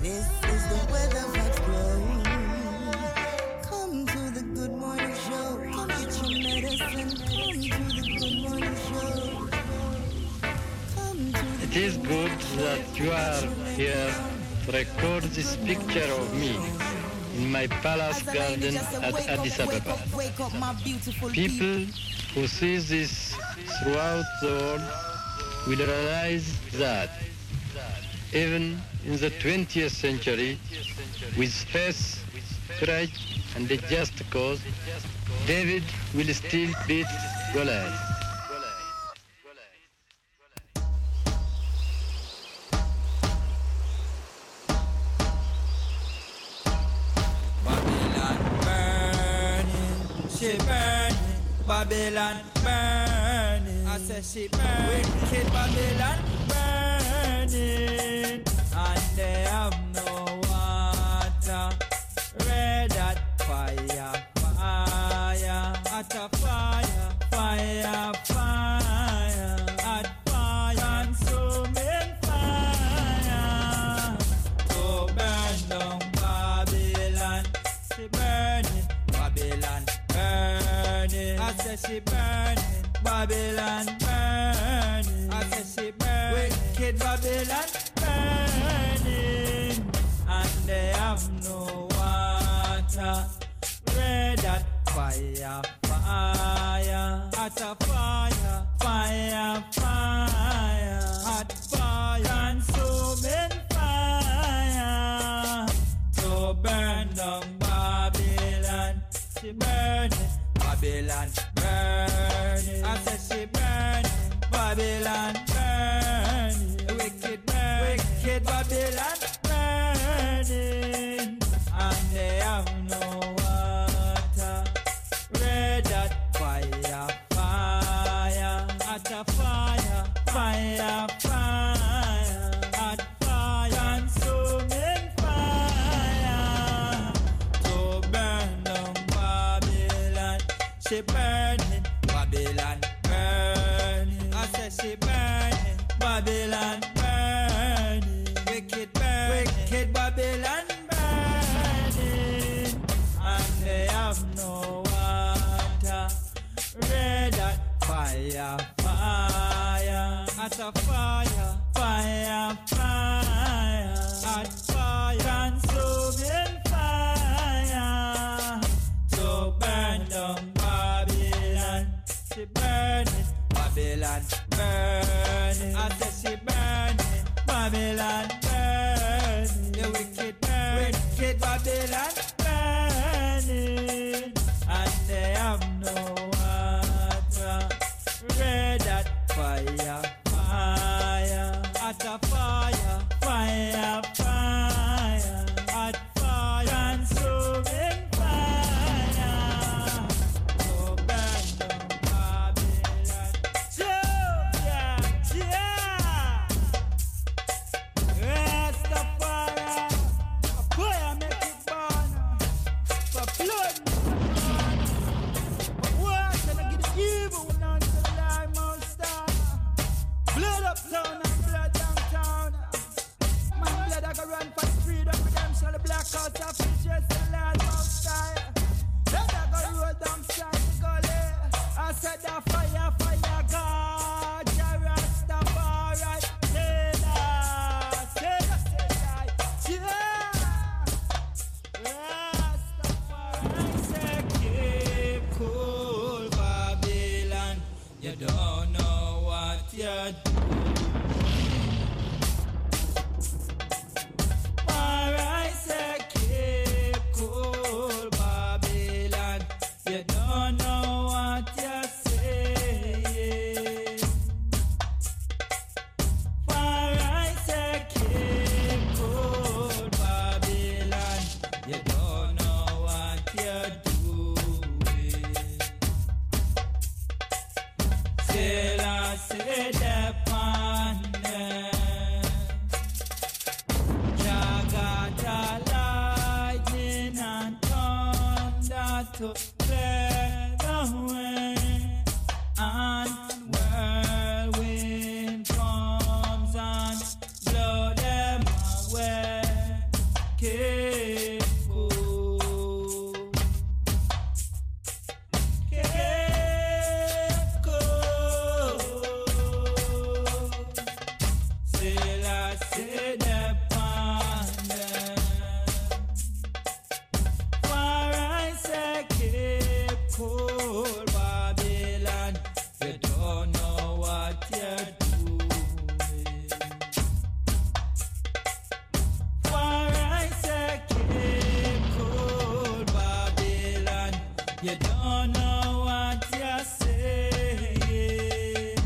This is the weather that's blowing. Come to the Good Morning Show. Come get your medicine. Come to the Good Morning Show. Come to the It is good that you are here to record this picture of me in my palace garden at Addis Ababa. People who see this throughout the world will realize that even in the 20th century, with faith, courage, and a just cause, David will still beat Goliath. She burning, Babylon burning. I said she burning, wicked Babylon burning. And they have no water. Red hot fire, fire, hot a fire, fire, fire, hot fire, consuming fire. To burn down Babylon, she burning, Babylon burning. I said she burning, Babylon burning. I said she burning, wicked Babylon burning. And they have no water. Red hot fire, fire, hot a fire, fire, fire, hot fire, consuming fire. To burn down Babylon, she burning, Babylon burning. I said she burning, Babylon burning. Wicked burning, wicked Babylon burning. And they have no water. Red hot fire, fire, hot a fire, fire, fire, hot fire, consuming fire. To burn down Babylon, she burning, Babylon burning. I said she burning, Babylon burning. Wicked burning, wicked Babylon burning. And they have no water. Red hot fire, fire, hot a fire, fire, fire, hot fire, consuming fire. To burn down Babylon, she burning, Babylon burning. I said she burning, Babylon burning. The wicked burning, wicked Babylon burning. And they have no water. Red hot fire, fire, hot a fire, fire, fire, hot fire, consuming fire. To burn down Babylon. Yeah, yeah. Rastafari, boy, I make it burn. For blood, what can I get evil when I'm the line monster? Blood uptown and blood downtown. My blood I go run for freedom, redemption, the black house of features, the last monster. Then I go roll down side the gully. I said that fire, fire, God, Jah Rastafari, say that, yeah. Rastafari, say keep cool, Babylon. You don't know what you're doing. Alright, say keep cool, Babylon. You don't know what you're saying. Alright, say keep cool, Babylon. You don't know what you're doing. Still I say the ponder. Jagata lightning and thunder to clear the way. And whirlwind comes and blow them away. Cape Coast. Cape Coast. Still I say the pond. For I say Cape Coast, Babylon, you don't know what you're doing. For I say Cape Coast, Babylon, you don't know what you're saying.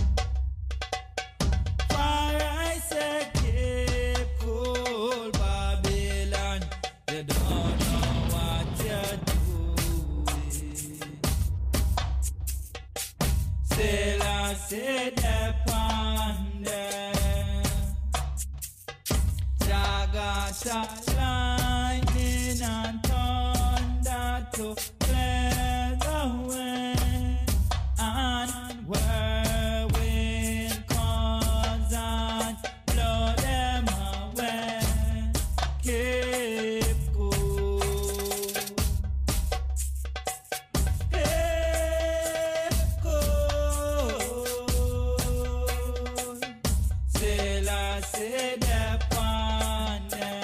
For I say Cape Coast, Babylon, you don't know what you're doing. Still I say the ponder. Jagata lightning and thunder to clear the way, and whirlwind comes and blow them away. Cape Coast. Cape Coast. Still I say the ponder.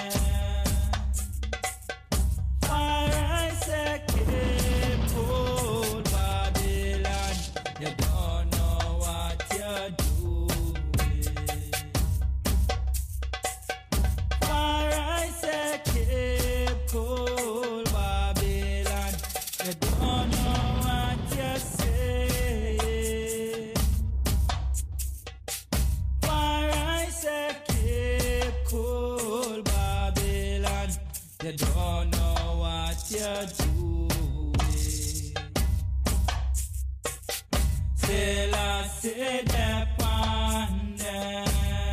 For I say Cape Coast, Babylon, you don't know what you're doing. For I say Cape Coast, Babylon, you don't know what you're saying. For I say Cape Coast, Babylon, you don't know what you're doing. Still I say the ponder.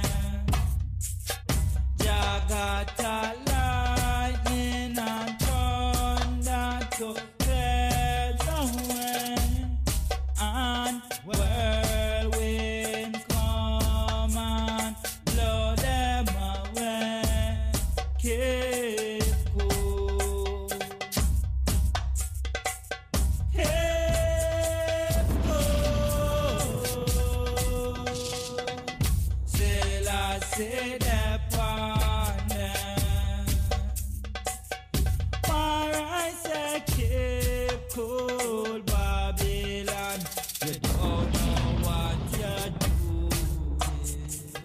Jagata lightning and thunder to clear the way, and whirlwind come and blow them away. Cape Coast. Cape Coast. Still I say the ponder. For I say Cape Coast, Babylon, you don't know what you're doing.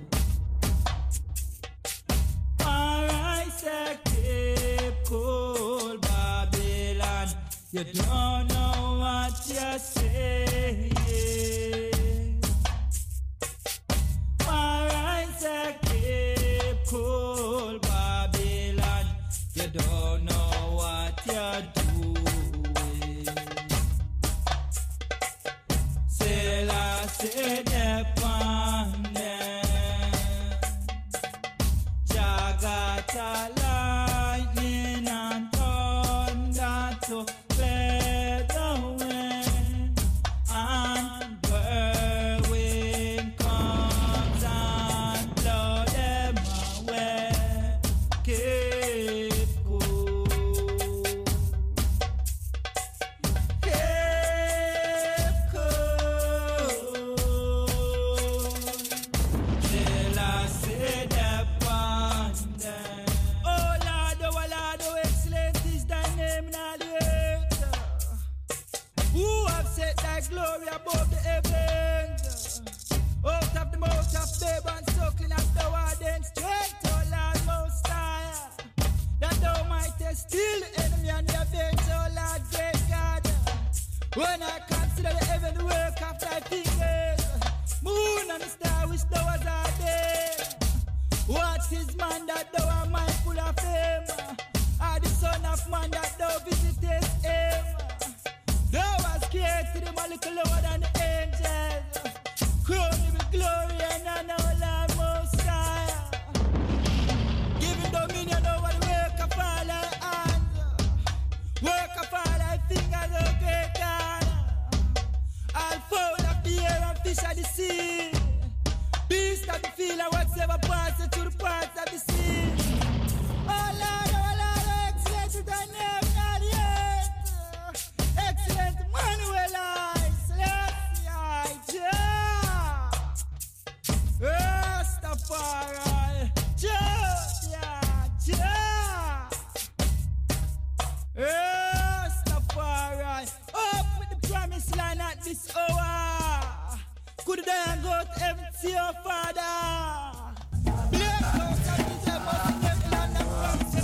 For I say Cape Coast, Babylon, you don't know what you're saying. For I say Cape Coast, Babylon, you don't know what you're doing. Still I say the ponder. Jagata lightning and thunder to clear the way, and whirlwind comes and blow them away. Cape Coast. Cape Coast. Till I say the ponder. Oh Lord, oh excellent is thy name in all the earth. Who have set thy glory above the heavens? Out of the mouth of babe and suckling as thou art then strength, oh Lord most high. That thou mightest still the enemy and the avenge, oh Lord great God. When I consider the heaven, the work of thy fingers, moon and the star which thou hast ordained. What is man that thou art mindful of him? Or the son of man that thou visitest him? Thou hast created him a little lower than the angels. Crown him with glory and honor, O Lord most high. Give him dominion over the work of all thy hands, work of all thy fingers, O great God. All fowl of the air and fish of the sea, beast of the field and whatsoever passes through the parts of the sea. Oh Lord, empty your father. Black house and DJ must get land and fancy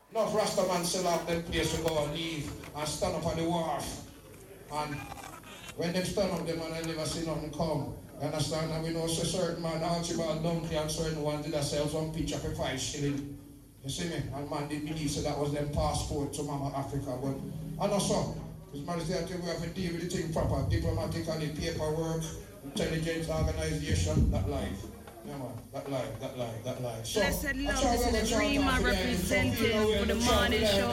Enough Rastaman sell out them place to go and leave and stand up on the wharf. And when them stand up, them and I never see nothing come. You understand? And we know so certain man, Archibald Dunkley and certain one did themselves one picture for 5 shillings. You see me? And man did believe so that was them passport to Mama Africa. But I know so. His Majesty, I think we have to deal with the thing proper, diplomatically, paperwork, intelligence, organization, that life. Yeah man, that life. So, Blessed love, this is Rima representing for the morning show.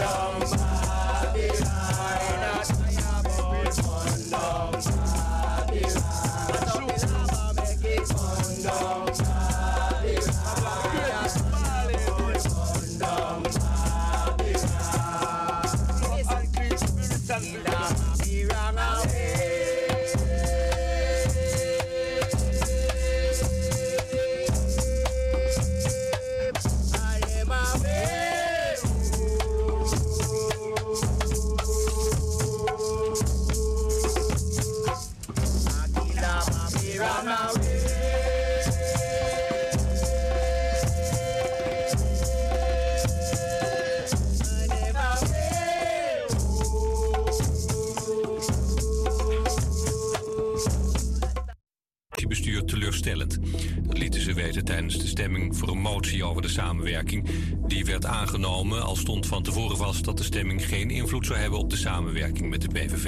Dat lieten ze weten tijdens de stemming voor een motie over de samenwerking. Die werd aangenomen, al stond van tevoren vast dat de stemming geen invloed zou hebben op de samenwerking met de PVV.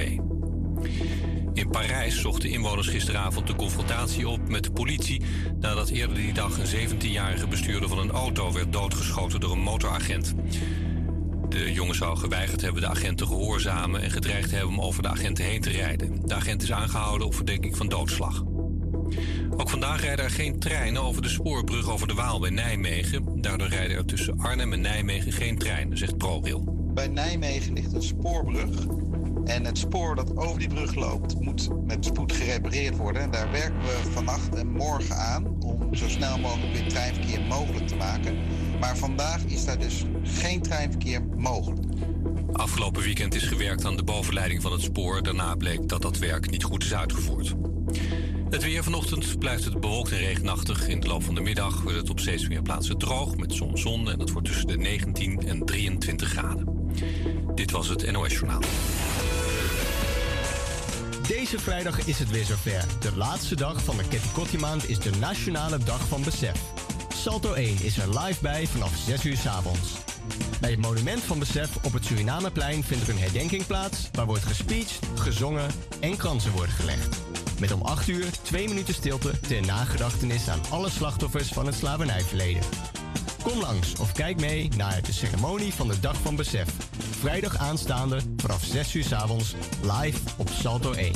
In Parijs zochten inwoners gisteravond de confrontatie op met de politie nadat eerder die dag een 17-jarige bestuurder van een auto werd doodgeschoten door een motoragent. De jongen zou geweigerd hebben de agent te gehoorzamen en gedreigd hebben om over de agenten heen te rijden. De agent is aangehouden op verdenking van doodslag. Ook vandaag rijden er geen treinen over de spoorbrug over de Waal bij Nijmegen. Daardoor rijden er tussen Arnhem en Nijmegen geen treinen, zegt ProRail. Bij Nijmegen ligt een spoorbrug. En het spoor dat over die brug loopt moet met spoed gerepareerd worden. En daar werken we vannacht en morgen aan om zo snel mogelijk weer treinverkeer mogelijk te maken. Maar vandaag is daar dus geen treinverkeer mogelijk. Afgelopen weekend is gewerkt aan de bovenleiding van het spoor. Daarna bleek dat dat werk niet goed is uitgevoerd. Het weer vanochtend blijft het bewolkt en regenachtig. In de loop van de middag wordt het op steeds meer plaatsen droog met soms zon. En dat wordt tussen de 19 en 23 graden. Dit was het NOS Journaal. Deze vrijdag is het weer zover. De laatste dag van de Ketty maand is de Nationale Dag van Besef. Salto 1 is er live bij vanaf 6 uur 's avonds. Bij het Monument van Besef op het Surinameplein vindt er een herdenking plaats waar wordt gespeecht, gezongen en kransen worden gelegd. Met om 8 uur 2 minuten stilte ter nagedachtenis aan alle slachtoffers van het slavernijverleden. Kom langs of kijk mee naar de ceremonie van de Dag van Besef. Vrijdag aanstaande vanaf 6 uur 's avonds live op Salto 1.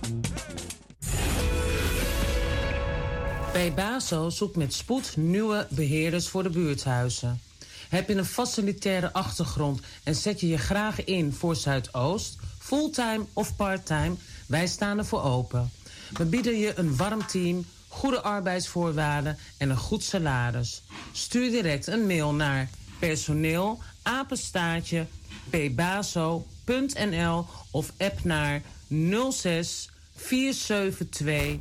Pebaso zoekt met spoed nieuwe beheerders voor de buurthuizen. Heb je een facilitaire achtergrond en zet je je graag in voor Zuidoost, fulltime of parttime? Wij staan ervoor open. We bieden je een warm team, goede arbeidsvoorwaarden en een goed salaris. Stuur direct een mail naar personeel@pebaso.nl of app naar 06 472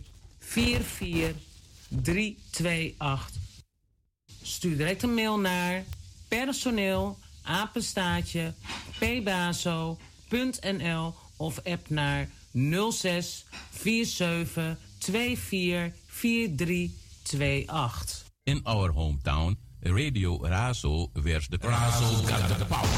44328. Stuur direct een mail naar personeel@pebaso.nl of app naar 06 47 24 4328. In our hometown, Radio Razo wears the Razo got the power.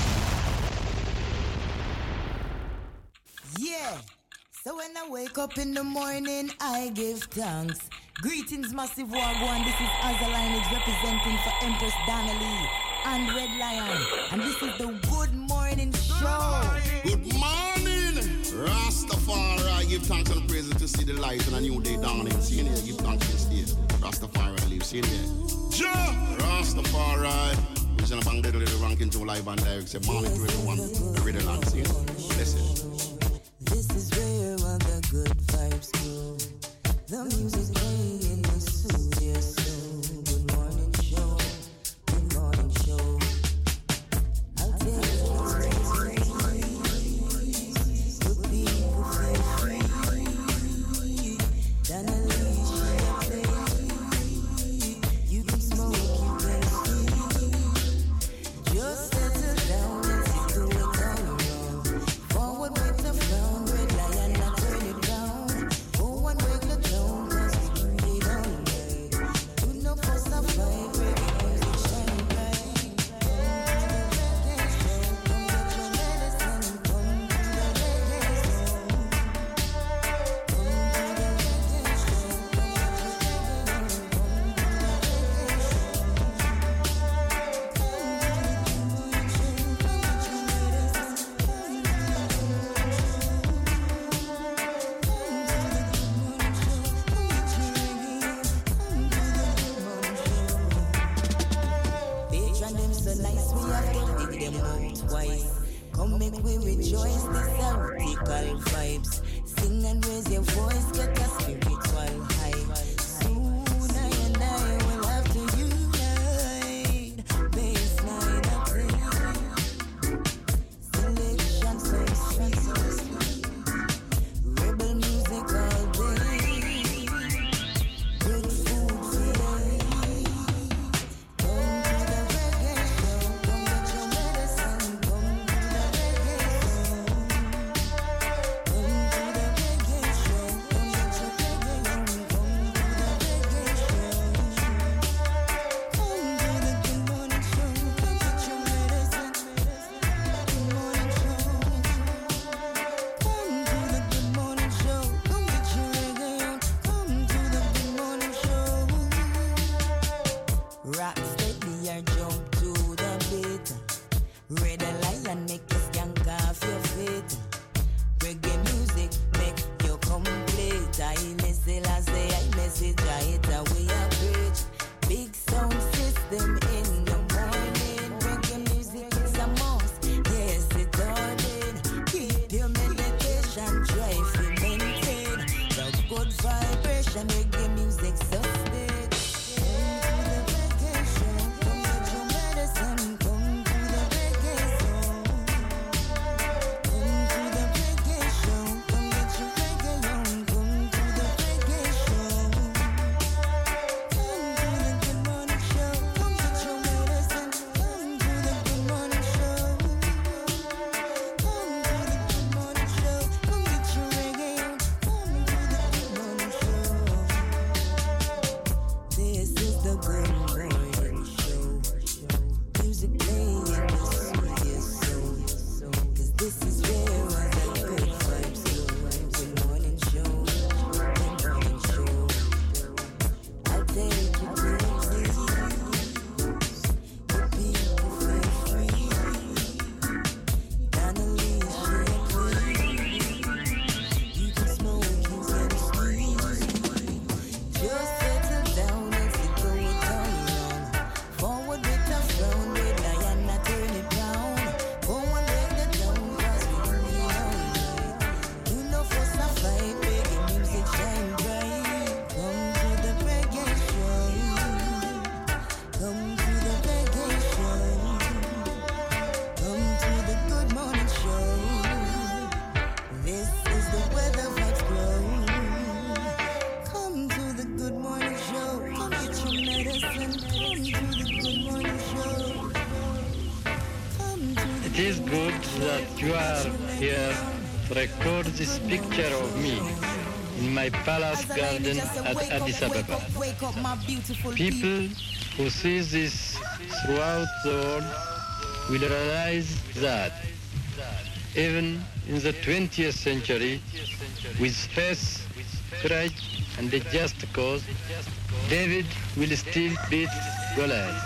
Yeah, so when I wake up in the morning, I give thanks. Greetings, Massive Wagwan. This is Azalineage representing for Empress Donnelly and Red Lion. And this is the Good Morning Show. Good morning, Rastafari. Give thanks and praises to see the light and a new day dawning. See here, give thanks to stay. Rastafari lives in here. Ja, Rastafari. We're going to bang the little ranking July band direct. Say morning to everyone. The riddle land scene. Listen. This is where all the good vibes go. The music playing in the studio. So good morning show. Good morning show. I'll tell you good people feel free. Then I leave play. You can smoke, you can sleep. Just settle down and see the way all around. Forward with the flow, Red Lion, not turn it down. Go and wake the tone, 'cause we create Come make we rejoice, this heretical vibes. Sing and raise your voice, get a spiritual high. Soon I and I will have to unite. Baseline up selection so sweet. Rebel music all day. Good food for day. Come to the reggae show. Come get your medicine. Come to the reggae show. Come to the reggae show. Come get your reggae on. Come to the reggae show. Come to the good morning show. Come get your medicine. Good morning show. Come to the good morning show. Come get your reggae on. Come to the good morning show. Rock steady or jump to the beat. Red lion make you skank off your feet. Reggae music make you complete. I listen as they I message I we are preach. Big sound system in the morning. Reggae music is a must. Yes, it all did. Keep your meditation drive to maintain the good vibration. Reggae music sustain. Come to the reggae show. Come get your medicine. Come to the reggae show. Come to the reggae show. Come get your reggae on. Come to the reggae show. Come to the good morning show. Come get your medicine. Come to the good morning show. Come to the good morning show. Come get your reggae on. Come to the good morning show. This is the good morning show. Music playing the sweetest soul. 'Cause this is where all the good vibes go. Good morning show. Good morning show. I'll take you places. The people feel free. Donnelly is you can smoke, you can squeeze. Just settle down and sit through it all along. Forward with a frown, with Diana turn it round. Forward with the tone, 'cause we do it all night. You know for some fight, reggae music shine bright. Come to the reggae show. Come to the reggae show. Come to the good morning show. This is the weather vibes glow. Come to the good morning show. Come get your medicine. Come to the good morning show. Come to the It is good that you are here to record this picture of me in my palace garden at Addis Ababa. wake up my beautiful People who see this throughout the world will realize that even in the 20th century, with faith, courage, and a just cause, David will still beat Goliath.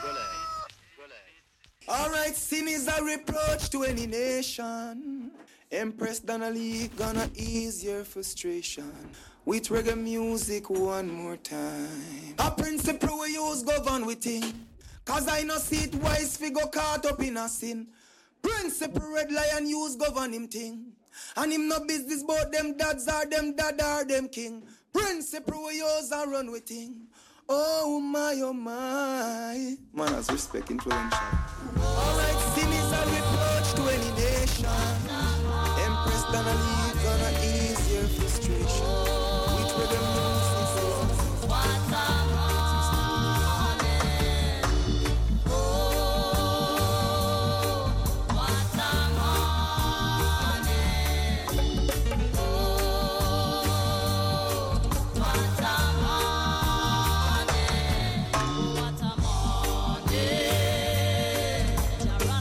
Alright, sin is a reproach to any nation. Empress Donnelly gonna ease your frustration with reggae music one more time. A principle we use govern with thing, 'cause I no see it wise fi go caught up in a sin. Principle Red Lion use govern him thing, and him no business about them dads or them dad or them king. Principle we use and run with thing. Oh my, man has respect influential. Alright, sin is a reproach to any nation. Empress Donnelly gonna ease your frustration with reggae music. What a morning. Oh, what a morning. Oh, what a morning. What a morning.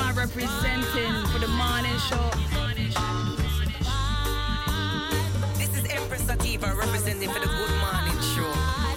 Rima representing for the morning show. This is Empress Sativa representing for the Good Morning Show.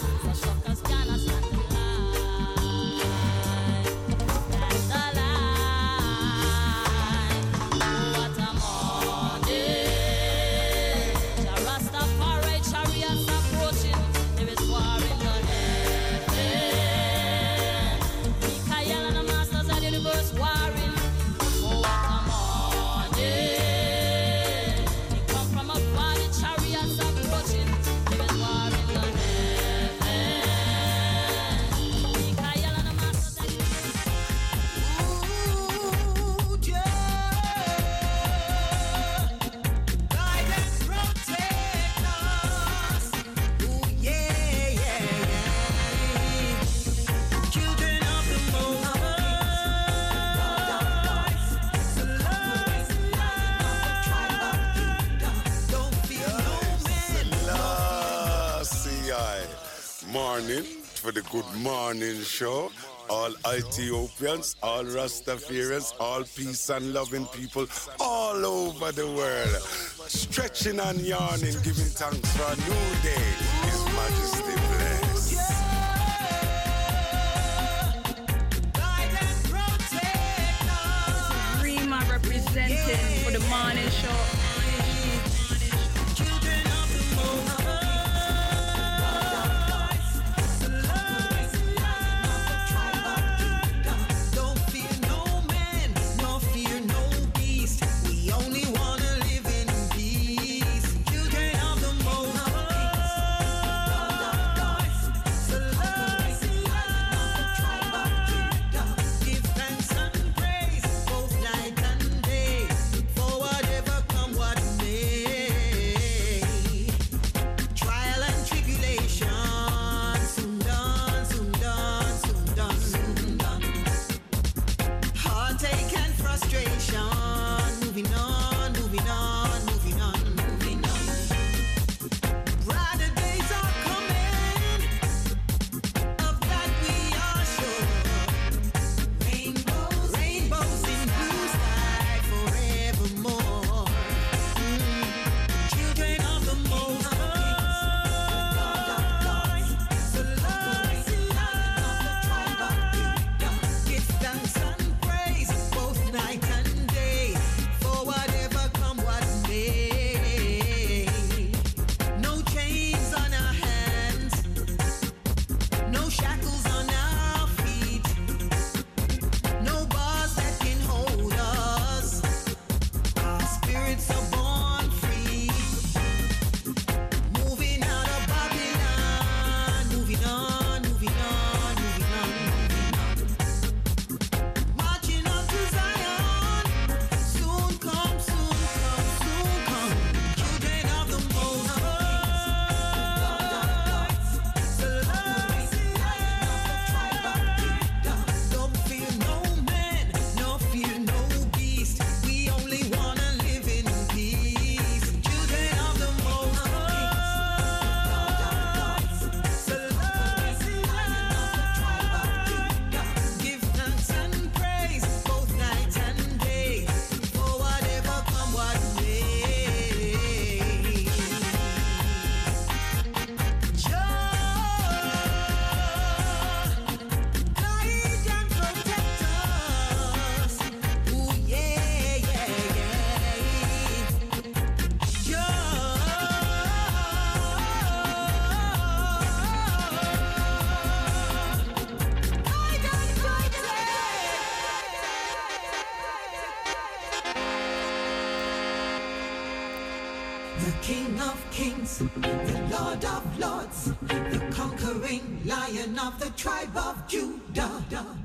For the Good Morning Show, all Ethiopians, all Rastafarians, all peace and loving people all over the world, stretching and yawning, giving thanks for a new day. His Majesty bless. Rima representing for the morning show. the King of Kings, the Lord of Lords, the conquering Lion of the tribe of Judah.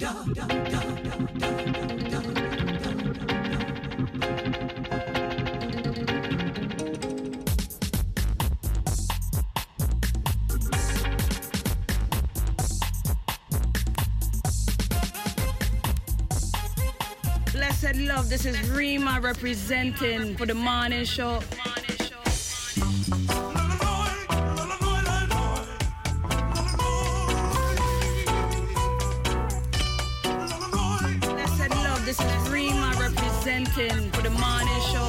Blessed love, this is Rima representing for the morning show. Blessed love, this is Rima representing for the morning show.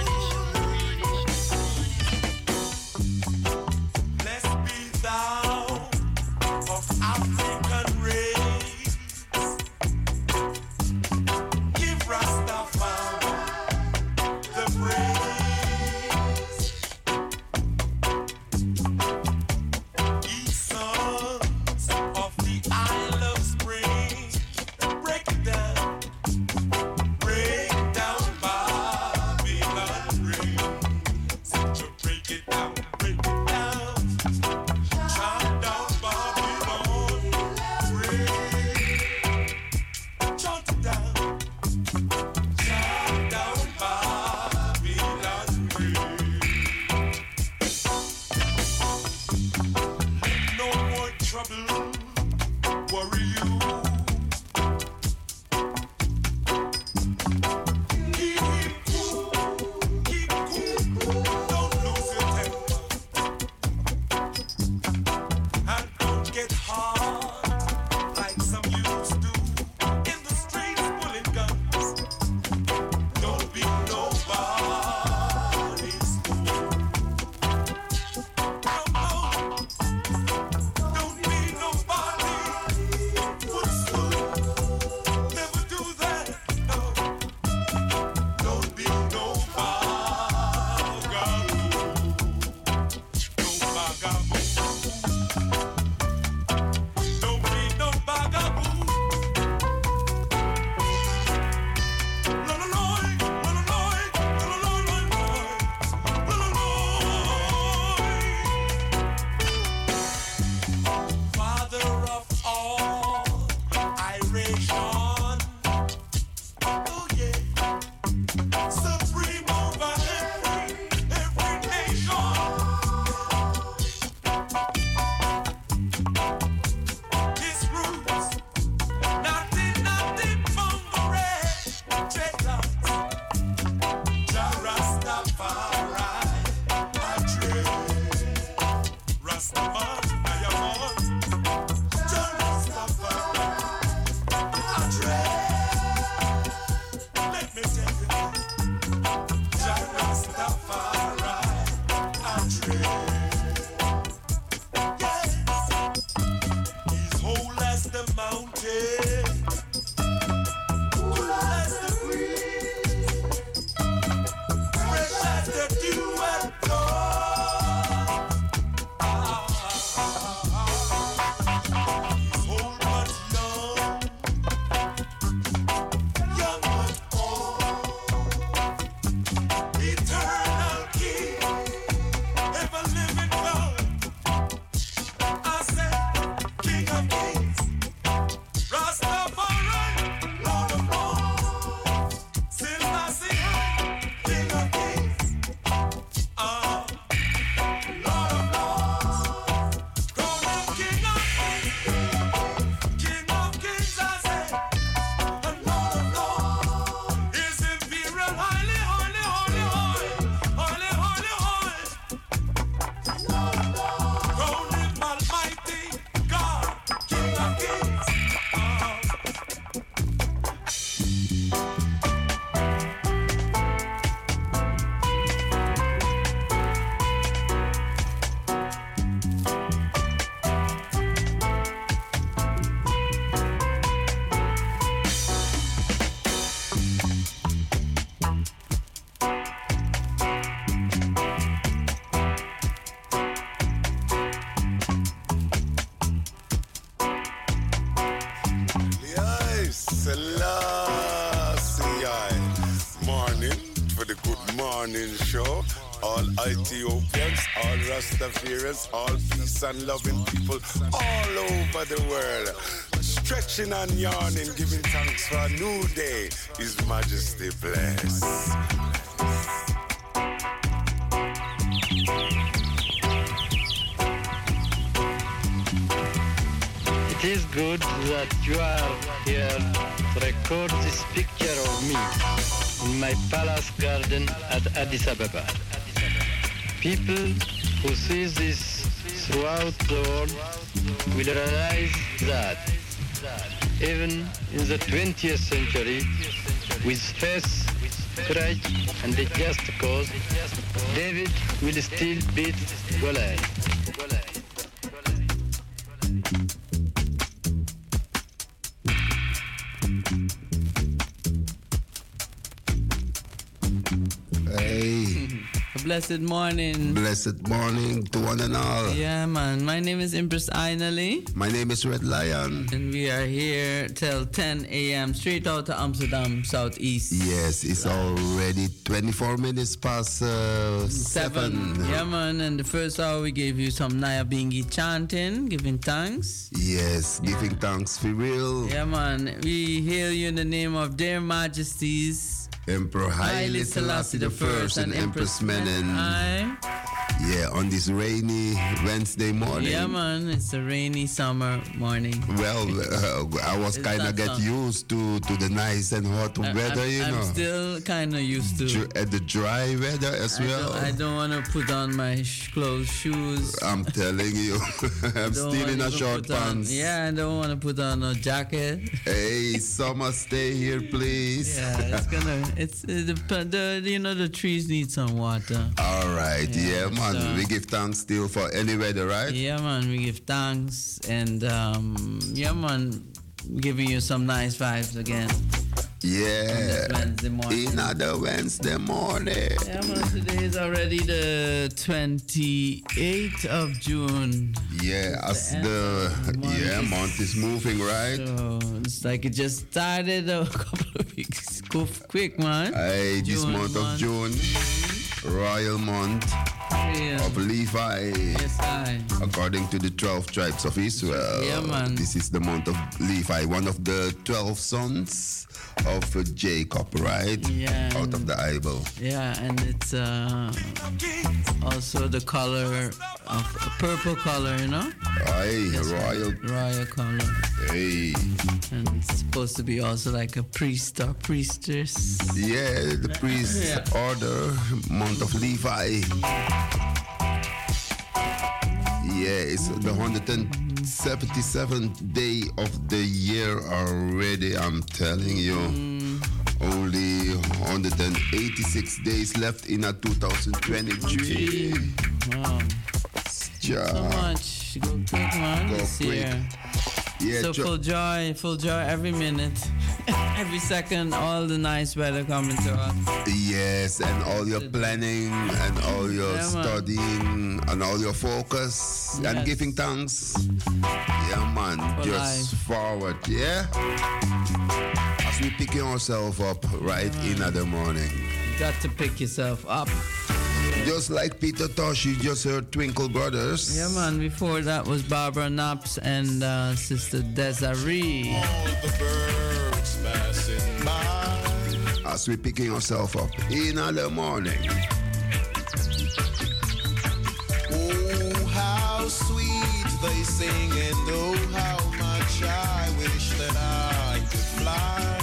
Ethiopians, all Rastafarians, all peace and loving people all over the world. Stretching and yawning, giving thanks for a new day. His Majesty bless. It is good that you are here to record this picture of me in my palace garden at Addis Ababa. People who see this throughout the world will realize that even in the 20th century, with faith courage, and just cause, David will still beat Goliath. Hey. Blessed morning. Blessed morning to one and all. Yeah, man. My name is Empress Ainali. My name is Red Lion. And we are here till 10 a.m. straight out to Amsterdam, Southeast. Yes, it's already 24 minutes past 7. Yeah, man. And the first hour we gave you some Nyabingi chanting, giving thanks. Yes, giving thanks for real. Yeah, man. We hail you in the name of their majesties. Emperor Haile Selassie the First and Empress Menen. Yeah, on this rainy Wednesday morning. Yeah, man, it's a rainy summer morning. Well, I was kind of get used to the nice and hot weather, you know. I'm still kind of used to the dry weather as well. I don't want to put on my clothes, shoes. I'm telling you, I'm still in a short pants. Yeah, I don't want to put on a jacket. Hey, summer, stay here, please. Yeah, it's the trees need some water. All right, yeah man. We give thanks still for any weather, right? Yeah, man. We give thanks and yeah, man. Giving you some nice vibes again. Yeah. Wednesday morning. Another Wednesday morning. Yeah, man. Today is already the 28th of June. Yeah, as the month is moving, right? So it's like it just started a couple of weeks. Go quick, man. Hey, this month of June, royal month. Of Levi. Yes, according to the 12 tribes of Israel. Yeah, man. This is the month of Levi, one of the 12 sons of Jacob, right? Yeah. Out of the Bible. Yeah, and it's also the color of purple color, you know? Hey, yes, royal color. Hey. And it's supposed to be also like a priest or priestess. Yeah, the priest order, month of Levi. Yeah, it's the 177th day of the year already, I'm telling you. Only 186 days left in a 2023. Wow. So much. Go quick, man. Go this quick. Year. Yeah, so full joy every minute, every second, all the nice weather coming to us. Yes, and all your planning and all your studying and all your focus and giving thanks. Yeah, man, for just life. Forward, yeah? As we picking ourselves up right in the morning. You got to pick yourself up. Just like Peter Tosh, you just heard Twinkle Brothers. Yeah, man. Before that was Barbara Naps and Sister Desiree. All the birds passing by. As we picking ourselves up in the morning. Oh, how sweet they sing, and oh, how much I wish that I could fly.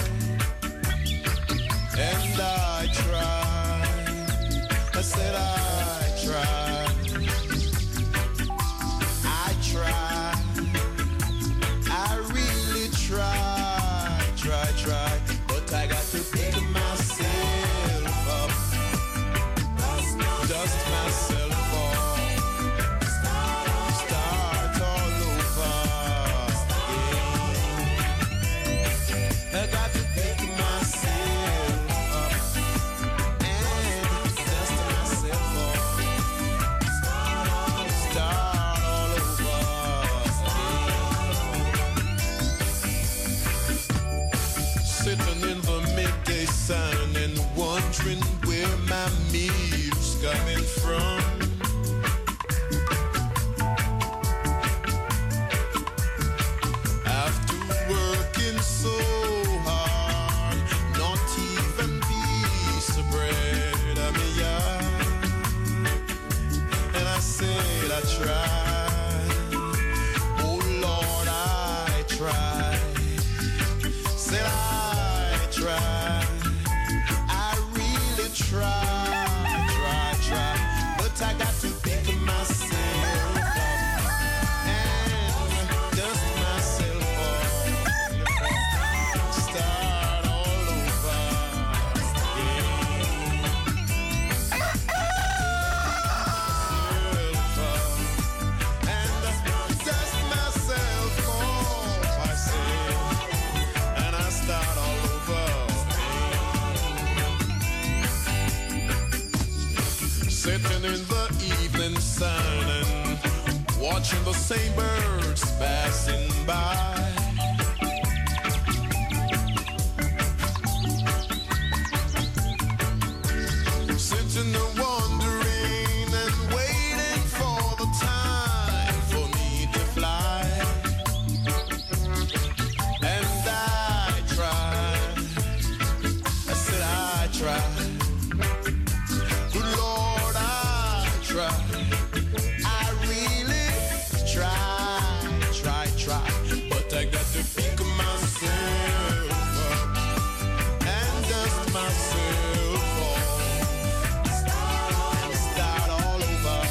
And I tried. I said I tried. I really tried. But I got to pick myself up. Dust myself off. Start all over. the same birds passing by. Sitting there wondering and waiting for the time for me to fly. And I tried. I said I tried. Good Lord, I tried. I really tried. But I got to pick myself up and dust myself off. Start all over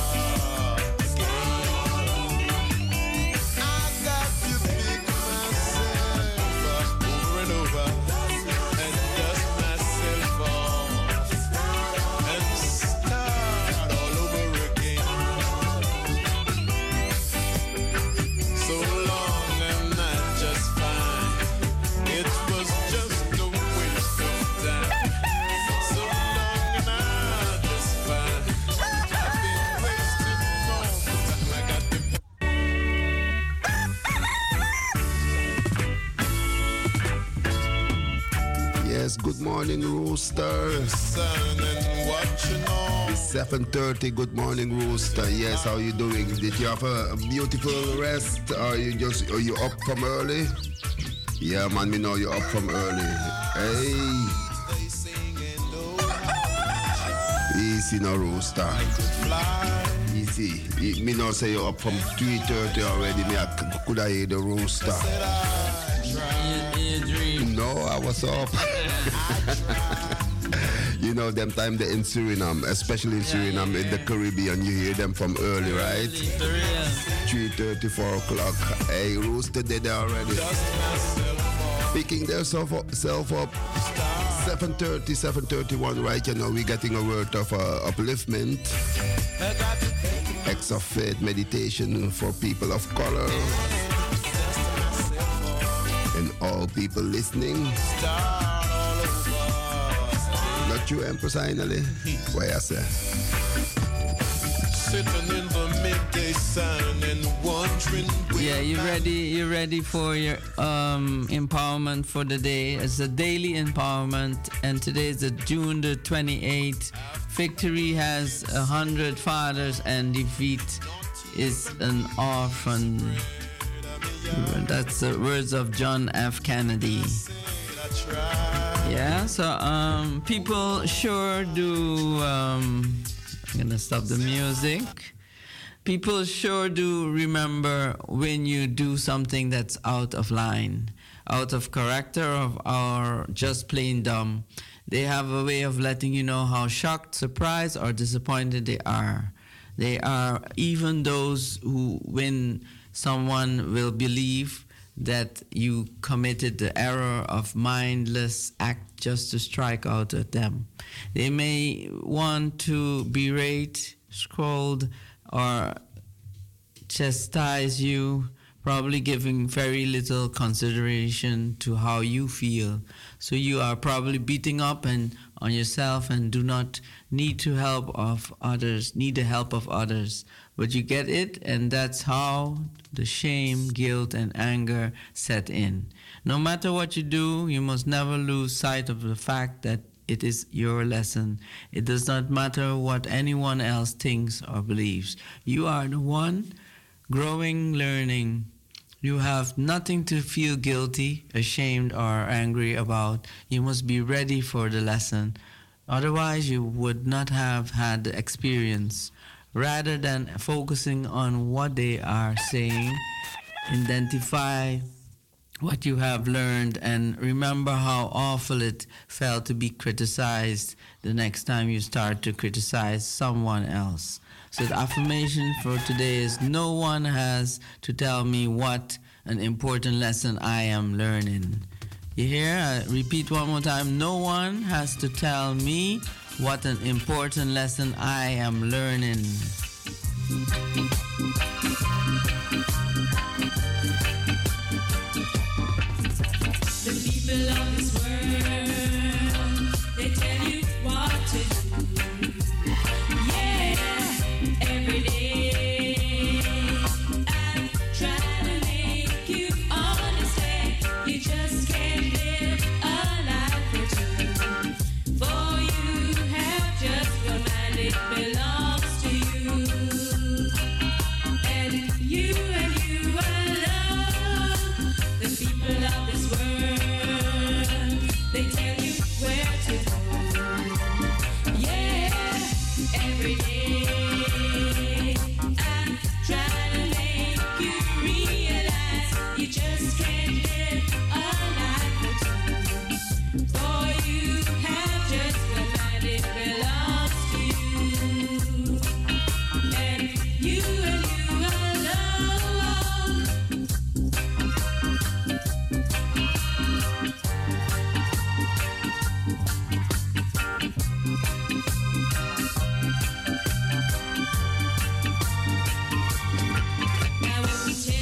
again. I got to pick myself up over and over and dust myself off and start all over again. So long and not just fine. It was just a waste of time. So long and not just fine. I've been wasting all the time. I got to Yes, good morning, Rooster. sun and watching all. It's 7:30. Good morning, Rooster. Yes, how you doing? Did you have a beautiful rest? Are you up from early? Yeah, man, me know you up from early. Hey. Easy now, Rooster. Easy. Me know say you up from 3:30 already. Me could I hear the Rooster? No, I was up. You know, them time they're in Suriname, especially in Suriname, in the Caribbean, you hear them from early, right? 3:30, 4 o'clock. Hey, Rooster did it already. Picking themselves up. 7:30, 7:31, right? You know, we're getting a word of upliftment. Acts of faith, meditation for people of color. And all people listening. Not you, Empress, finally. Why I say? Sitting in the midday sun and wondering. Yeah, you ready for your empowerment for the day? It's a daily empowerment, and today is June the 28th. Victory has 100 fathers, and defeat is an orphan. That's the words of John F. Kennedy. Yeah, so people sure do. I'm gonna stop the music. People sure do remember when you do something that's out of line, out of character, or just plain dumb. They have a way of letting you know how shocked, surprised, or disappointed they are. They are even those who, when someone will believe that you committed the error of mindless act just to strike out at them. They may want to berate, scold, or chastise you, probably giving very little consideration to how you feel. So you are probably beating up on yourself and do not need the help of others. But you get it, and that's how the shame, guilt, and anger set in. No matter what you do, you must never lose sight of the fact that it is your lesson. It does not matter what anyone else thinks or believes. You are the one growing, learning. You have nothing to feel guilty, ashamed, or angry about. You must be ready for the lesson. Otherwise, you would not have had the experience. Rather than focusing on what they are saying, identify what you have learned and remember how awful it felt to be criticized the next time you start to criticize someone else. So the affirmation for today is: no one has to tell me what an important lesson I am learning. You hear? I repeat one more time. No one has to tell me what an important lesson I am learning. The people of this world, they tell you what to do. Yeah, every day.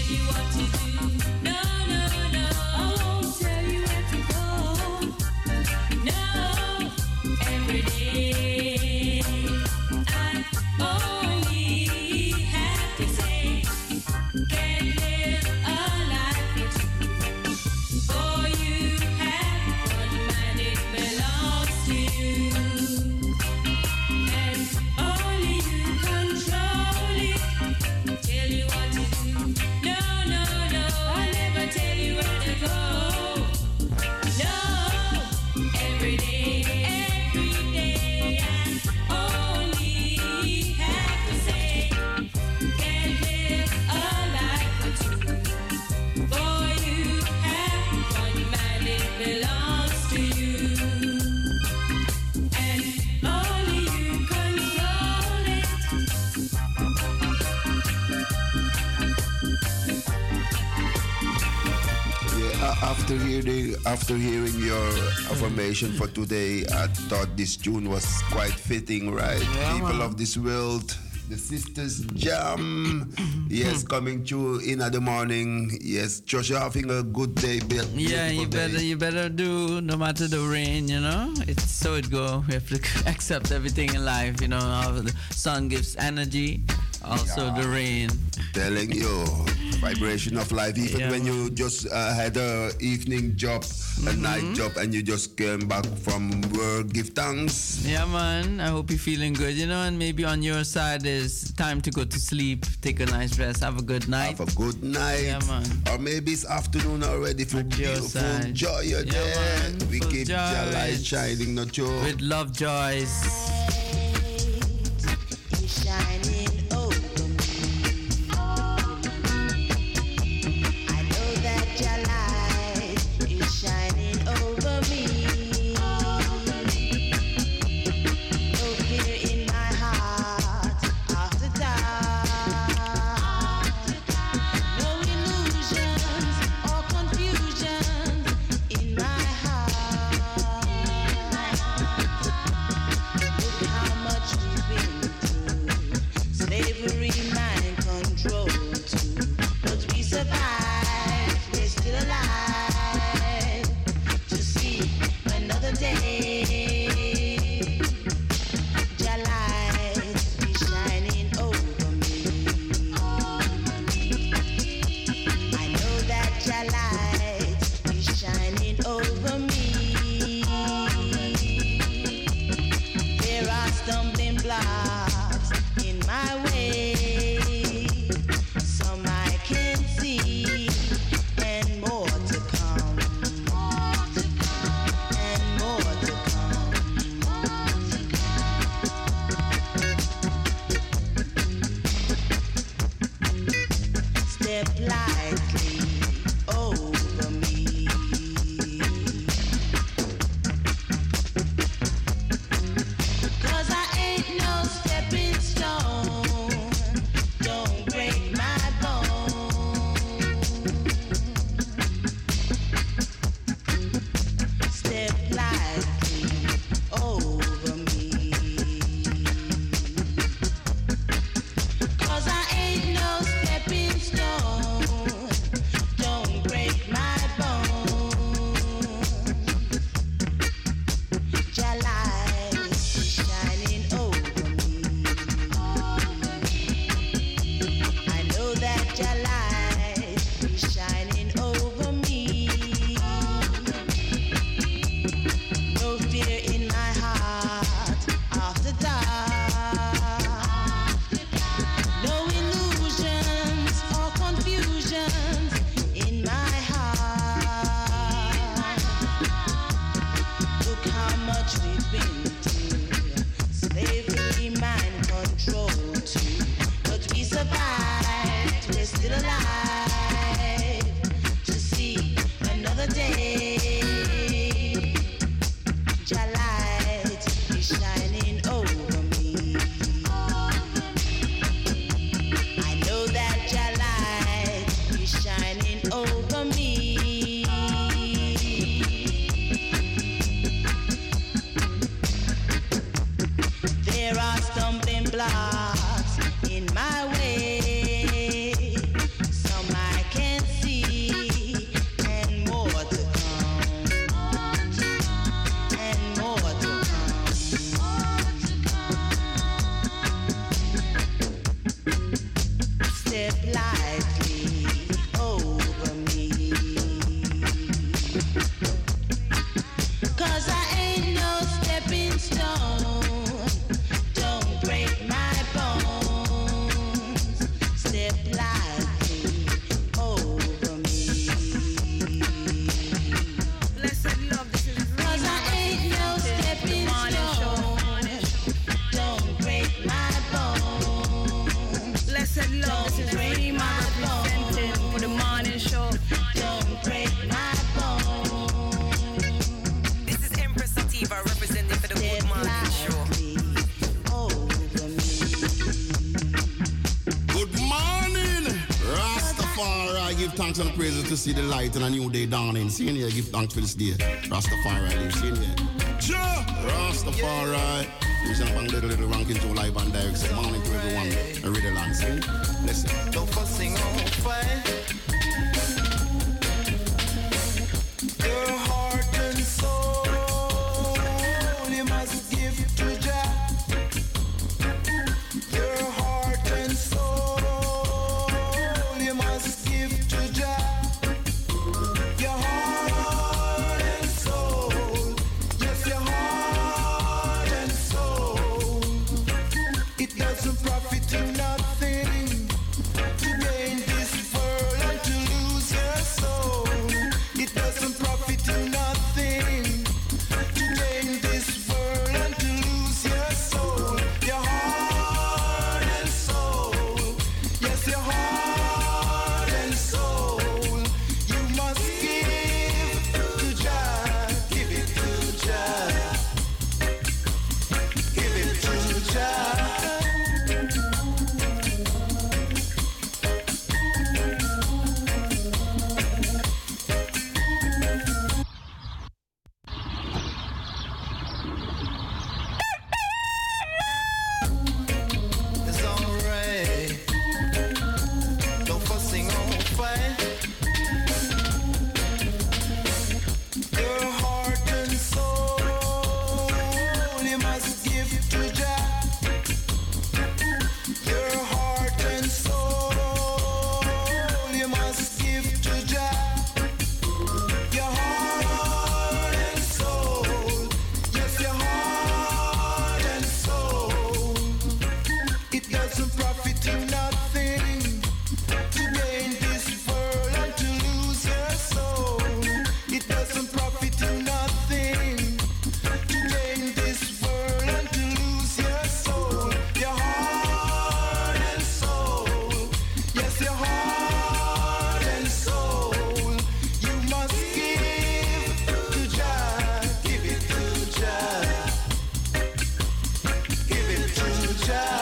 you what to do. No, no, no. I won't tell you where to go. No, every day I only have to say, can't live a life for two. For you have one man, it belongs to you, and only you control it. Tell you what to do. No, no, no. I never tell you where to go. No, every day I only have to say, can't live a life for two. For you have one man, it belongs to you, and only you control it. Yeah, after hearing your affirmation for today, I thought this tune was quite fitting, right? Yeah, People man. of this world, the Sisters Jam. Yes, coming through in the morning. Yes, Joshua having a good day. Yeah, beautiful day. you better do no matter the rain, you know. It's so it go. We have to accept everything in life, you know. How the sun gives energy, also the rain. Telling you, vibration of life. Even Yeah, when you just had a evening job, a night job, and you just came back from work, give thanks. Yeah, man. I hope you're feeling good, you know. And maybe on your side is time to go to sleep, take a nice rest, have a good night. Have a good night. Yeah, man. Or maybe it's afternoon already for beautiful side. joy. Yeah, man. We Full keep your joy. light shining, not your. With love, joys. Shining over me. I know that your light is shining over me. No fear in my heart after dark. No illusions or confusion in my heart. Look how much we've been through. Slavery, mind control too. But we survived, we're still alive to see another day. Your light is shining over me. I know that your light is shining over me. There are stumbling blocks in my way. Some I can see, and more to come. And more to come. Step lightly over me. 'Cause I ain't no stepping stone. Don't break my bone. Step lightly over me. 'Cause I ain't no stepping stone. Rastafari, give thanks and praises to see the light and a new day dawning. See here, give thanks for this day. Rastafari live, see here. Rastafari. We send up a little ranking to live and direct. Good morning to everyone. I read the land, see? Listen. Don't fussing on fire. Your heart and soul, you must give to Jah. Your heart and soul, you must give to Jah. Your heart and soul, yes, your heart and soul. It doesn't profit you nothing to gain this world and to lose your soul. It doesn't profit you nothing to gain this world and to lose your soul. Your heart and soul, yes, your heart and soul. You must give to Jah, give it to Jah, give it to Jah. It's alright. No fussing on fire. Your heart and soul, you must give to Jah. Your heart and soul, you must give to Jah. Your heart and soul, yes, your heart and soul. It doesn't profit you nothing to gain this world and to lose your soul. It doesn't profit you nothing to gain this world and to lose your soul. Your heart and soul, yes, your heart and soul. You must give to Jah, give it to Jah, give it to Jah.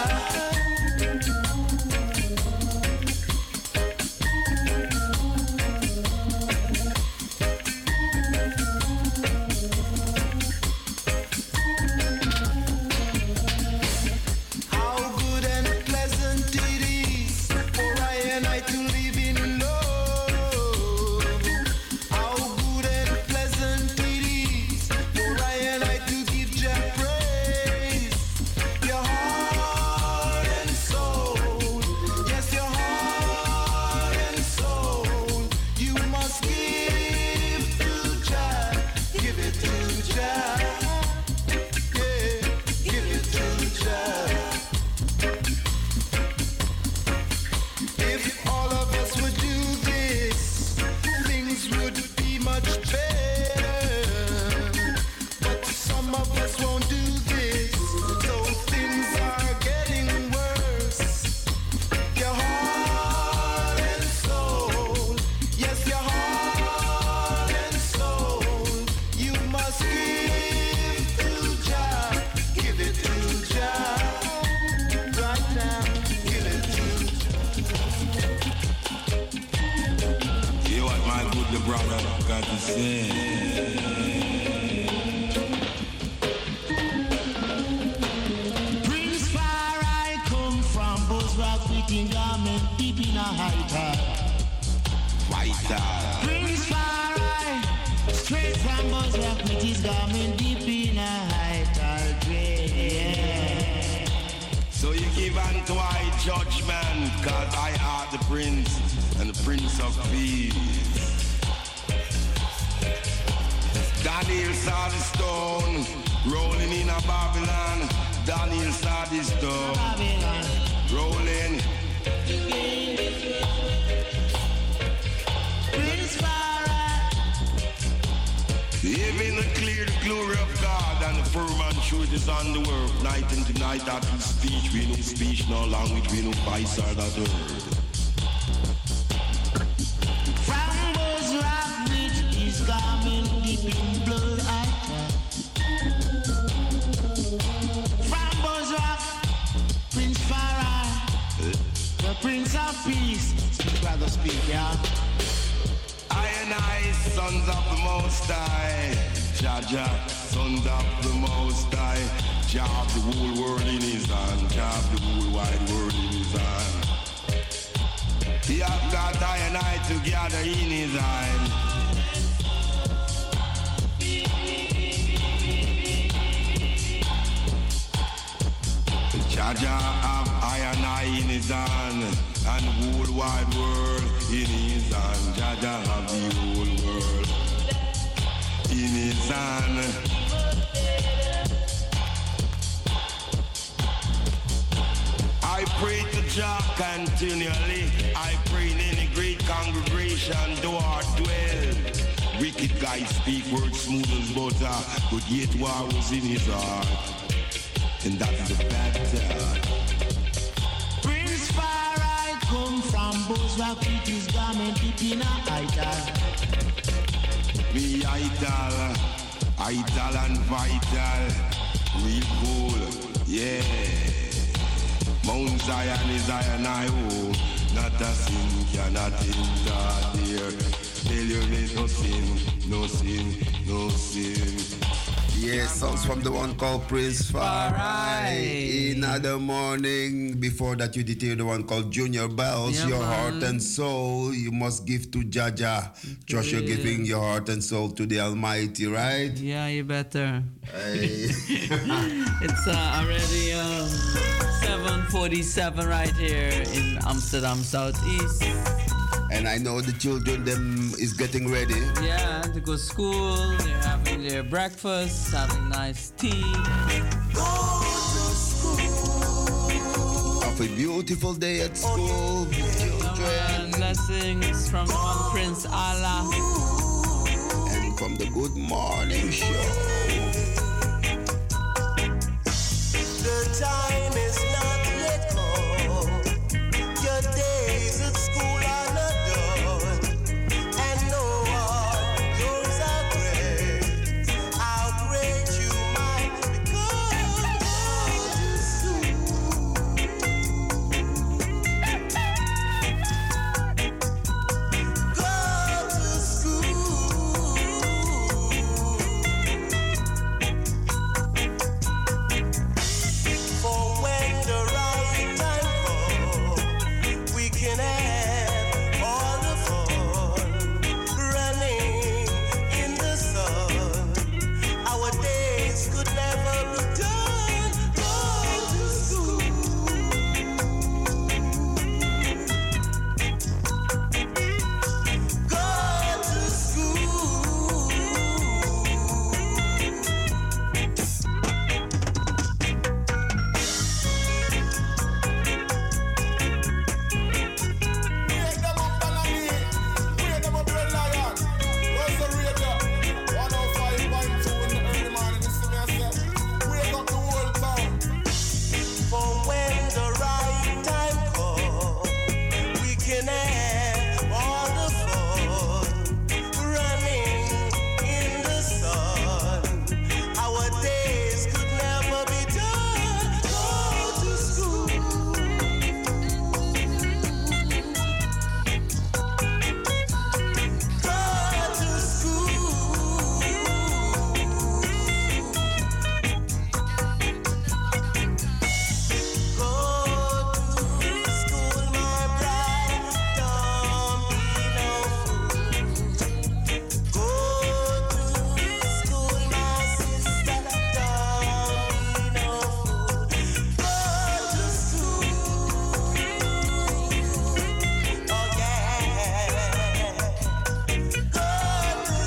How good and pleasant it is for I and I to live in love. How good and pleasant it is for I and I to give Jah praise. Your heart and soul, yes, your heart and soul. You must give to Jah, give it to Jah. Yeah, give it to Jah. If all of us would do this, things would be much better. But some of us won't do this, so things are getting worse. Your heart and soul, yes, your heart and soul. You must give to Jah, give it to Jah. Right now, give it to Hear what my good brother got to say. Prince Far I come from Buzzrock, fitting garment deep in a high tide. Prince Far I, straight from Buzzrock, with his garment deep in a high tide. Yeah. So you give unto I judgment, cause I are the prince and the prince of peace. Daniel saw the stone rolling in a Babylon. Daniel saw the stone rolling. Prince Far I, Even the clear the glory of God and the firm and truth is on the world. Night into night after speech, we no speech, no language, we no voice or that word. from Buzzrock, with his garment deep in blood I from Buzzrock, Prince Far I, the Prince of Peace, to speak, yeah? I and I, sons of the Most High, Jah, sons of the Most High, Jah have the whole world in his hand, Jah have the whole wide world in his hand. He have got I and I together in his hand. Jah have I and I in his hand, and the whole wide world in his hand. Jah have the whole world in his hand. I pray to Jah continually. I pray in any great congregation, do our dwell. Wicked guys speak words smooth as butter, but yet war was in his heart. And that's the factor. Prince Far I come from Bozrak with his garment deep in a idol. Me idol and vital. Real cool, yeah. Mount Zion is Zion, I oh. Not a sin cannot enter there. Tell you there's no sin, no sin, no sin. Yes, songs from the one called Prince Farai. Another morning. Before that, you detailed the one called Junior Bells. Yeah, your man. heart and soul you must give to Jaja. Trust you're giving your heart and soul to the Almighty, right? Yeah, you better. Hey. It's already 7:47 right here in Amsterdam Southeast. And I know the children them is getting ready. Yeah, to go to school. They're having their breakfast, having nice tea. Have a beautiful day at school, children. Blessings from one Prince Allah. And from the Good Morning Show. The time is not yet come. Your days at school are not done. And no one knows how great you might become. Go to school. For when the right time comes, we can have all the fun running in the sun. Our days could never be done. Go to school. Go to school. Wake them up, Balani. Wake them up, Red Lion. Where's the radio? 105.2 in the early morning. You see me, I say, wake up the whole town. For when the right time comes, we can have all the fun running in the sun. Our days could never be done. Go to school. Go to school. Go to school, my bride. Don't be no fool. Go to school, my sister. Don't be no fool. Go to school. Oh yeah. Go to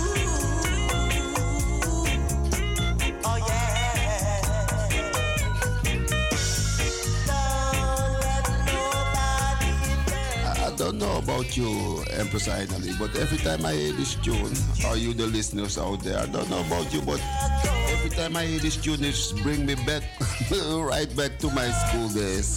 school. Oh yeah. I don't know about you, Empress Ainali, but every time I hear this tune, or you the listeners out there, I don't know about you, but every time I hear this tune, it just bring me back, right back to my school days.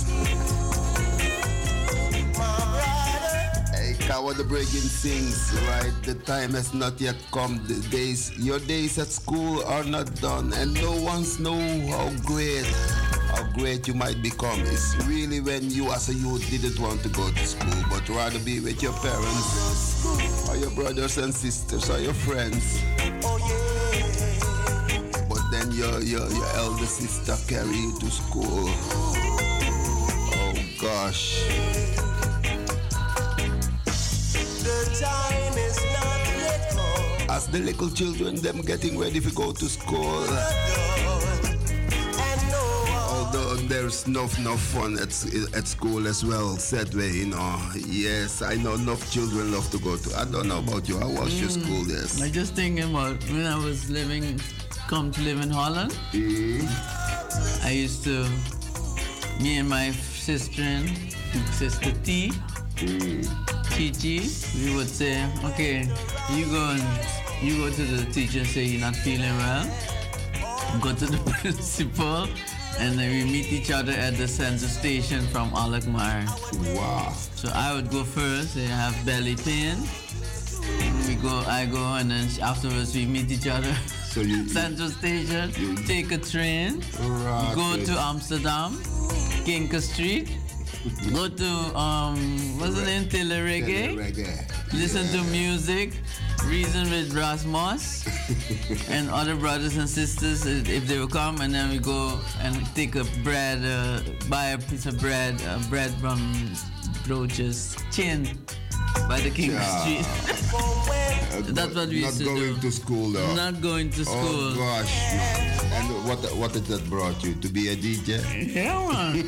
Hey, Kawa the Breaking sings, right? The time has not yet come. Your days at school are not done, and no one's know how great how great you might become. It's really when you as a youth didn't want to go to school, but rather be with your parents, or your brothers and sisters, or your friends. But then your elder sister carry you to school. Oh gosh. The time is not yet come. As the little children, them getting ready to go to school. Although there's no fun at school as well, said way, you know. Yes, I know enough children love to go to. I don't know about you. How was your school days? I just thinking about when I was come to live in Holland. I used to, me and my sister T, Chichi, we would say, okay, you go to the teacher and say you're not feeling well. Go to the principal, and then we meet each other at the center station from Alkmaar. Wow. So I would go first, I have belly pain. I go, and then afterwards we meet each other. So you Central Station, take a train, go to Amsterdam, Kinker Street, go to what's the name? Telereggae. Listen to music, reason with Rasmus and other brothers and sisters if they will come, and then we go and take a bread, buy a piece of bread from Broches Chin by the King Street. That's what we used to do. Not going to school though. Not going to school. Oh gosh. And what did that brought you? To be a DJ? Yeah, man.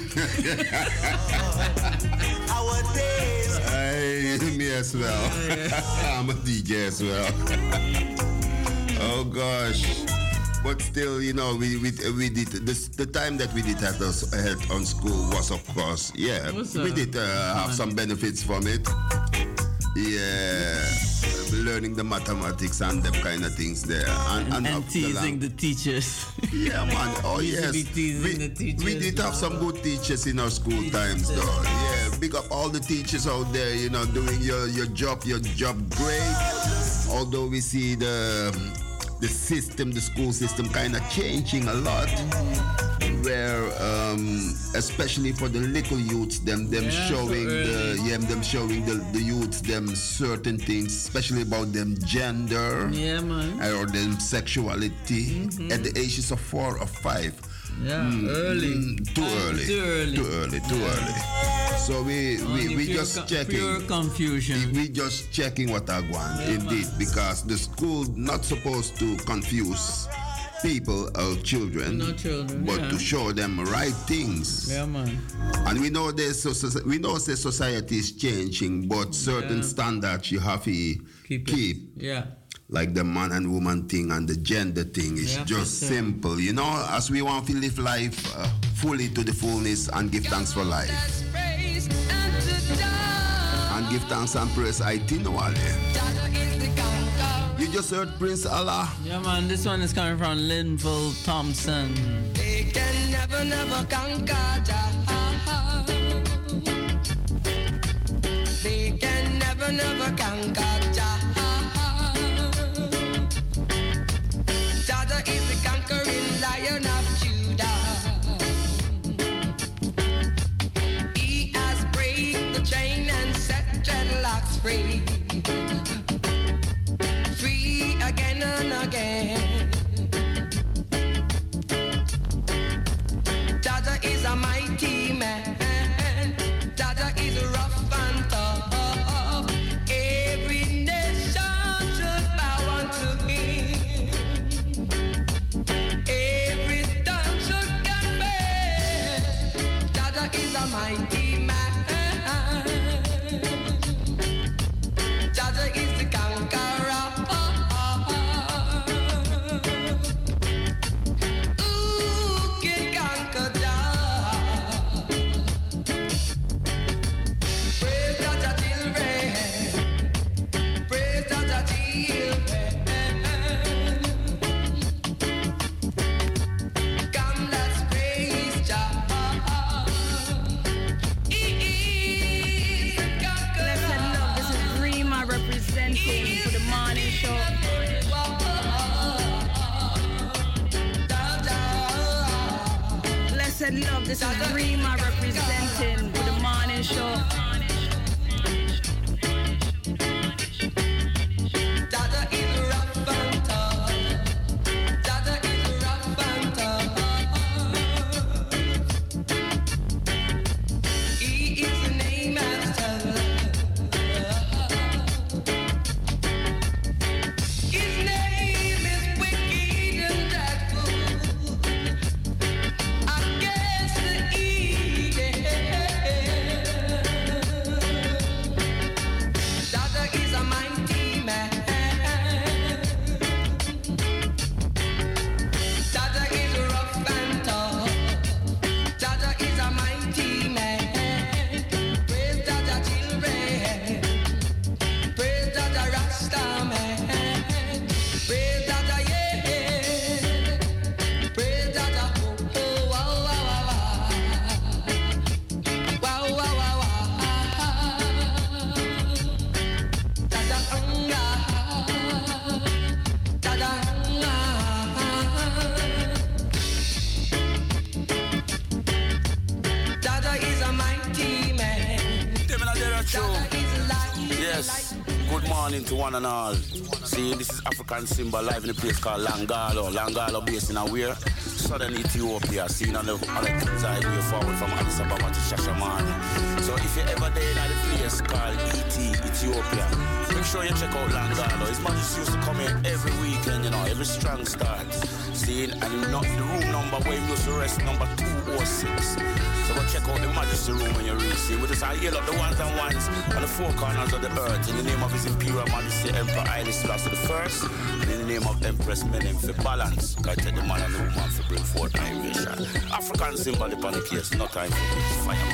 Our days. Hey, me as well. I'm a DJ as well. Oh gosh. But still, you know, we did this. The time that we did have on school was, of course, yeah. We did have some benefits from it. Yeah, learning the mathematics and them kind of things there, and teasing the teachers. Yeah, man. Oh yes, the teachers. We did have some good teachers in our school times, though. Yeah, big up all the teachers out there. You know, doing your job great. Although we see the school system kind of changing a lot, where especially for the little youths, them showing the youths them certain things, especially about them gender, or them sexuality at the ages of 4 or 5. Early. Too early. So we just checking. Pure confusion. We just checking what I want, indeed, because the school not supposed to confuse people or children, but to show them right things. Yeah, man. And we know the society is changing, but certain standards you have to keep. Yeah. Like the man and woman thing and the gender thing is just simple, you know, as we want to live life fully to the fullness and give thanks for life. And give thanks and praise continually. You just heard Prince Allah. Yeah, man, this one is coming from Linville Thompson. They can never conquer Jah. They can never conquer Jah. Jah is the conquering Lion of Judah. He has break the chain and set dreadlocks free. Free again and again. Jah is a mighty man. Jah is rough and tough. Every nation should bow unto him. Every tongue should confess. Jah is a mighty man. Jah is the conqueror. Who can conquer Jah? Praise Jah children. Praise Jah children. Come, let's praise Jah. He is the conqueror. Listen up, this is Rima representing for the morning show. Blessed said love. This is Rima representing for the morning show. To one and all. See, this is African Simba live in a place called Langalo. Langalo based in Aware, southern Ethiopia. Seen on the side way forward from Addis Ababa to Shashamane. So if you ever there in a place called Ethiopia, make sure you check out Langalo. His Majesty used to come here every weekend, you know, every strong start. See, and not the room number where he used to rest, number 206. So go check out the Majesty room when you reach it. We just heal up the ones and ones on the four corners of the earth in the name of His Imperial Majesty Emperor Haile Selassie I, and in the name of Empress Menem for balance. God take the man and the woman for bring forth innovation. African symbol upon the case, no time for this fire.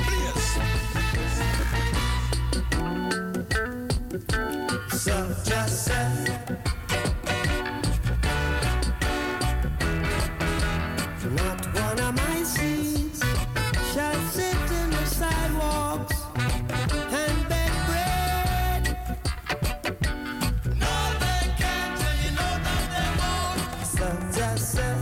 Please. So just say. Not one of my seeds shall sit in the sidewalks and beg bread. No, they can't, and you know that they won't. So just say.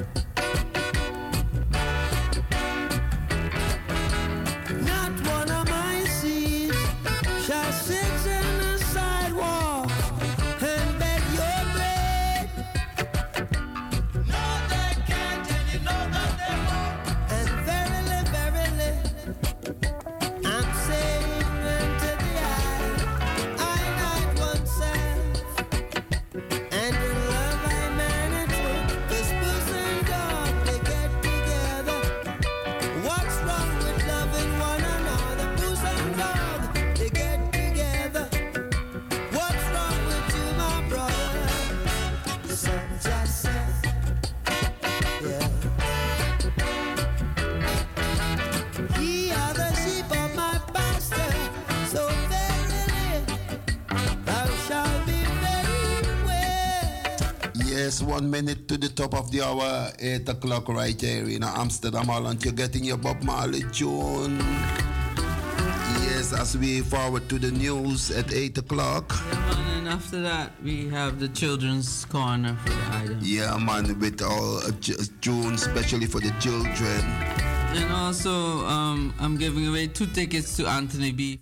Not one of my seeds shall sit in the sidewalk and beg your bread. No, they can't, and you know that they won't. And verily, verily, I'm saying unto the eye night oneself, and in love I man it with this puss and dog, they get together. What's wrong with loving one another? Puss and dog, they get together. What's wrong with you, my brother? So just say, yeah. Ye are the sheep of my pasture, so verily thou shalt be very well. Yes, 1 minute to the top of the hour, 8 o'clock right here in Amsterdam, Holland. You're getting your Bob Marley tune. Yes, as we forward to the news at 8 o'clock. And after that, we have the children's corner for the item. Yeah, man, with all tunes, especially for the children. And also, I'm giving away 2 tickets to Anthony B.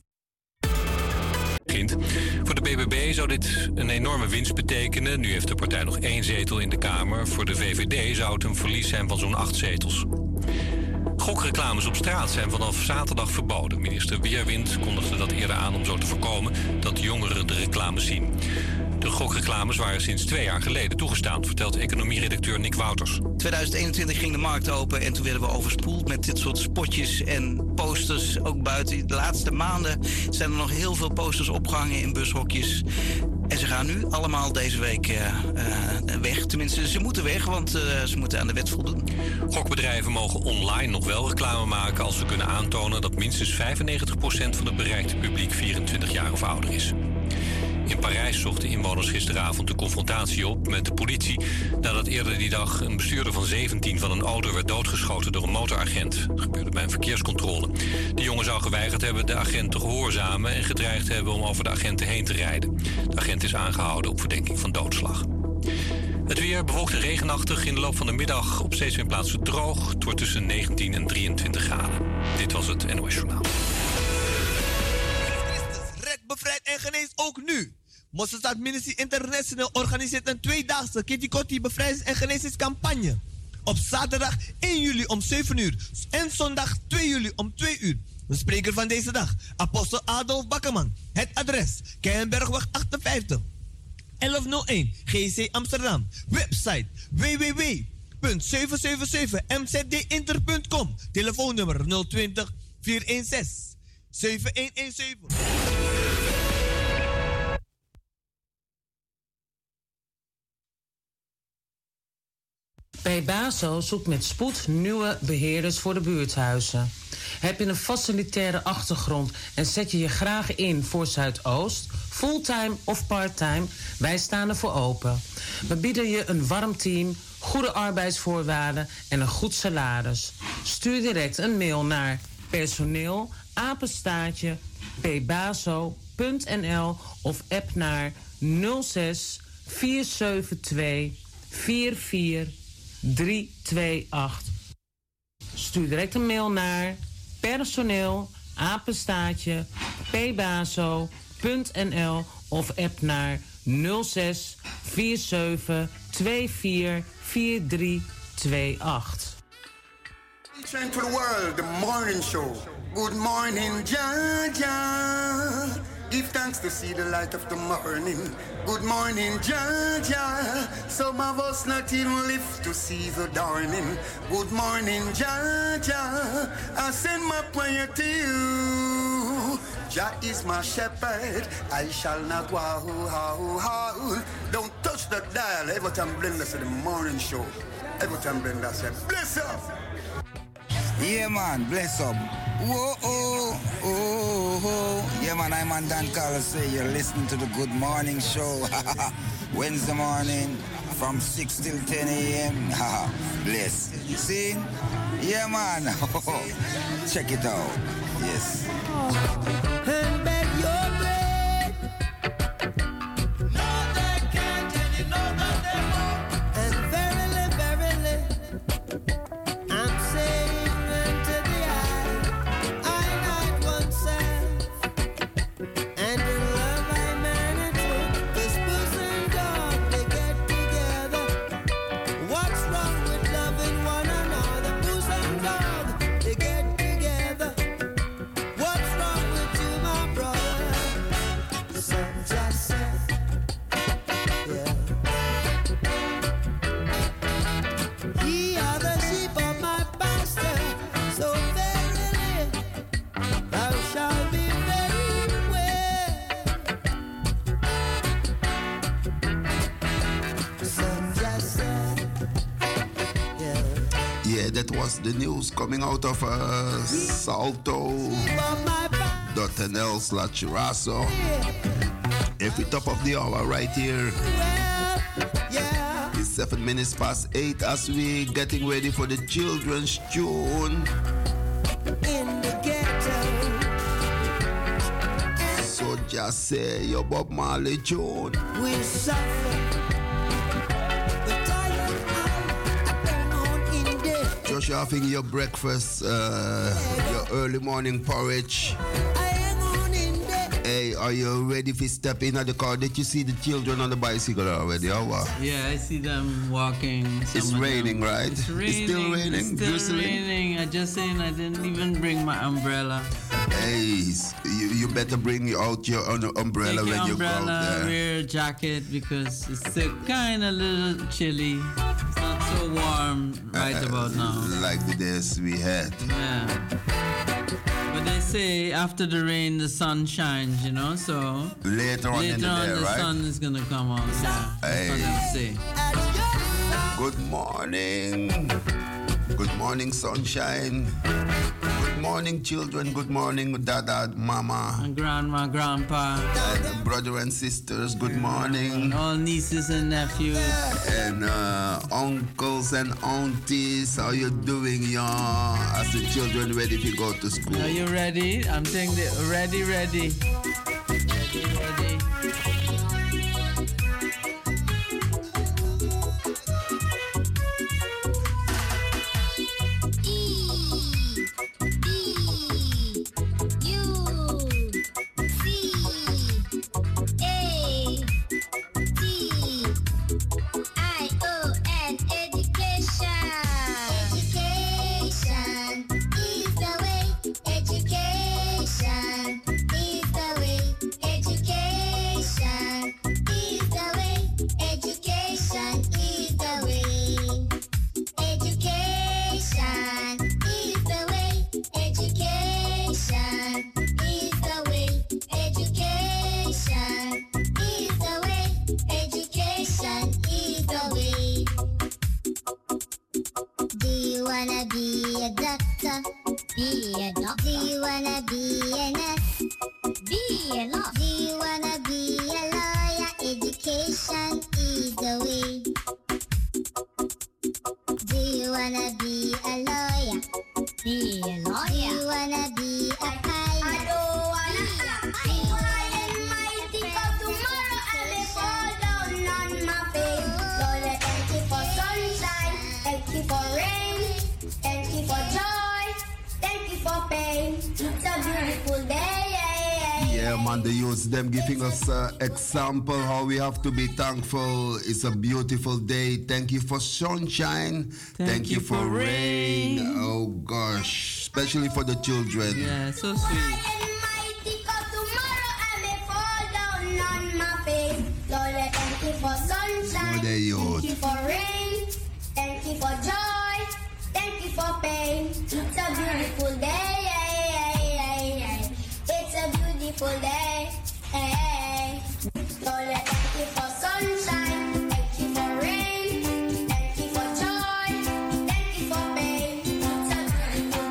Voor de BBB zou dit een enorme winst betekenen. Nu heeft de partij nog 1 zetel in de Kamer. Voor de VVD zou het een verlies zijn van zo'n 8 zetels. Gokreclames op straat zijn vanaf zaterdag verboden. Minister Weerwind kondigde dat eerder aan om zo te voorkomen dat jongeren de reclames zien. De gokreclames waren sinds 2 jaar geleden toegestaan, vertelt economieredacteur Nick Wouters. 2021 ging de markt open en toen werden we overspoeld met dit soort spotjes en posters, ook buiten. De laatste maanden zijn er nog heel veel posters opgehangen in bushokjes. En ze gaan nu allemaal deze week weg. Tenminste, ze moeten weg, want ze moeten aan de wet voldoen. Gokbedrijven mogen online nog wel reclame maken als ze kunnen aantonen dat minstens 95% van het bereikte publiek 24 jaar of ouder is. In Parijs zochten inwoners gisteravond de confrontatie op met de politie nadat eerder die dag een bestuurder van 17 van een auto werd doodgeschoten door een motoragent. Dat gebeurde bij een verkeerscontrole. De jongen zou geweigerd hebben de agent te gehoorzamen en gedreigd hebben om over de agenten heen te rijden. De agent is aangehouden op verdenking van doodslag. Het weer bewolkt en regenachtig. In de loop van de middag op steeds meer plaatsen droog. Het wordt tussen 19 en 23 graden. Dit was het NOS Journaal. Red, bevrijd en genees ook nu. Mosselstad Ministry International organiseert een tweedaagse Kitty Kotti bevrijdings- en genezingscampagne. Op zaterdag 1 juli om 7 uur en zondag 2 juli om 2 uur. De spreker van deze dag, apostel Adolf Bakkerman. Het adres, Keienbergweg 58, 1101 GC Amsterdam. Website www.777mzdinter.com. Telefoonnummer 020 416 7117. PBASO zoekt met spoed nieuwe beheerders voor de buurthuizen. Heb je een facilitaire achtergrond en zet je je graag in voor Zuidoost, fulltime of parttime? Wij staan ervoor open. We bieden je een warm team, goede arbeidsvoorwaarden en een goed salaris. Stuur direct een mail naar personeel@pbaso.nl of app naar 06 472 44328. Stuur direct een mail naar personeel@pbaso.nl of app naar 06 47 24 4328. Train to the world, the morning show. Good morning, Jaja. Give thanks to see the light of the morning. Good morning, Jaja. Some of us not even live to see the dawning. Good morning, Jaja. I send my prayer to you. Jah is my shepherd, I shall not wow. Don't touch the dial. Every time Brenda said the morning show. Every time Brenda said, bless up. Yeah, man, bless up. Whoa, oh, oh, oh. Yeah, man, I'm on Dan Carlos. Say you're listening to the Good Morning Show. Wednesday morning from 6 till 10 a.m. Bless. See? Yeah, man. Check it out. Yes. And beg your bread. No, they can't, and you know that they won't. And verily, verily, I'm saying unto the eye, I not oneself. And in love I man and true, this pussy and dog, they get together. What's wrong with loving one another? Pussy and dog, they get together. What's wrong with you, my brother? Some just said, yeah. Ye are the sheep of my pasture, so verily thou shalt be very well. Some just said, yeah. Yeah, that was the news coming out of salto.nl/Raso. Every top of the hour right here. It's 7 minutes past 8 as we getting ready for the children's tune. In the ghetto. So just say your Bob Marley tune. We suffer. The tired eye on in there. Just having your breakfast, your early morning porridge. Hey, are you ready to step in at the car? Did you see the children on the bicycle already? Or what? Yeah, I see them walking. It's raining, right? It's raining. It's still raining. It's still drizzling? raining. I just saying I didn't even bring my umbrella. Hey, you better bring out your umbrella Take when your you go out umbrella, there. wear a jacket because it's still kind of little chilly. It's not so warm right about now. Like the days we had. Yeah. But they say after the rain, the sun shines, you know, so... Later on in the day, the right? sun is going to come out, yeah. That's what they say. Good morning. Good morning, sunshine. Good morning, children. Good morning, dada, mama. And grandma, grandpa. And brother and sisters, good morning. All nieces and nephews. And uncles and aunties, how you doing, y'all? As the children ready to go to school. Are you ready? I'm saying that ready. Ready. wanna be a doctor? Be a doctor. Do you wanna be a nurse? Be a nurse. Do you wanna be a lawyer? Education is the way. Do you wanna be a lawyer? Be a lawyer. Do you wanna be a pilot? I don't wanna be high and mighty, 'cause tomorrow I may fall down on my face. Lord, thank you for sunshine, thank you for rain, thank you for joy, thank you for pain. It's a beautiful day. Yeah, man, the youths, them giving us example how we have to be thankful. It's a beautiful day. Thank you for sunshine. Thank you for rain. Oh, gosh. Especially for the children. Yeah, so sweet. Thank you for sunshine. Thank you for rain. Thank you for joy. Thank you for pain. It's a beautiful day. It's a beautiful day. Lord, thank you for sunshine. Thank you for rain. Thank you for joy. Thank you for pain. It's a beautiful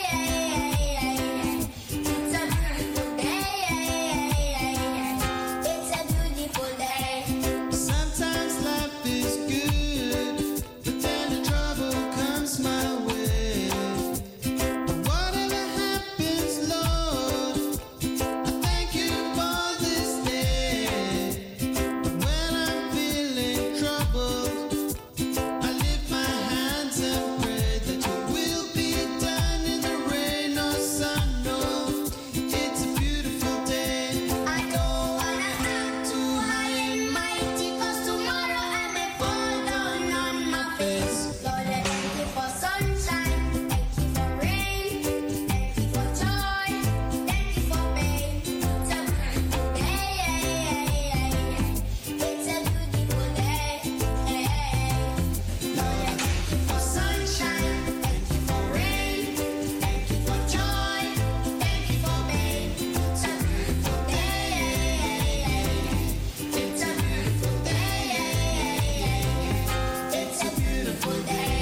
day. It's a beautiful day. It's a beautiful day. Sometimes life is good, but then the trouble comes my way. Whatever happens, Lord, I thank you for this day. When I'm feeling troubled, I lift my hands and pray that your will be done in the rain or sun. No, it's a beautiful day. I don't wanna act too high and mighty, 'cause tomorrow I may fall down on my face. Lord, thank you for sunshine, thank you for rain, thank you for joy, thank you for pain. It's a beautiful day. It's a beautiful day. Lord, thank you for sunshine, thank you for rain, thank you for joy, thank you for pain. It's a beautiful day. It's a beautiful day. It's a beautiful day.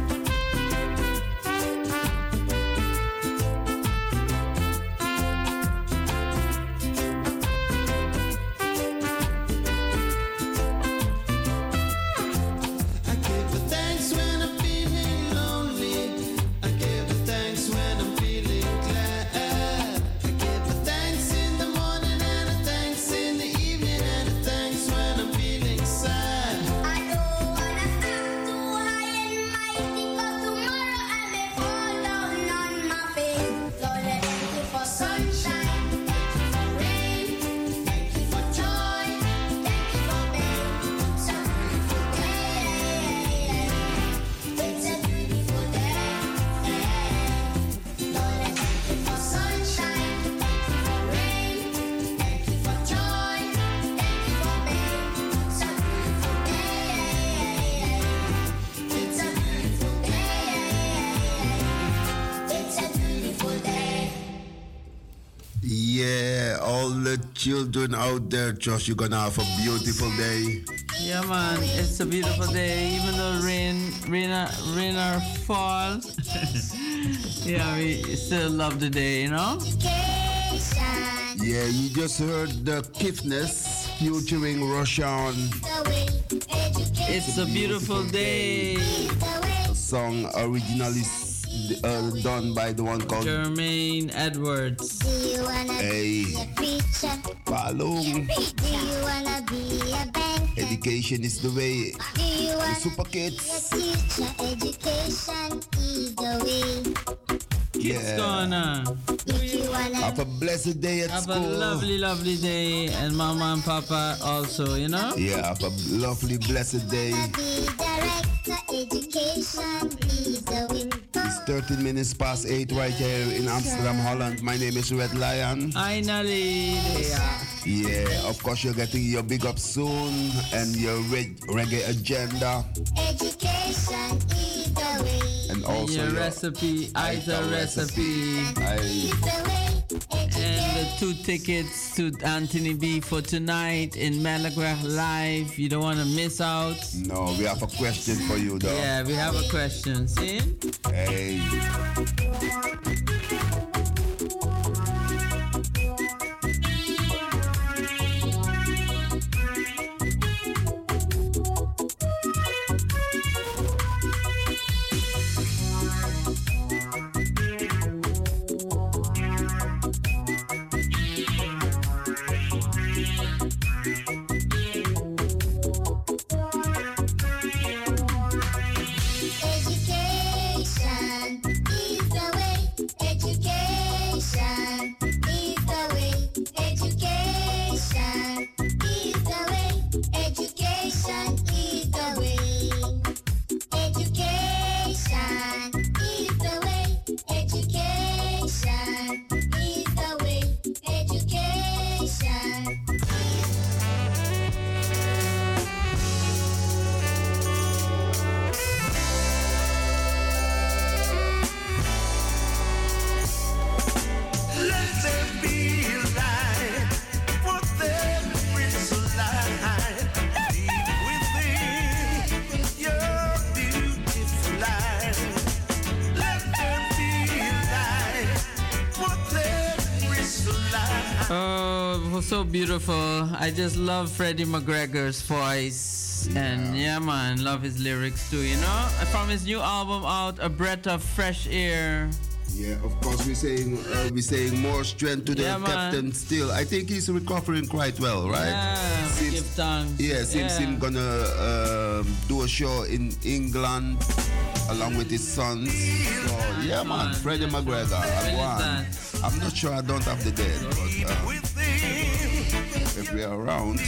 I give the thanks when I'm feeling lonely. I give the thanks when I'm feeling glad. I give the thanks in the morning and the thanks in the evening and the thanks when I'm feeling sad. I don't wanna act too high and mighty, 'cause tomorrow I may fall down on my face. Lord, thank you for sunshine, thank you for rain, thank you for joy, thank you for pain. It's a beautiful day. It's a beautiful day. Lord, thank you for sunshine, thank you for rain, thank you for joy, thank you for pain. It's a beautiful day. It's a beautiful day. It's a beautiful day. Yeah, all the children out there, Josh, you're gonna have a beautiful day. Yeah, man, it's a beautiful day. Even though rain or fall, yeah, we still love the day, you know. Yeah, you just heard the Kiffness featuring Roshan. It's a beautiful day. A song originally done by the one called Jermaine Edwards. Do you wanna Hey. be a preacher? Palung. Do you wanna be a banker? Education is the way. Do you The wanna Super be a Kids. teacher? Education is the way. Yeah. If you wanna Have a blessed day at Have school. a lovely, lovely day, and Mama and Papa also, you know. Yeah, have a lovely, blessed day. be director, education is the way. It's 13 minutes past 8 right here in Amsterdam, Holland. My name is Red Lion. Finally, Yeah, of course you're getting your big up soon and your reggae agenda. Education is the way. And also your recipe, Aita recipe. And the 2 tickets to Anthony B for tonight in Malagraph Live. You don't want to miss out. No, we have a question for you though. Yeah, we have a question. See? Hey. Education is the way. Education is the way. Education is the way. Education is the way. Education is the way. Education is the way. Education. Let there be light, for there is light deep within your beautiful life. Let there be light, for there is light. Oh, it was so beautiful. I just love Freddie McGregor's voice. And yeah, man, love his lyrics too, you know? From his new album out, A Breath of Fresh Air. Yeah, of course, we're saying more strength to the Yeah, man. captain still. I think he's recovering quite well, right? Yeah, give thanks. Yeah, seems Yeah. him gonna do a show in England along with his sons. So yeah, man, Freddie McGregor. I'm not sure, I don't have the date, but if we are around.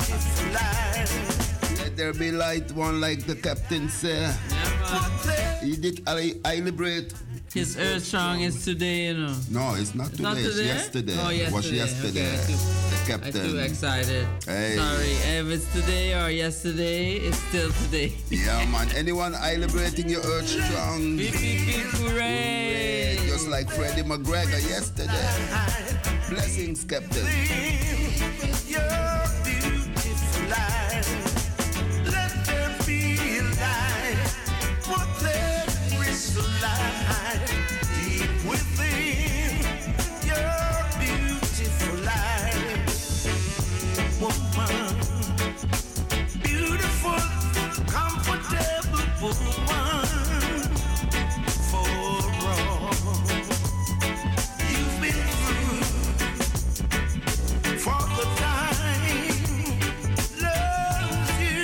Let there be light, one like the captain said. He did I liberate. His Earth Song is today, you know. No, it's not today. Not It's today? yesterday. Oh, It was yesterday. yesterday. Okay, The I'm captain. too excited. Hey. Sorry, if it's today or yesterday, it's still today. Yeah, man. Anyone celebrating your Earth Strong? Beep, beep, beep, hooray! Just like Freddie McGregor yesterday. Blessings, Captain. Your beautiful life. Let there be light, for there is light deep within your beautiful life. Woman, beautiful, comfortable woman, for all you've been through, for the time loves you.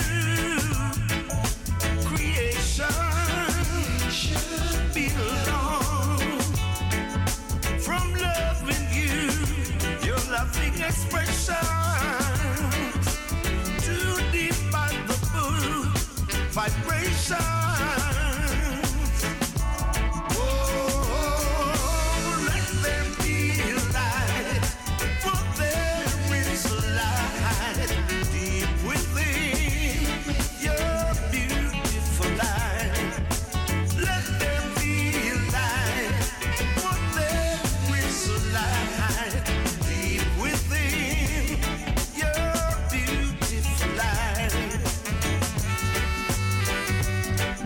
Creation should belong from loving you, your loving expressions, too deep by the full vibrations. Oh, let there be light, for there is light deep within your beautiful life. Let there be light, for there is light deep within your beautiful life.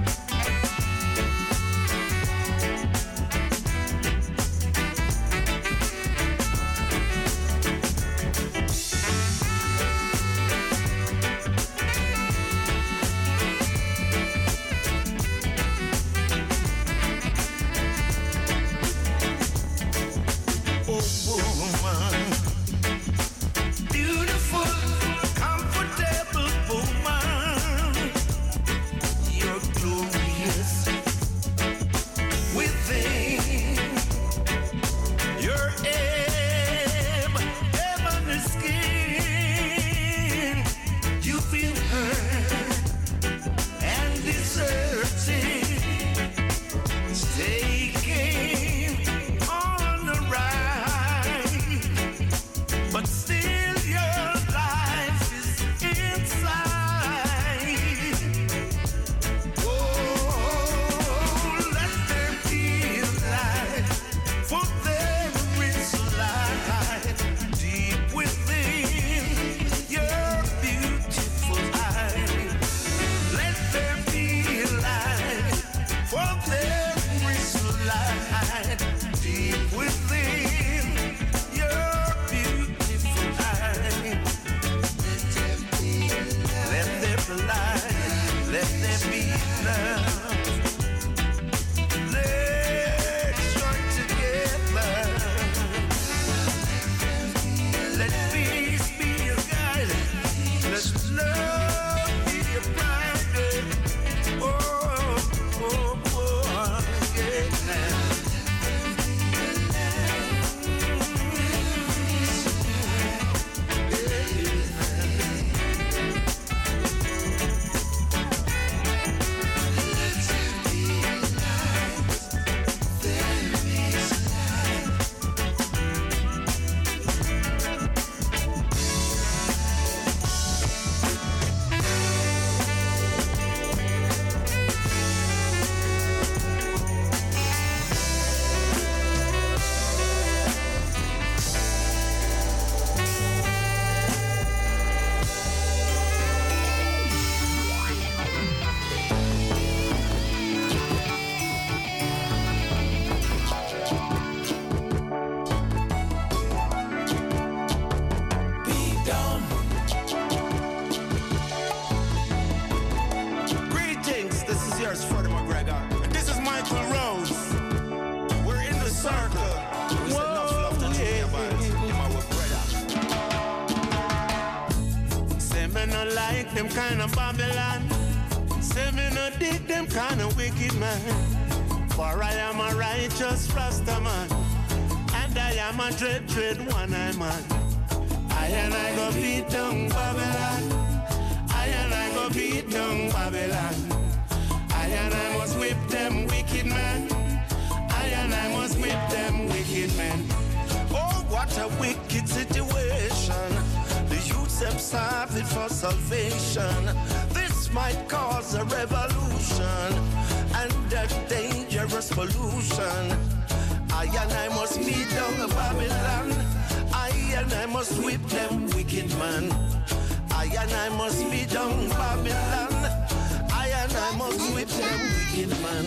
me no like them kind of Babylon. Say me no dig them kind of wicked man. For I am a righteous Rasta man, and I am a dread one-eye man. I and I go beat down Babylon. I and I go beat down Babylon. I and I must whip them wicked men. I and I must whip them wicked men. Oh, what a wicked situation. The youths them starving for salvation. This might cause a revolution and a dangerous pollution. I and I must beat down Babylon. I and I must whip them wicked man. I and I must beat down Babylon. I and I must whip them wicked man.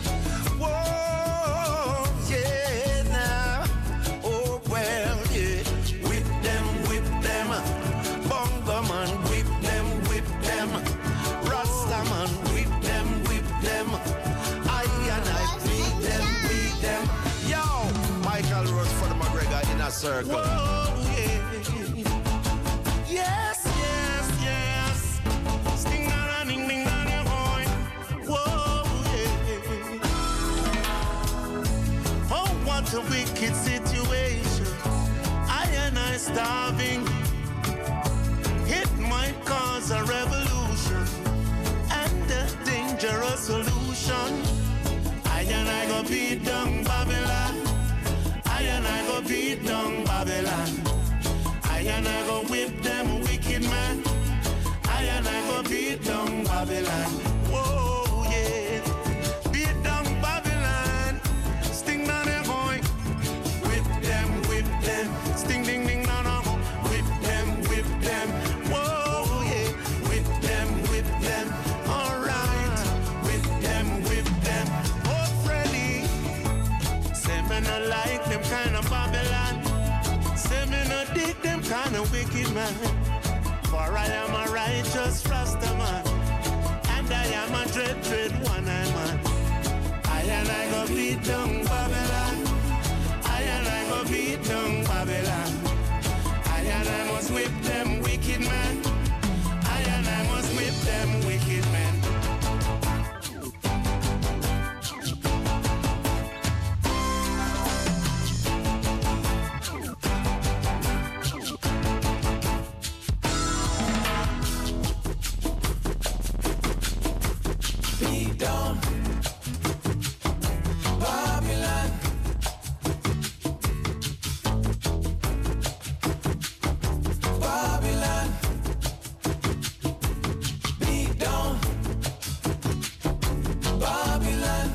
Whoa, yeah, now. Oh, well, yeah. Whip them, bongo man, whip them, Rasta man, whip them. I and I beat them. Yo, Michael Rose for the McGregor in a circle. Whoa, yeah. Yes. Sting na ding ding na boy. Whoa, yeah. Oh, what a wicked situation. I and I starving. It might cause a revolution and a dangerous solution. I and I go beat down Babylon. I and I go beat down Babylon. I and I go whip them wicked man. I and I go beat down Babylon. Whoa, yeah. Beat down Babylon. Sting down the boy. Whip them. Sting ding ding no no. Whip them. Whoa, yeah. Whip them. All right. Whip them. Oh, Freddy. Say me no like them kind of Babylon. Say me no dig them kind of wicked man. For I am a righteous Rasta man, and I am a dread one-eye man. I and I go beat down Babylon. I and I go beat down Babylon. I and I must whip them wicked men. I and I must whip them wicked men. Beat down Babylon. Babylon. Beat down Babylon.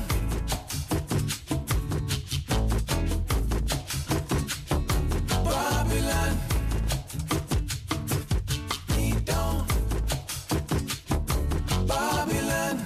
Babylon. Beat down Babylon.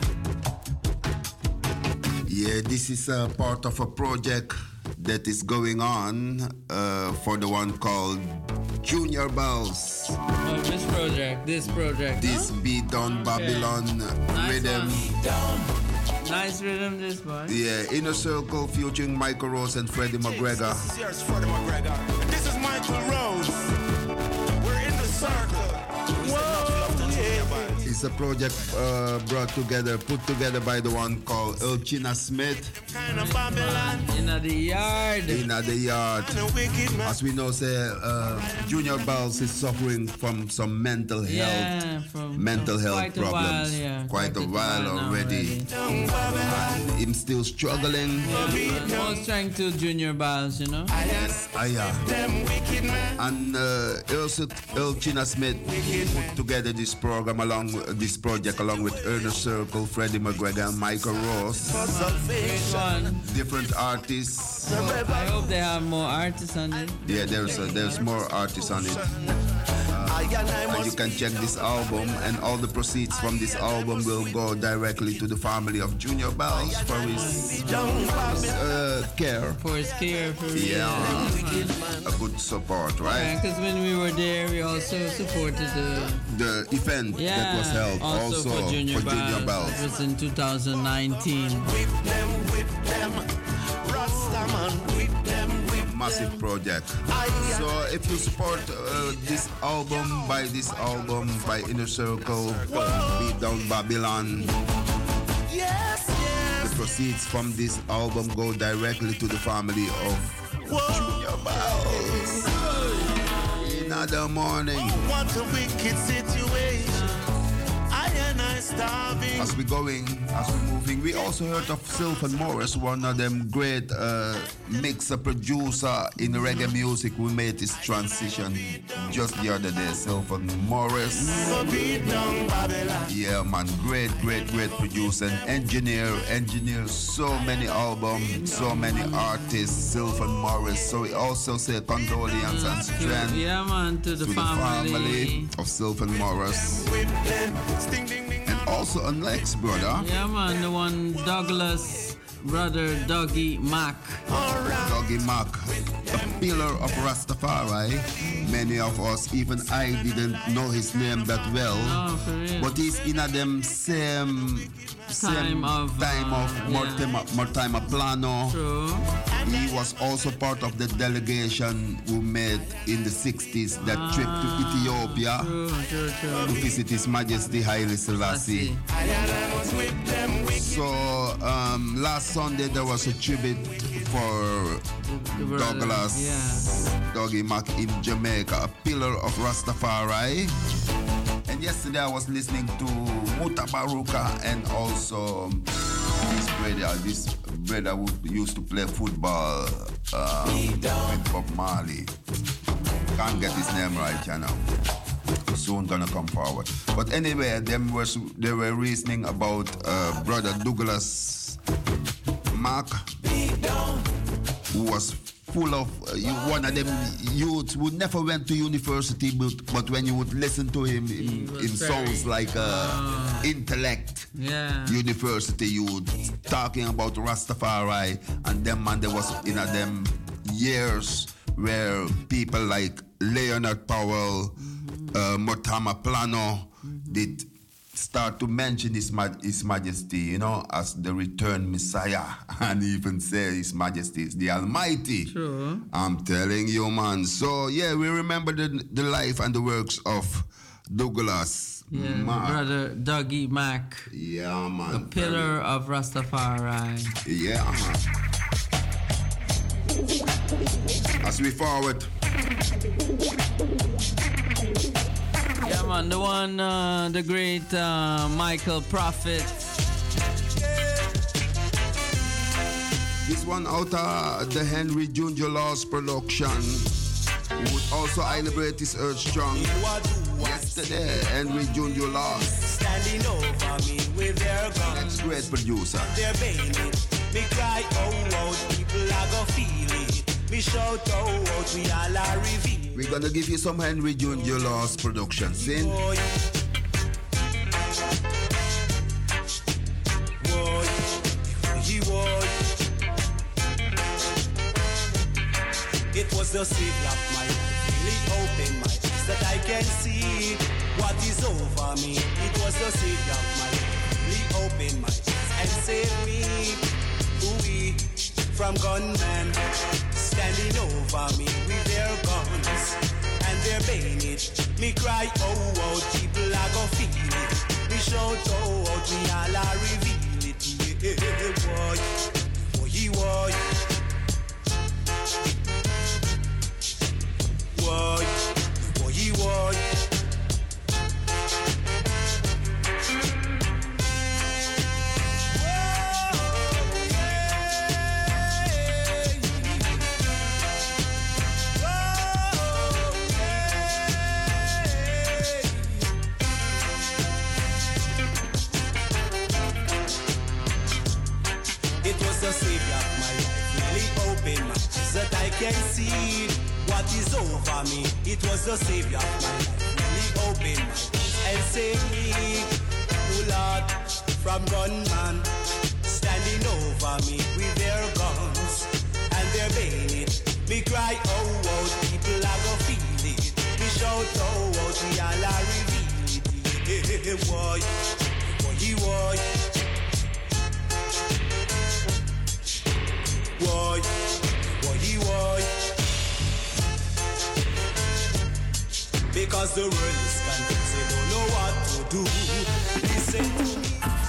Yeah, this is a part of a project that is going on for the one called Junior Bells. Oh, this project. This Beat Down Babylon rhythm. Nice rhythm, this one. Yeah, Inner Circle featuring Michael Rose and Freddie McGregor. This is yours, Freddie McGregor. And this is Michael Rose. We're in the circle. Whoa, yeah. It's a project put together by the one called Elchina Smith. In the yard. As we know, say Junior Bells is suffering from some mental health problems. Quite a while already. And him still struggling. More strength to Junior Bells, you know. And Elchina Smith put together this project along with Ernest Circle, Freddie McGregor, and Michael Ross. Different artists. I hope they have more artists on it. Yeah, there's more artists on it. And you can check this album, and all the proceeds from this album will go directly to the family of Junior Bells for his care. For his care, a good support, right? Because when we were there, we also supported the event that was held also for Junior Bells. It was in 2019. Whip them, Rastaman, whip them, massive project. So if you support this album, buy this album by Inner Circle, Beat Down Babylon. The proceeds from this album go directly to the family of Junior Bells. Another morning. What a wicked situation. I and I starving. As we're moving, we also heard of Sylvan Morris, one of them great mixer producer in reggae music who made this transition just the other day. Sylvan Morris. Yeah, man, great producer and engineer so many albums, so many artists. Sylvan Morris. So we also say condolence and strength. Yeah, man, to the family of Sylvan Morris. And also a next brother. Yeah, man, the one Douglas, brother Dougie Mac. Dougie Mac, a pillar of Rastafari. Many of us, even I, didn't know his name that well. Oh, for real. But he's in a them same time of Mortimer Plano. True. He was also part of the delegation who made in the 60s that trip to Ethiopia to visit His Majesty Haile Selassie. So last Sunday there was a tribute for Douglas Dougie Mac in Jamaica, a pillar of Rastafari. And yesterday I was listening to Mutabaruka and also this brother who used to play football with Bob Marley. Can't get his name right, you know. Soon gonna come forward. But anyway, they were reasoning about brother Douglas Mac, who was full of one of them youths who never went to university, but when you would listen to him, it sounds like intellect. Yeah. University youth talking about Rastafari, and them man, there was in them years where people like Leonard Powell, Mortimer Plano did start to mention His Majesty, you know, as the returned Messiah, and even say His Majesty is the Almighty. True. I'm telling you, man. So yeah, we remember the life and the works of Douglas. Yeah, brother Dougie Mac. Yeah, man. The pillar of Rastafari. Yeah, man. As we forward. Yeah, man, the one, the great Michael Prophet. This one out of the Henry Junior Laws production. He would also celebrate his Earth Strong. Yesterday, Henry Junior Laws. Standing over me with their guns. Next great producer. They're bailing. Me cry, oh, out, people are gonna feel it. Me shout, oh, out, we all are revealed. We're gonna give you some Henry Junior Laws production. Sin. Boy. It was the savior of my life, really opened my eyes that I can see what is over me. It was the savior of my life, really opened my eyes and saved me. Ooh, from gunmen standing over me with their guns and their bayonet. Me cry, oh, oh, people are gonna feel it. Me shout, oh, oh, we all are reveal it. Yeah, boy, boy, boy. Boy, boy, boy. It was the savior of my life, really opened my eyes that I can see what is over me. It was the savior of my life, really opened my eyes and saved me. Oh Lord, from gunmen standing over me with their guns and their bayonet. Me cry, oh, oh, people are gonna feel it. Me shout, oh, oh, we all are reveal it. Yeah, boy, boy, boy. Boy, boy, boy. because the world is confused, they don't know what to do. Listen to me.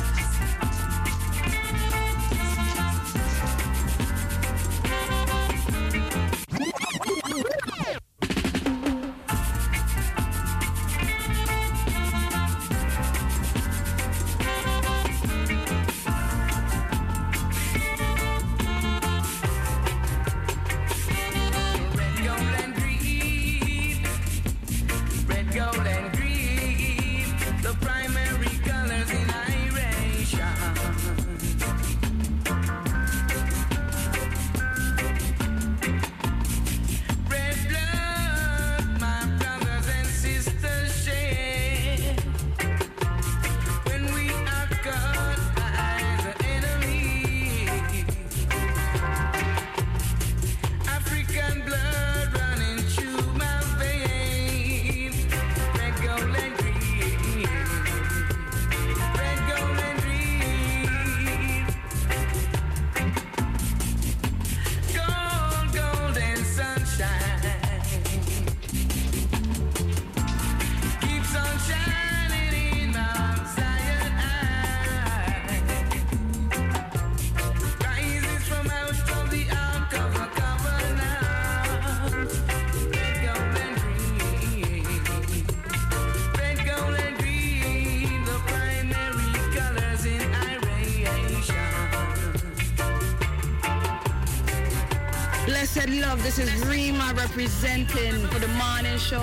Blessed love, this is Rima representing for the morning show.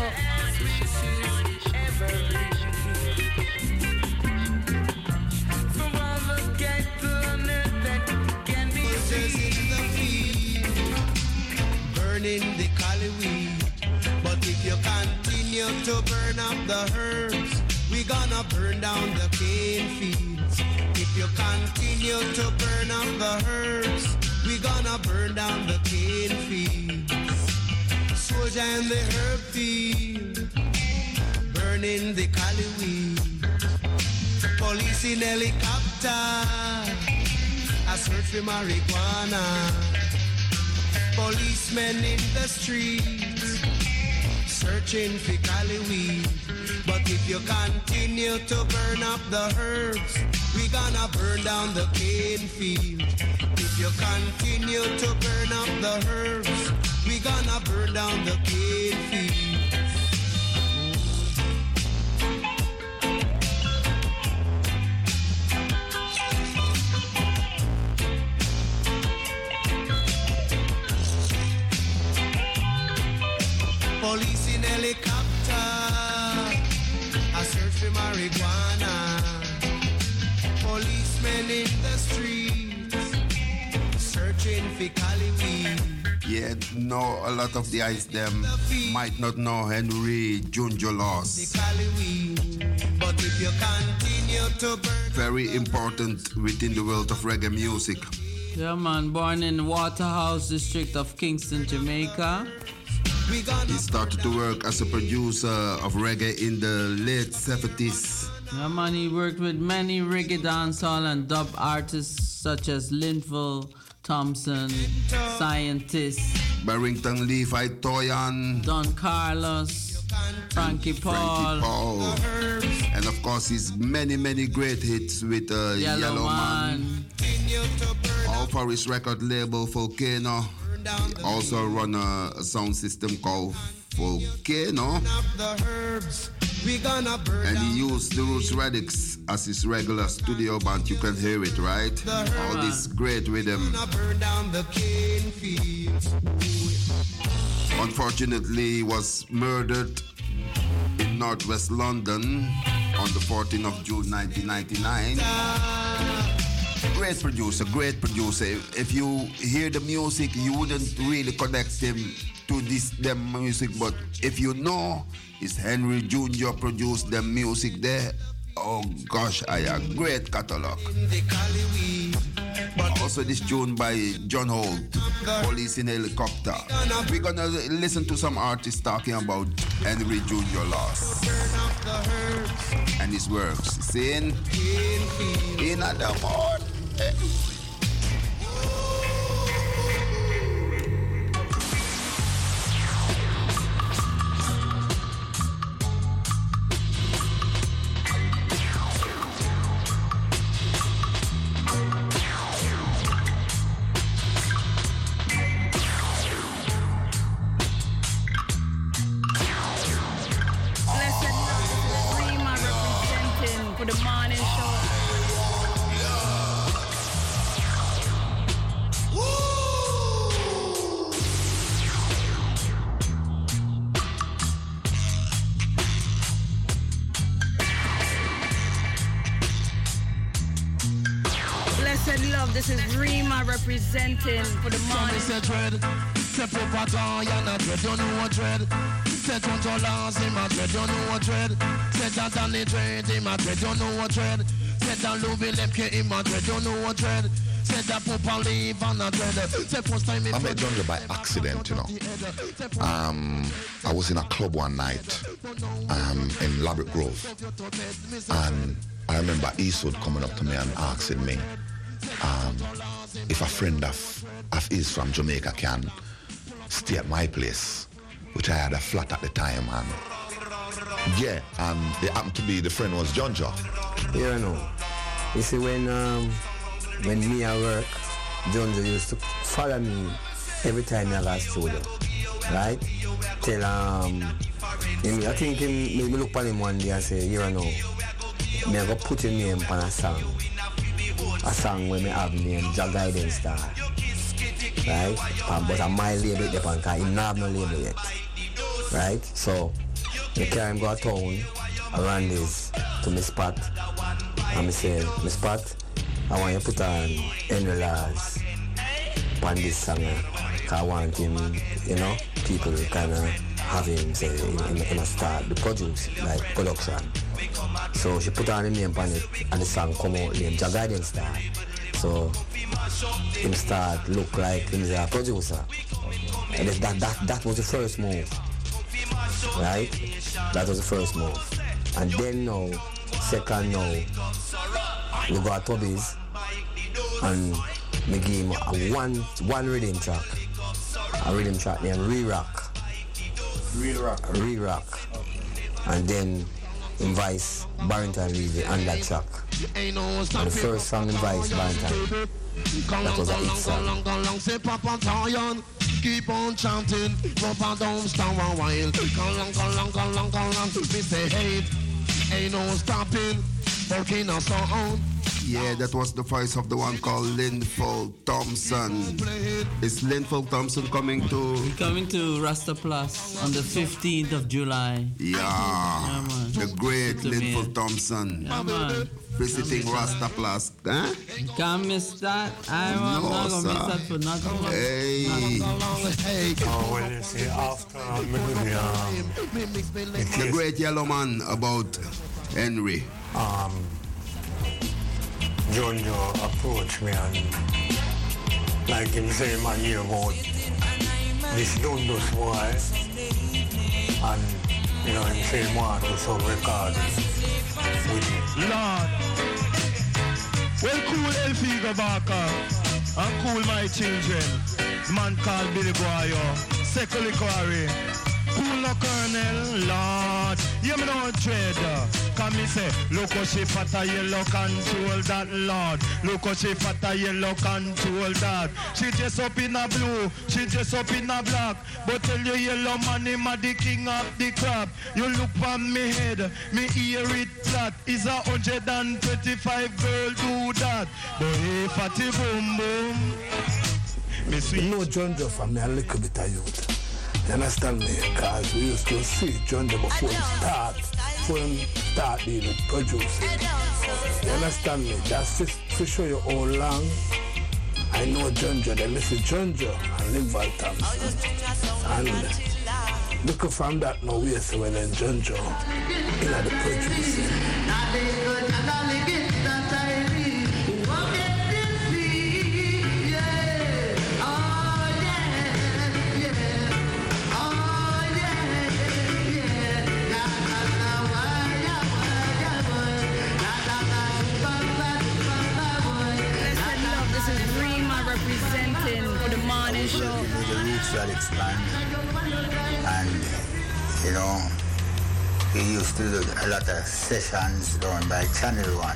Burning the cali weed, but if you continue to burn up the herbs, we gonna burn down the cane fields. If you continue to burn up the herbs, we gonna burn down the cane fields. Soldier in the herb field, burning the cali weed. Police in helicopter, I search for marijuana. Policemen in the streets, searching for cali weed. But if you continue to burn up the herbs, we gonna burn down the cane field. If you continue to burn up the herbs, we gonna burn down the cane field. Police in helicopter, I search for marijuana. Policemen in the streets, searching for cali weed. Yeah, no, a lot of the guys them might not know Henry Junjo Loss. But if you continue to burn, very important within the world of reggae music. Yeah, man, born in Waterhouse district of Kingston, Jamaica. He started to work as a producer of reggae in the late 70s. Yeah, man, he worked with many reggae dancehall and dub artists such as Linville Thompson, Scientist, Barrington Levi Toyan, Don Carlos, Frankie Paul, and of course his many great hits with Yellow Man. All for his record label Volcano. He also run a sound system called Volcano, and he used the Roots Radix as his regular studio band. You can hear it, right? All this great rhythm. Unfortunately, he was murdered in northwest London on the 14th of June 1999. Great producer. If you hear the music, you wouldn't really connect him to them music, but if you know it's Henry Jr. produced the music there, oh gosh, I a great catalog. Also this tune by John Holt, Police in Helicopter. We're gonna listen to some artists talking about Henry Jr. Loss and his works. Sin in the morning. for the morning show. Blessed love, this is Rima representing for the morning. Say Papa you're not dread, you know what dread. Say Tonto Lance, him a dread, you know what dread. Say that Danny dread, him a dread, you know what dread. Say that Louis Lemke, him a dread, you know what dread. Say that Papa Leave and a dread. Say first time I met Jungle by accident, you know. I was in a club one night in Labrador Grove, and I remember Eastwood coming up to me and asking me if a friend of his from Jamaica can stay at my place, which I had a flat at the time, and yeah, and it happened to be the friend was Junjo. You know, you see when me at work, Junjo used to follow me every time I got studio, right? Till I think me look at him one day and say, you know, me I go put your name on a song where me have name Jah Guidance Star, right? But on my label because he don't have no label yet, right? So me carry him go to town around this to my spot, and me say, my spot, I want you to put on Henry Laws on this song, because I want him, you know, people kind of have him say in a start the produce, like production. So she put on the name on it and the song come out named Jah Guidance Star. So him start look like he's a producer. And that was the first move. Right? That was the first move. And then now, second now, we got Toby's and we gave him a one rhythm track. A rhythm track named Re-Rock. Re-Rock. And then Vice Barrington Levy on that track. And the first song in Vice Barrington, that was a hit song. Say Papa Zion, keep on chanting, Papa don't stop a while. Go long, me say hey, ain't no stopping, working on sound. Yeah, that was the voice of the one called Linfold Thompson. Is Linfold Thompson coming to? Coming to Rasta Plus on the 15th of July. Yeah, the great Linfold Thompson. Yeah, man. Visiting Rasta Plus. Huh? Can't miss that. I'm not going to miss that for nothing. Hey. When you say after the great yellow man about Henry. Junjo approached me and like him say man hear about this Dundos boy and you know him say man do some recording with him. Lord, well cool El Figo Barker and cool my children. Man called Billy Guayo, Sekoli Quarry. Cool no Colonel, Lord, you me no dread. Come me say, look how she fat a yellow control that, Lord. Look how she fat a yellow control that. She dress up in a blue, she dress up in a black. But tell you yellow man, him a the king of the crap. You look on me head, me hear it flat. Is 125 girl do that. But hey, fatty boom boom. Me sweet. No Junjo for me a little bit of youth. You understand me? Because we used to see Junjo before he start dealing with producing. You understand me? That's to show you how long I know Junjo. They listen Junjo and Linfold Thompson. And looking from that now we see when Junjo in the producing. Representing for the morning show. The Roots Relics band, and you know, he used to do a lot of sessions done by Channel One.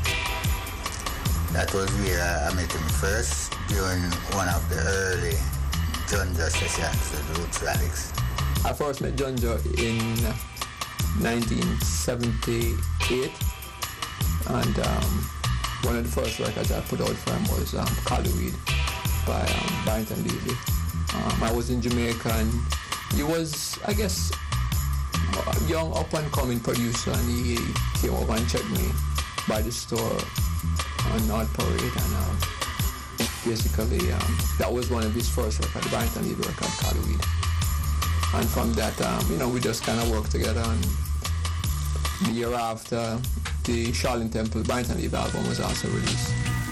That was where I met him first during one of the early Junjo sessions with the Roots Relics. I first met Junjo in 1978 And one of the first records I put out for him was Collyweed by Barrington Levy. I was in Jamaica, and he was, I guess, a young up-and-coming producer, and he came over and checked me by the store on North Parade, and basically that was one of his first records, Barrington Levy record, Collyweed. And from that, we just kind of worked together, and the year after, the Charlene Temple Barrington Levy album was also released.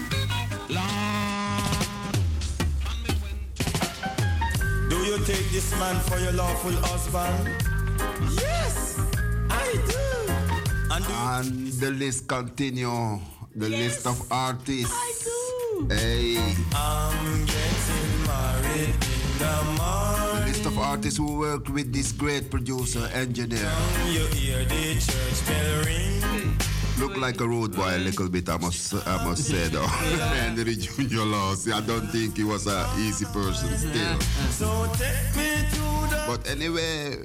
Do you take this man for your lawful husband? Yes, I do. And the list continue. The list of artists. I do. Hey. I'm getting married in the morning. The list of artists who worked with this great producer, engineer. You hear the church bell ring. Look like a road boy a little bit, I must say though. Henry Junior Laws. I don't think he was an easy person still. So take me to the but anyway,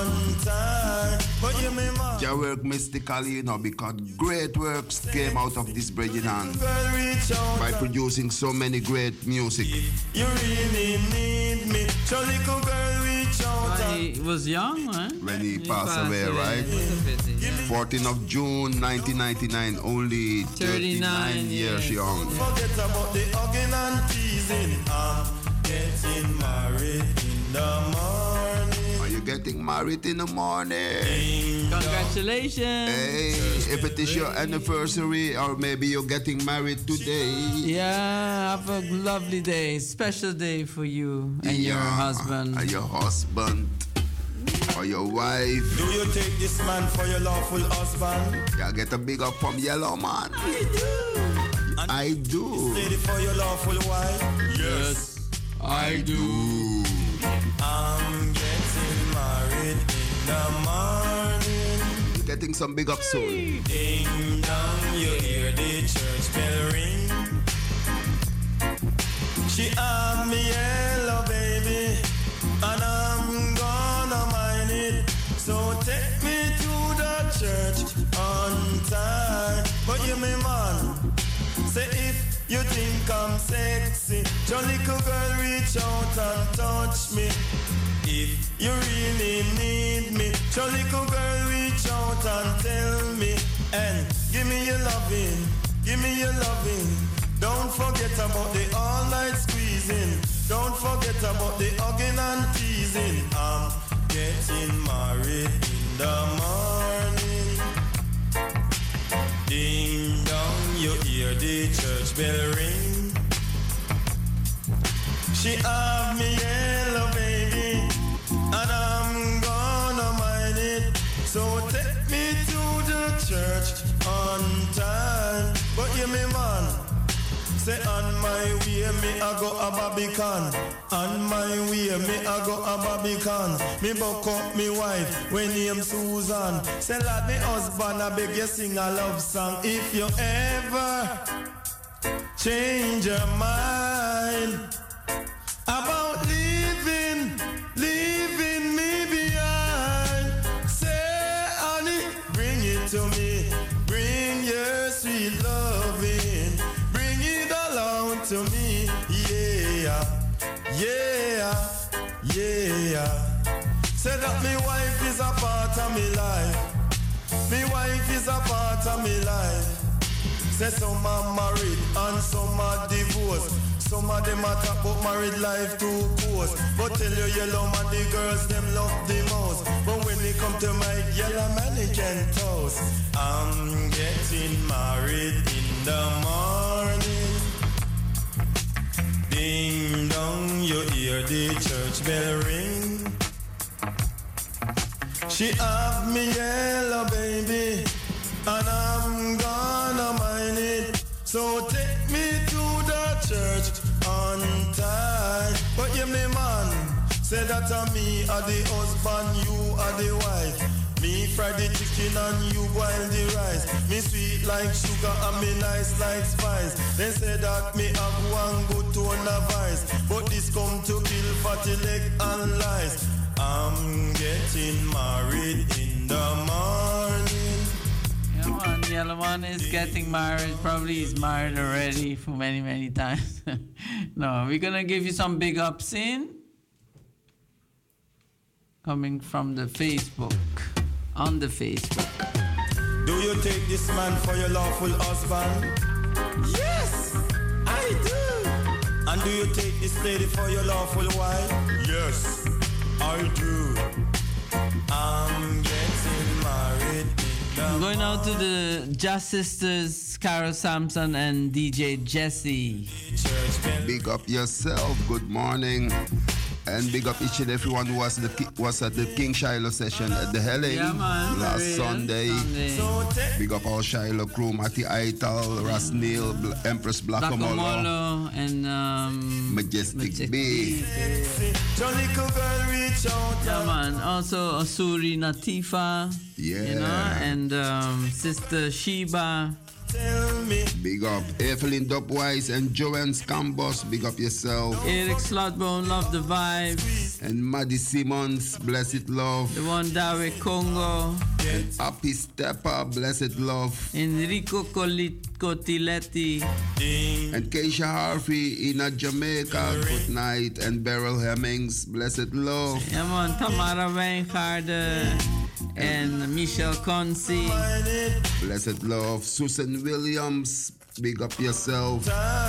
your work mystically, because great works came out of this bridging hand by producing so many great music. You really need me, so little girl, reach out. He was young, right? When he passed away, right? 14th of June 1999, only 39 years young. Forget about the hugging and teasing. I'm getting married in the morning. Are you getting married in the morning? Congratulations. Hey, if it is your anniversary or maybe you're getting married today. Yeah, have a lovely day. Special day for you and your husband. And your husband. Or your wife. Do you take this man for your lawful husband? Yeah, get a big up from Yellow Man. I do. Ready for your lawful wife? Yes, I do. I'm getting married in the morning. You're getting some big up soon. Ding dong, you hear the church bell ring. She have me yellow baby, and I'm gonna mind it. So take me to the church on time. But you me man, say if you think I'm sexy, your little girl reach out and touch me. If you really need me, your little girl reach out and tell me. And give me your loving, give me your loving. Don't forget about the all-night squeezing. Don't forget about the hugging and teasing. I'm getting married in the morning. Ding dong, you hear the church bell ring. She have me yellow baby, and I'm gonna mind it. So take me to the church on time. But you me man, say on my way me I go a Barbican. On my way me I go a Barbican. Me buck up me wife when name Susan. Say lad me husband I beg you sing a love song. If you ever change your mind about leaving me behind, say honey, bring it to me. Bring your sweet loving. Bring it along to me. Yeah, yeah, yeah. Say that me wife is a part of me life. Me wife is a part of me life. Say some are married and some are divorced. Some of them are talk about married life too close. But tell you yellow man the girls them love the most. But when they come to my yellow man they can toast. I'm getting married in the morning. Ding dong, you hear the church bell ring. She have me yellow baby, and I'm gonna mind it. So take me to the church on time. But you me man, say that to me are the husband, you are the wife. Me fry the chicken and you boil the rice. Me sweet like sugar and me nice like spice. They say that me have one good tone of vice, but this come to kill fatty leg and lies. I'm getting married in the morning. Yellowman is getting married. Probably he's married already for many, many times. No, we're gonna give you some big ups in. Coming from the Facebook. On the Facebook. Do you take this man for your lawful husband? Yes, I do. And do you take this lady for your lawful wife? Yes, I do. I'm getting married. I'm going out to the Just Sisters, Carol Sampson and DJ Jesse. Big up yourself. Good morning. And big up each and everyone who was at the King Shiloh session at the Helen last Sunday. Big up all Shiloh crew, Matty Aital, Ras Neil, Empress Blackamolo, and Majestic B. Yeah, man. Also Asuri Natifa. Yeah. You know, and Sister Sheba. Big up Evelyn Dopwise and Joanne Scambos. Big up yourself. Eric Slotbone, love the vibes. And Maddie Simmons, blessed love. The one Dawe Congo. And Appy Stepper, blessed love. Enrico Cotiletti. And Keisha Harvey in Jamaica, good night. And Beryl Hemmings, blessed love. Yeah, man. Tamara Wijngaarden. And Michelle Consi. Blessed love. Susan Williams, big up yourself.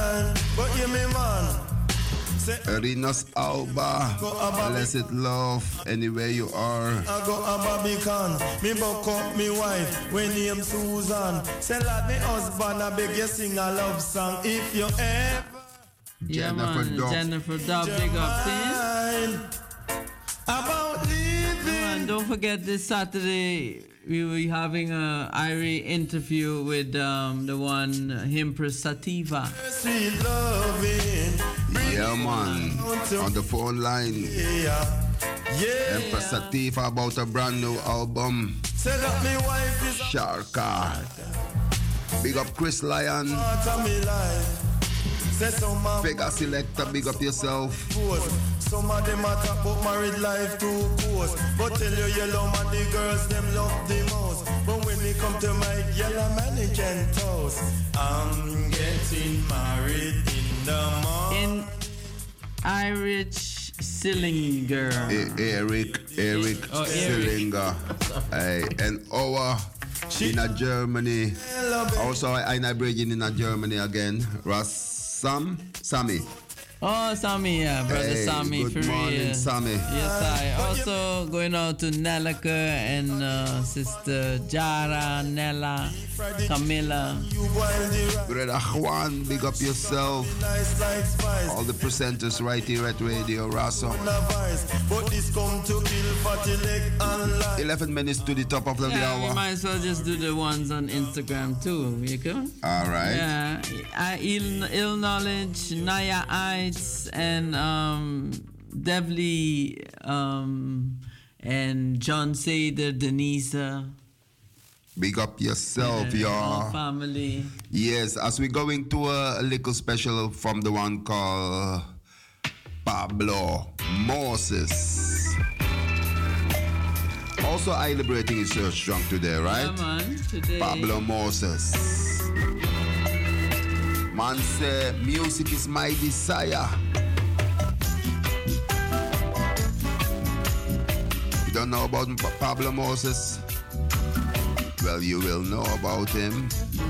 Rinos Alba, blessed love, anywhere you are. I go a Barbican, me buck up me wife, when name Susan. Say lad me husband, I beg you sing a love song if you ever. Yeah, Jennifer Dub, big up, please. About living. And don't forget this Saturday we will be having a Irie interview with the one Empress Sativa. Sweet loving. Yeah, man. On the phone line. Yeah. Empress Sativa about a brand new album. Say that me wife is Sharka. Big up Chris Lyon. Vega Selector, big up yourself. Some of them are talk about married life too course. But tell you yellow man, the girls them love the most. But when they come to my yellow man, they can toast. I'm getting married in the morning. In Irish Sillinger. Eric Sillinger. Hey, and our in Germany. Also, I'm bridging in Germany again. Sammy. Oh, Sammy, yeah, brother hey, Sammy. Good morning, Sammy. Yes, I also going out to Nelleke and Sister Jara, Nella, Camilla. Brother Juan, big up yourself. All the presenters right here at Radio Raso. 11 minutes to the top of the hour. You might as well just do the ones on Instagram too. You can? All right. Yeah. Ill Knowledge, Naya Ites, and Devly, and John Sader, Denisa. Big up yourself, y'all. Family. Yes, as we're going to a little special from the one called Pablo Moses. Also, I liberating his church strong today, right? Yeah, man. Today. Pablo Moses. Man say, music is my desire. You don't know about Pablo Moses? Well, you will know about him.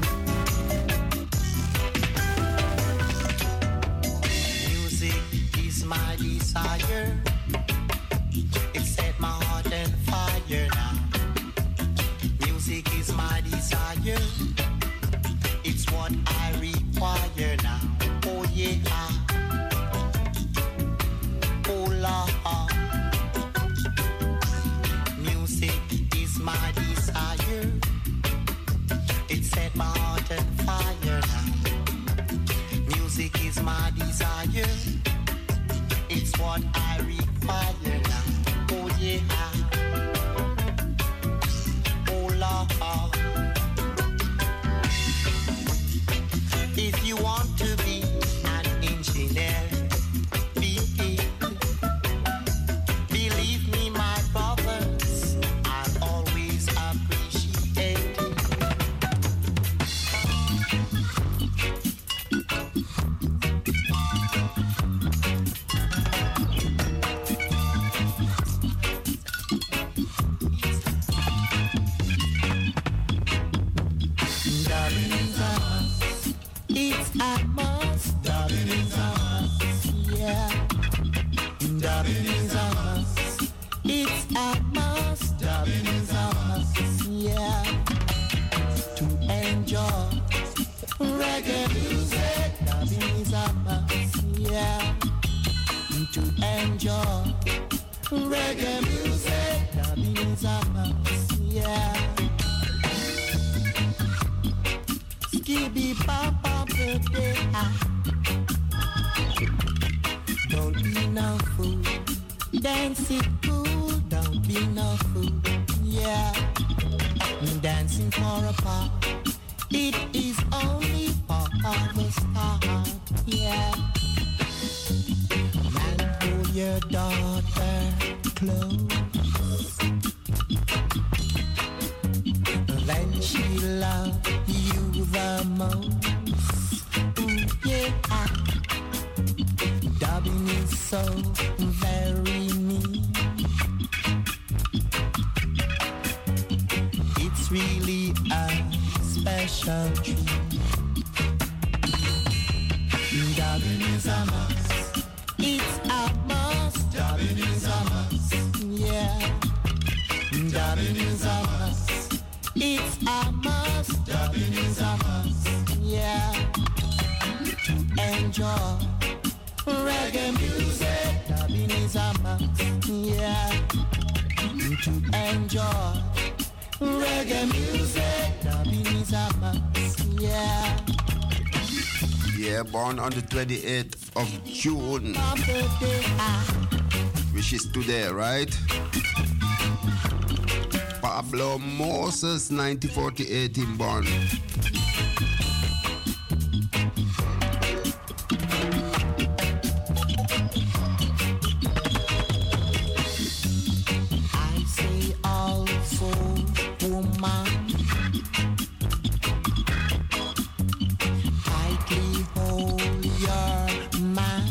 Music is my desire. It set my heart on fire now. Music is my desire. It's what I require now. Oh yeah. Oh la. Music is my desire. It set my heart on fire now. Music is my desire. It's what I require now. Oh yeah. Oh la. If you want to be an engineer, be it. Believe me, my brothers, I'll always appreciate it. It's a must. Dubbing is a must. Yeah. Dubbing is a must. It's a must. Dubbing is a must. Yeah. To enjoy reggae music. Dubbing is a must. Yeah. To enjoy reggae music. Dubbing is a must. Yeah. Skibby Papa birthday. Don't be no fool. Dance it cool. Don't be no fool. Yeah. Dancing for a part. It is only part of the start. Yeah. And hold your daughter close. Then she love you the most. Ooh, yeah. Dubbing is so very mean. It's really a special treat. Dubbing is a must. It's a must. Dubbing is a must. Yeah. Dubbing is a must. It's a must. Dubbing is a must. Yeah. To enjoy reggae music. Dubbing is a must. Yeah. To enjoy reggae music. Dubbing is a must. Yeah. Yeah, born on the 28th of June, which is today, right? Pablo Moses, 1948, him born. I say also, woman, tightly hold your man.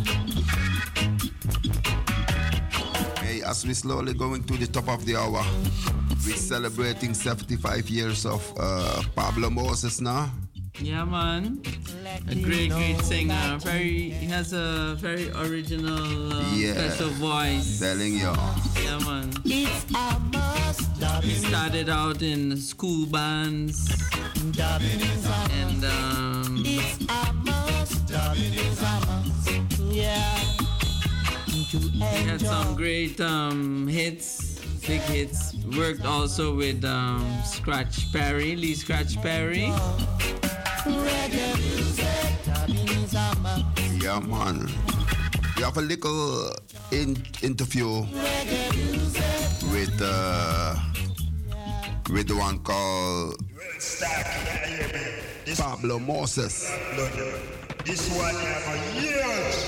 Hey, as we slowly going to the top of the hour, we're celebrating 75 years of Pablo Moses now. Yeah, man. A great singer. He has a very original, special voice. Telling you. Yeah, man. It's a must. He started out in school bands. It's a must. It's a must. Yeah. He had some great hits, big hits. Worked also with Scratch Perry, Lee Scratch Perry. Yeah, man. We have a little interview with the one called Pablo Moses. This one for years.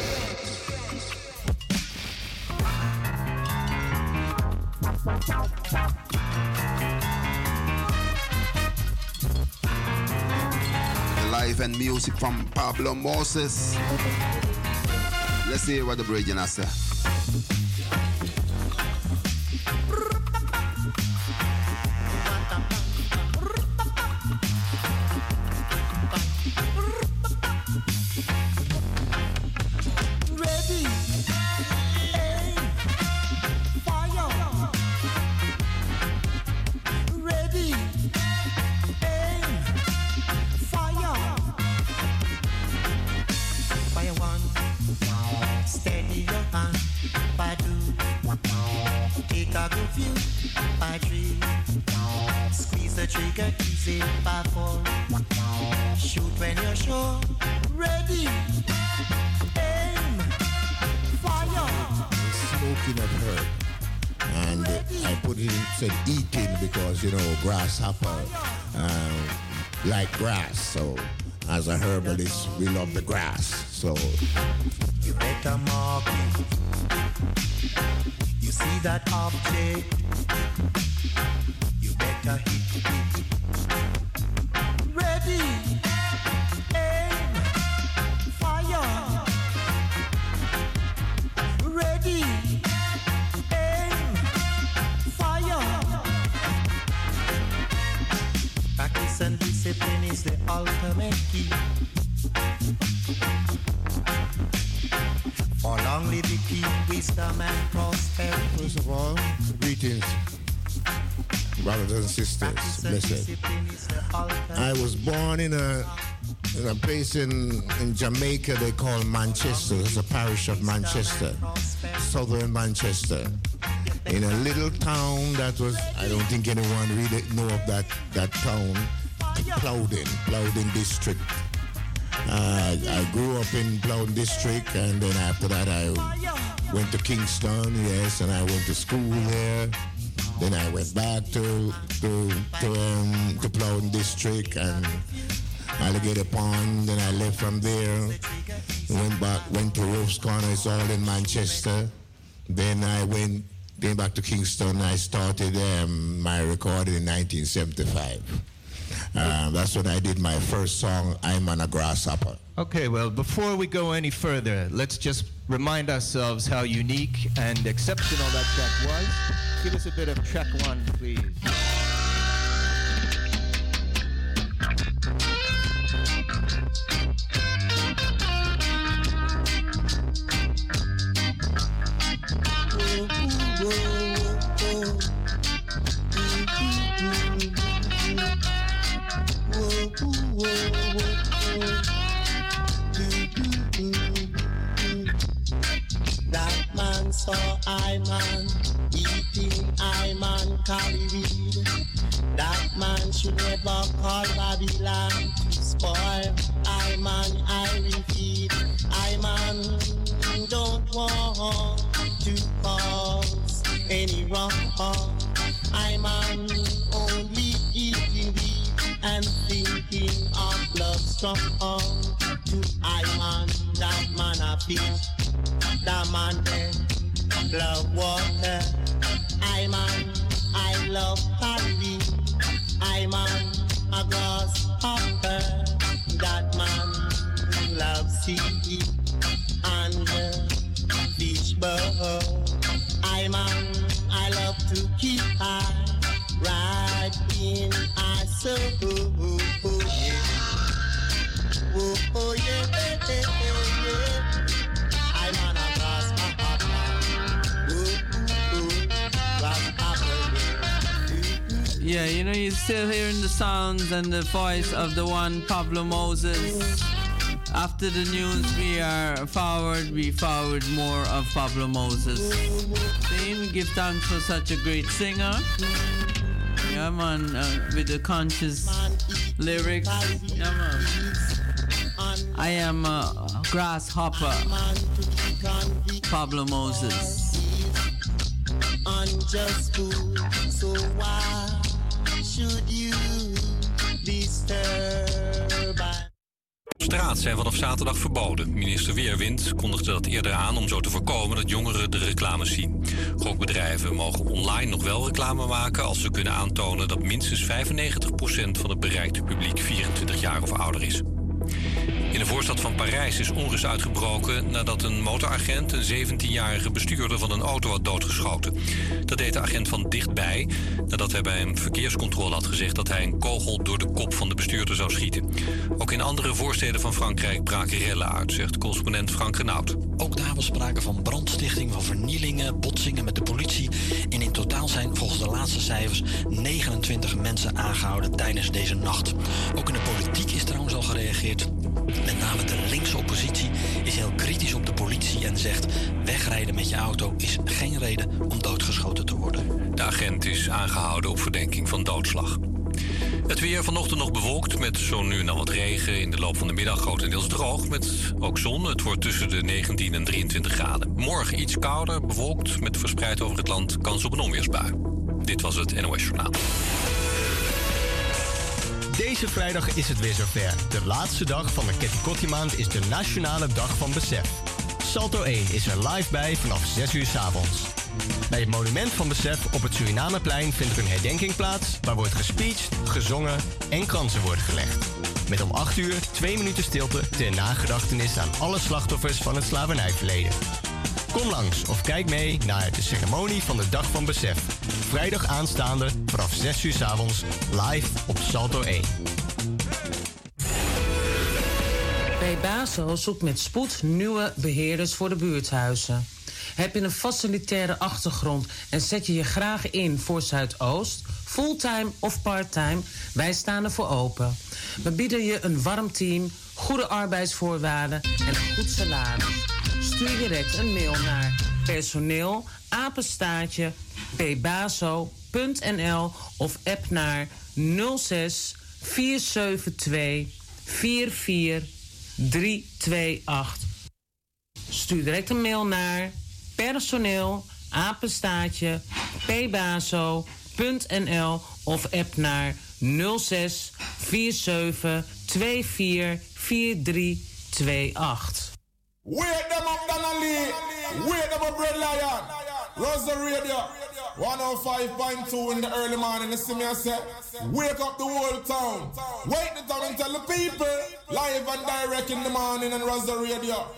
Life and music from Pablo Moses. Let's see what the bridge has to say. Trigger easy, powerful. Shoot when you're sure. Ready, aim, fire. Smoking of herb, and I put it in, said eating because grasshopper like grass. So as a herbalist, we love the grass. So you better mark it. You see that object? You better hit it. Ready, aim, fire. Ready, aim, fire. Practice and discipline is the ultimate key. only the key, wisdom and prosperity. First of all, greetings, brothers and sisters. Blessed. I was born in a place in Jamaica they call Manchester. It's a parish of Manchester, southern Manchester. In a little town that was, I don't think anyone really know of that town, Plowden district. I grew up in Plowden district, and then after that I went to Kingston, yes, and I went to school there. Then I went back to Plowden district and Alligator Pond. Then I left from there, went to Rope's Corner. It's all in Manchester. Then I came back to Kingston. I started my recording in 1975. That's when I did my first song, I'm on a Grasshopper. Okay, well, before we go any further, let's just remind ourselves how unique and exceptional that track was. Give us a bit of track one, please. That man saw I man eating I man cali weed. That man should never call Babylon to spoil I man I will feed. I man don't want to cause any wrong. I man only eating weed and thinking of love strong. To I man, that man a fish, that man there love water. I man, I love Halloween. I man a grasshopper. That man loves sea and fish bird. I man, I love to keep high right in our soul. Oh yeah, yeah. I'm on a grasshopper. Yeah, you know, you're still hearing the sounds and the voice of the one Pablo Moses. After the news, we forward more of Pablo Moses. We give thanks for such a great singer. Yeah, man, with the conscious lyrics. Yeah, man. I am a grasshopper. Pablo Moses. Unjust food, so why should you disturb? Straat zijn vanaf zaterdag verboden. Minister Weerwind kondigde dat eerder aan om zo te voorkomen dat jongeren de reclames zien. Gokbedrijven mogen online nog wel reclame maken als ze kunnen aantonen dat minstens 95% van het bereikte publiek 24 jaar of ouder is. In de voorstad van Parijs is onrust uitgebroken nadat een motoragent een 17-jarige bestuurder van een auto had doodgeschoten. Dat deed de agent van dichtbij nadat hij bij een verkeerscontrole had gezegd dat hij een kogel door de kop van de bestuurder zou schieten. Ook in andere voorsteden van Frankrijk braken rellen uit, zegt correspondent Frank Renaud. Ook daar was sprake van brandstichting, van vernielingen, botsingen met de politie. En in totaal zijn volgens de laatste cijfers 29 mensen aangehouden tijdens deze nacht. Ook in de politiek is trouwens al gereageerd. Met name de linkse oppositie is heel kritisch op de politie en zegt: wegrijden met je auto is geen reden om doodgeschoten te worden. De agent is aangehouden op verdenking van doodslag. Het weer vanochtend nog bewolkt met zo nu en dan wat regen. In de loop van de middag grotendeels droog met ook zon. Het wordt tussen de 19 en 23 graden. Morgen iets kouder, bewolkt met verspreid over het land kans op een onweersbui. Dit was het NOS Journaal. Deze vrijdag is het weer zover. De laatste dag van de Ketty maand is de Nationale Dag van Besef. Salto 1 is er live bij vanaf 6 uur 's avonds. Bij het Monument van Besef op het Surinameplein vindt er een herdenking plaats waar wordt gespeecht, gezongen en kransen worden gelegd. Met om 8 uur 2 minuten stilte ter nagedachtenis aan alle slachtoffers van het slavernijverleden. Kom langs of kijk mee naar de ceremonie van de Dag van Besef. Vrijdag aanstaande vanaf 6 uur 's avonds live op Salto 1. Pebaso zoekt met spoed nieuwe beheerders voor de buurthuizen. Heb je een facilitaire achtergrond en zet je je graag in voor Zuidoost, fulltime of parttime? Wij staan ervoor open. We bieden je een warm team, goede arbeidsvoorwaarden en een goed salaris. Stuur direct een mail naar personeel@pebaso.nl of app naar 06 472 44328. Stuur direct een mail naar personeel@pebaso.nl of app naar 06 47 24 4328. Wake them up, Donnelly. Wake them up, Red Lion. Rosa Radio. 105.2 in the early morning. You see me, I say, wake up the whole town. Wake the town and tell the people. Live and direct in the morning on Rosa Radio.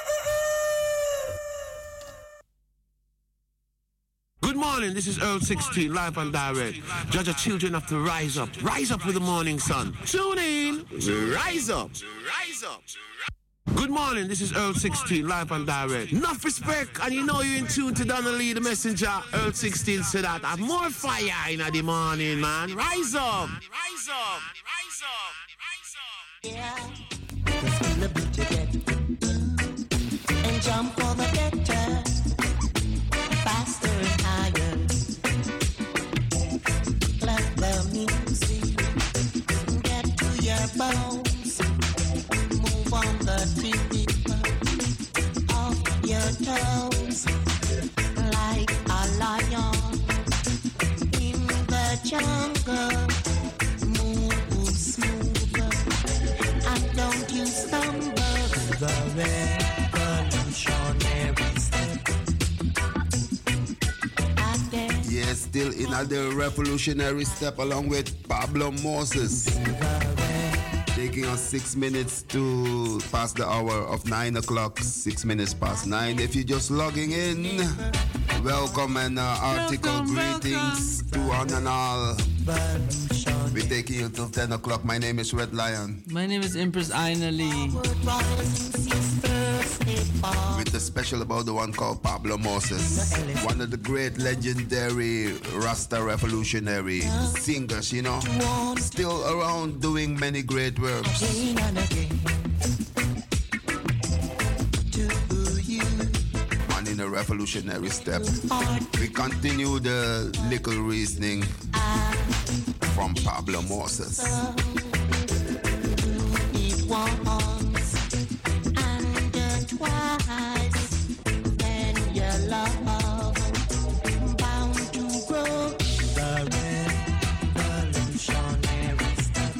Good morning, this is Earl 16, live and direct. Judge your children have to rise up. Rise up with the morning sun. Tune in. Rise up. Rise up. Good morning, this is Earl 16, live and direct. Enough respect, and you know you're in tune to Donnelly, the messenger. Earl 16 said that. Have more fire in the morning, man. Rise up. Rise up. Rise up. Rise up. Yeah, it's gonna be together. And jump for the better. Faster and higher. Let the music get to your bones. Move on the tip of your toes. Like a lion in the jungle. Move smoother and don't you stumble. The revolutionary step. Yes, still in the revolutionary step along with Pablo Moses. Taking us 6 minutes to past the hour of 9 o'clock, 6 minutes past 9. If you're just logging in, welcome and article greetings to one and all. We're taking you till 10 o'clock. My name is Red Lion. My name is Empress Aina Lee. With the special about the one called Pablo Moses. One of the great legendary Rasta revolutionary singers, you know. Still around doing many great works. And in a revolutionary step. We continue the little reasoning from Pablo Moses. It once and twice, then your love bound to grow. The revolutionary step.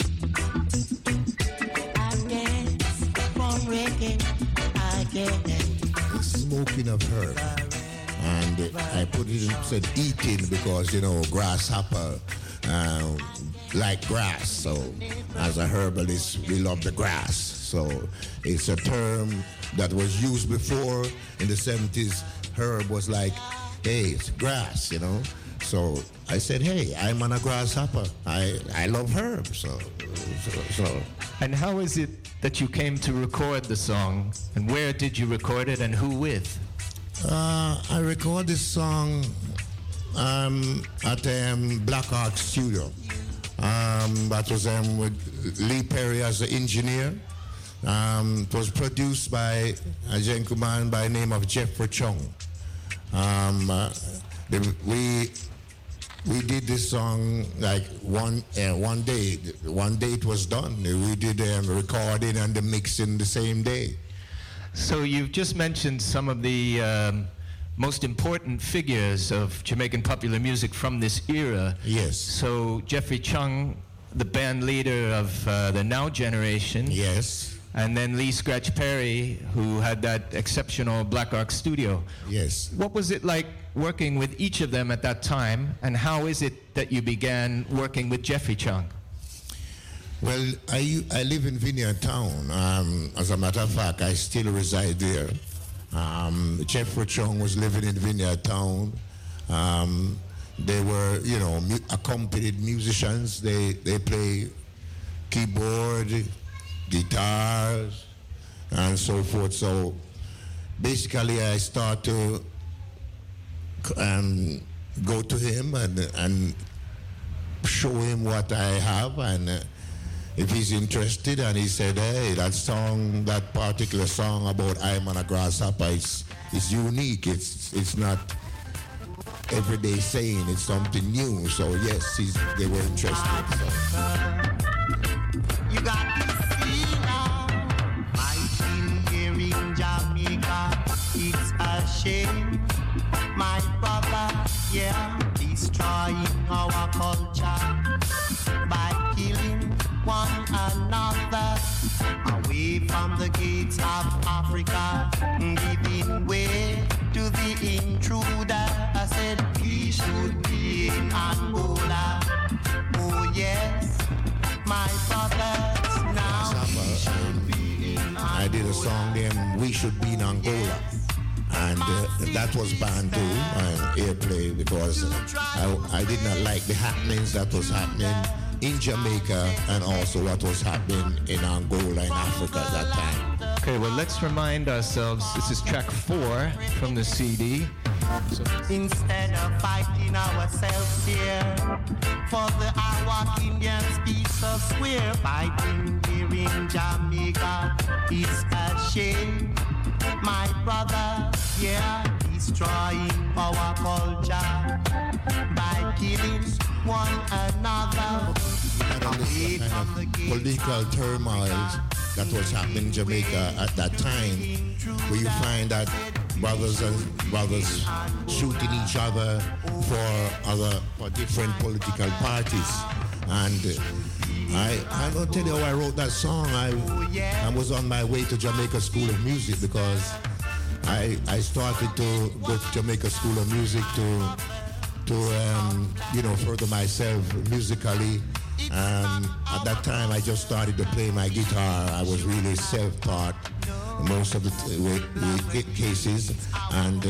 I dance from reggae, I get smoking of herb. And I put it in, said eating because, you know, grasshopper like grass. So as a herbalist, we love the grass. So it's a term that was used before in the 70s. Herb was like, hey, it's grass, you know. So I said, hey, I'm on a grasshopper. I love herbs. So. And how is it that you came to record the song? And where did you record it and who with? I recorded this song at Black Ark Studio. That was with Lee Perry as the engineer. It was produced by a gentleman by the name of Jeffrey Chung. We did this song like one day. One day it was done. We did the recording and the mixing the same day. So you've just mentioned some of the most important figures of Jamaican popular music from this era. Yes. So Jeffrey Chung, the band leader of the Now generation. Yes. And then Lee Scratch Perry, who had that exceptional Black Ark studio. Yes. What was it like working with each of them at that time, and how is it that you began working with Jeffrey Chung? Well, I live in Vineyard Town. As a matter of fact, I still reside there. Jeffrey Chung was living in Vineyard Town. They were, you know, accompanied musicians. They play keyboard, guitars, and so forth. So basically, I start to go to him and show him what I have, and if he's interested, and he said, hey, that particular song about I'm on a grasshopper, it's unique. It's not everyday saying, it's something new. So yes, they were interested. So. You got to see now, fighting here in Jamaica, it's a shame. My brother, yeah, destroying our culture by killing one another away from the gates of Africa, giving way to the intruder. I said we should be in Angola. Oh yes, my brothers, now we should be in Angola. I did a song named We Should Be in Angola. And that was banned too on airplay because I did not like the happenings that was happening in Jamaica and also what was happening in Angola in Africa at that time. Okay, well, let's remind ourselves, this is track 4 from the CD. Instead of fighting ourselves here for the Awak Indians peace of square, fighting here in Jamaica is a shame. My brother, yeah, destroying our culture by killing one another. Away from the political turmoil that was happening in Jamaica at that time, where you find that brothers shooting each other for different political parties. And I'm going to tell you how I wrote that song. I was on my way to Jamaica School of Music because I started to go to Jamaica School of Music to further myself musically. At that time, I just started to play my guitar. I was really self-taught most of the cases, and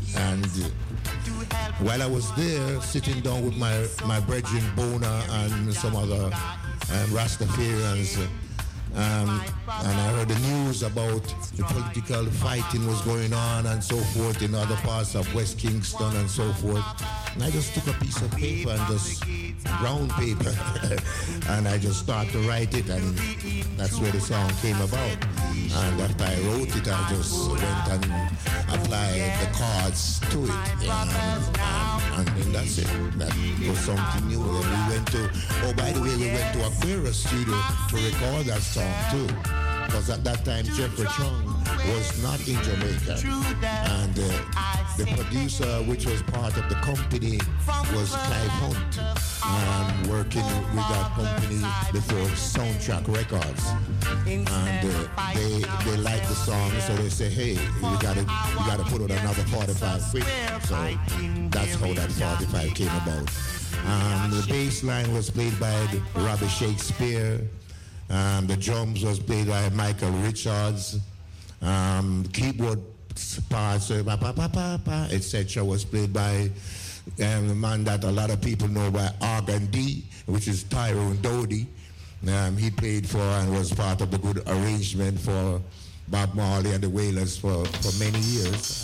while I was there, sitting down with my brethren Bona and some other Rastafarians, and I heard the news about the political fighting was going on and so forth in other parts of West Kingston and so forth. And I just took a piece of paper and just brown paper and I just started to write it, and that's where the song came about. And after I wrote it, I just went and applied the chords to it, and then that's it. That was something new. And we went to, by the way, we went to Aquarius Studio to record that song too, because at that time Jeffrey Chung was not in Jamaica, and the producer, which was part of the company, was Clive Hunt, working with that company before Soundtrack Records, and they liked the song, so they say, hey, we gotta put out another 45 quick. So that's how that 45 came about. The bass line was played by Robbie Shakespeare. The drums was played by Michael Richards. Keyboard parts, etc. was played by the man that a lot of people know by Organ D, which is Tyrone Dodie. He played for and was part of the good arrangement for Bob Marley and the Wailers for many years.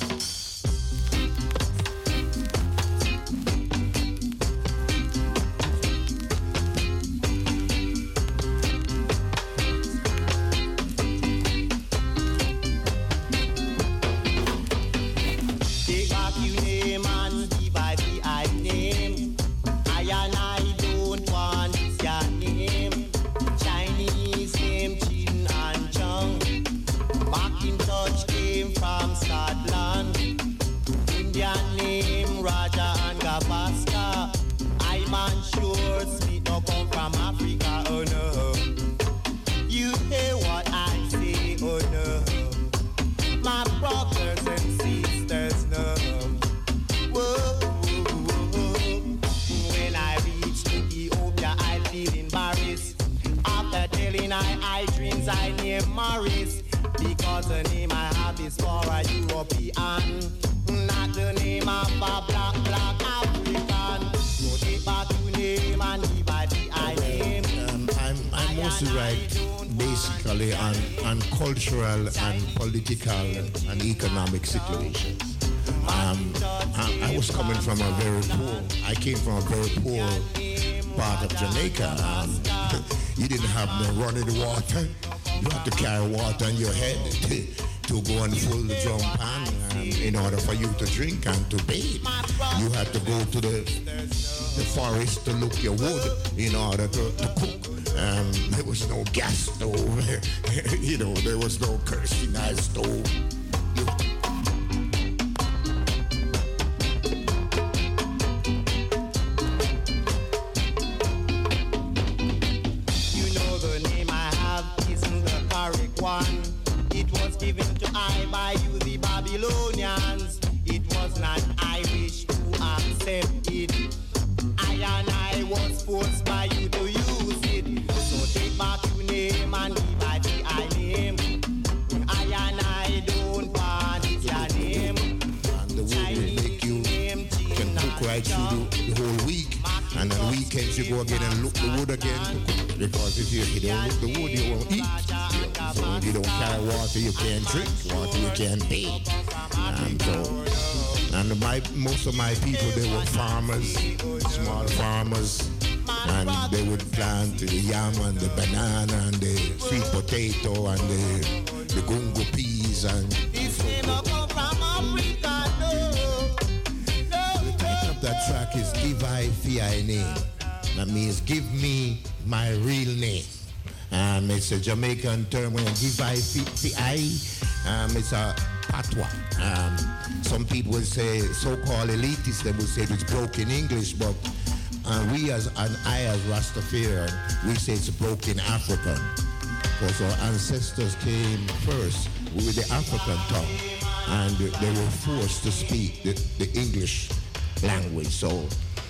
basically on cultural and political and economic situations. I was coming from a very poor, I came from a very poor part of Jamaica. You didn't have no running water. You had to carry water on your head to go and fill the drum pan in order for you to drink and to bathe. You had to go to the forest to look your wood in order to cook. There was no gas stove. There was no kerosene stove. It was given to I by you, the Babylonians. It was not I wish to accept it. I and I was forced by you to use it. So take back your name and give I the I name. I and I don't want your name. And the wood will make you can cook right through the whole week. And on weekends you go again and look the wood again. Because if you don't look the wood, you won't eat. So if you don't carry water, you can't drink. Water, you can't bathe. Most of my people, they were farmers, small farmers. And they would plant the yam and the banana and the sweet potato and the gungo peas and the title of that track is Give I Fi Name. That means give me my real name. It's a Jamaican term when give I fi. It's a patois. Some people would say, so-called elitists, they would say it's broken English, but I as Rastafarian, we say it's broken African. Because our ancestors came first with the African tongue, and they were forced to speak the English language. So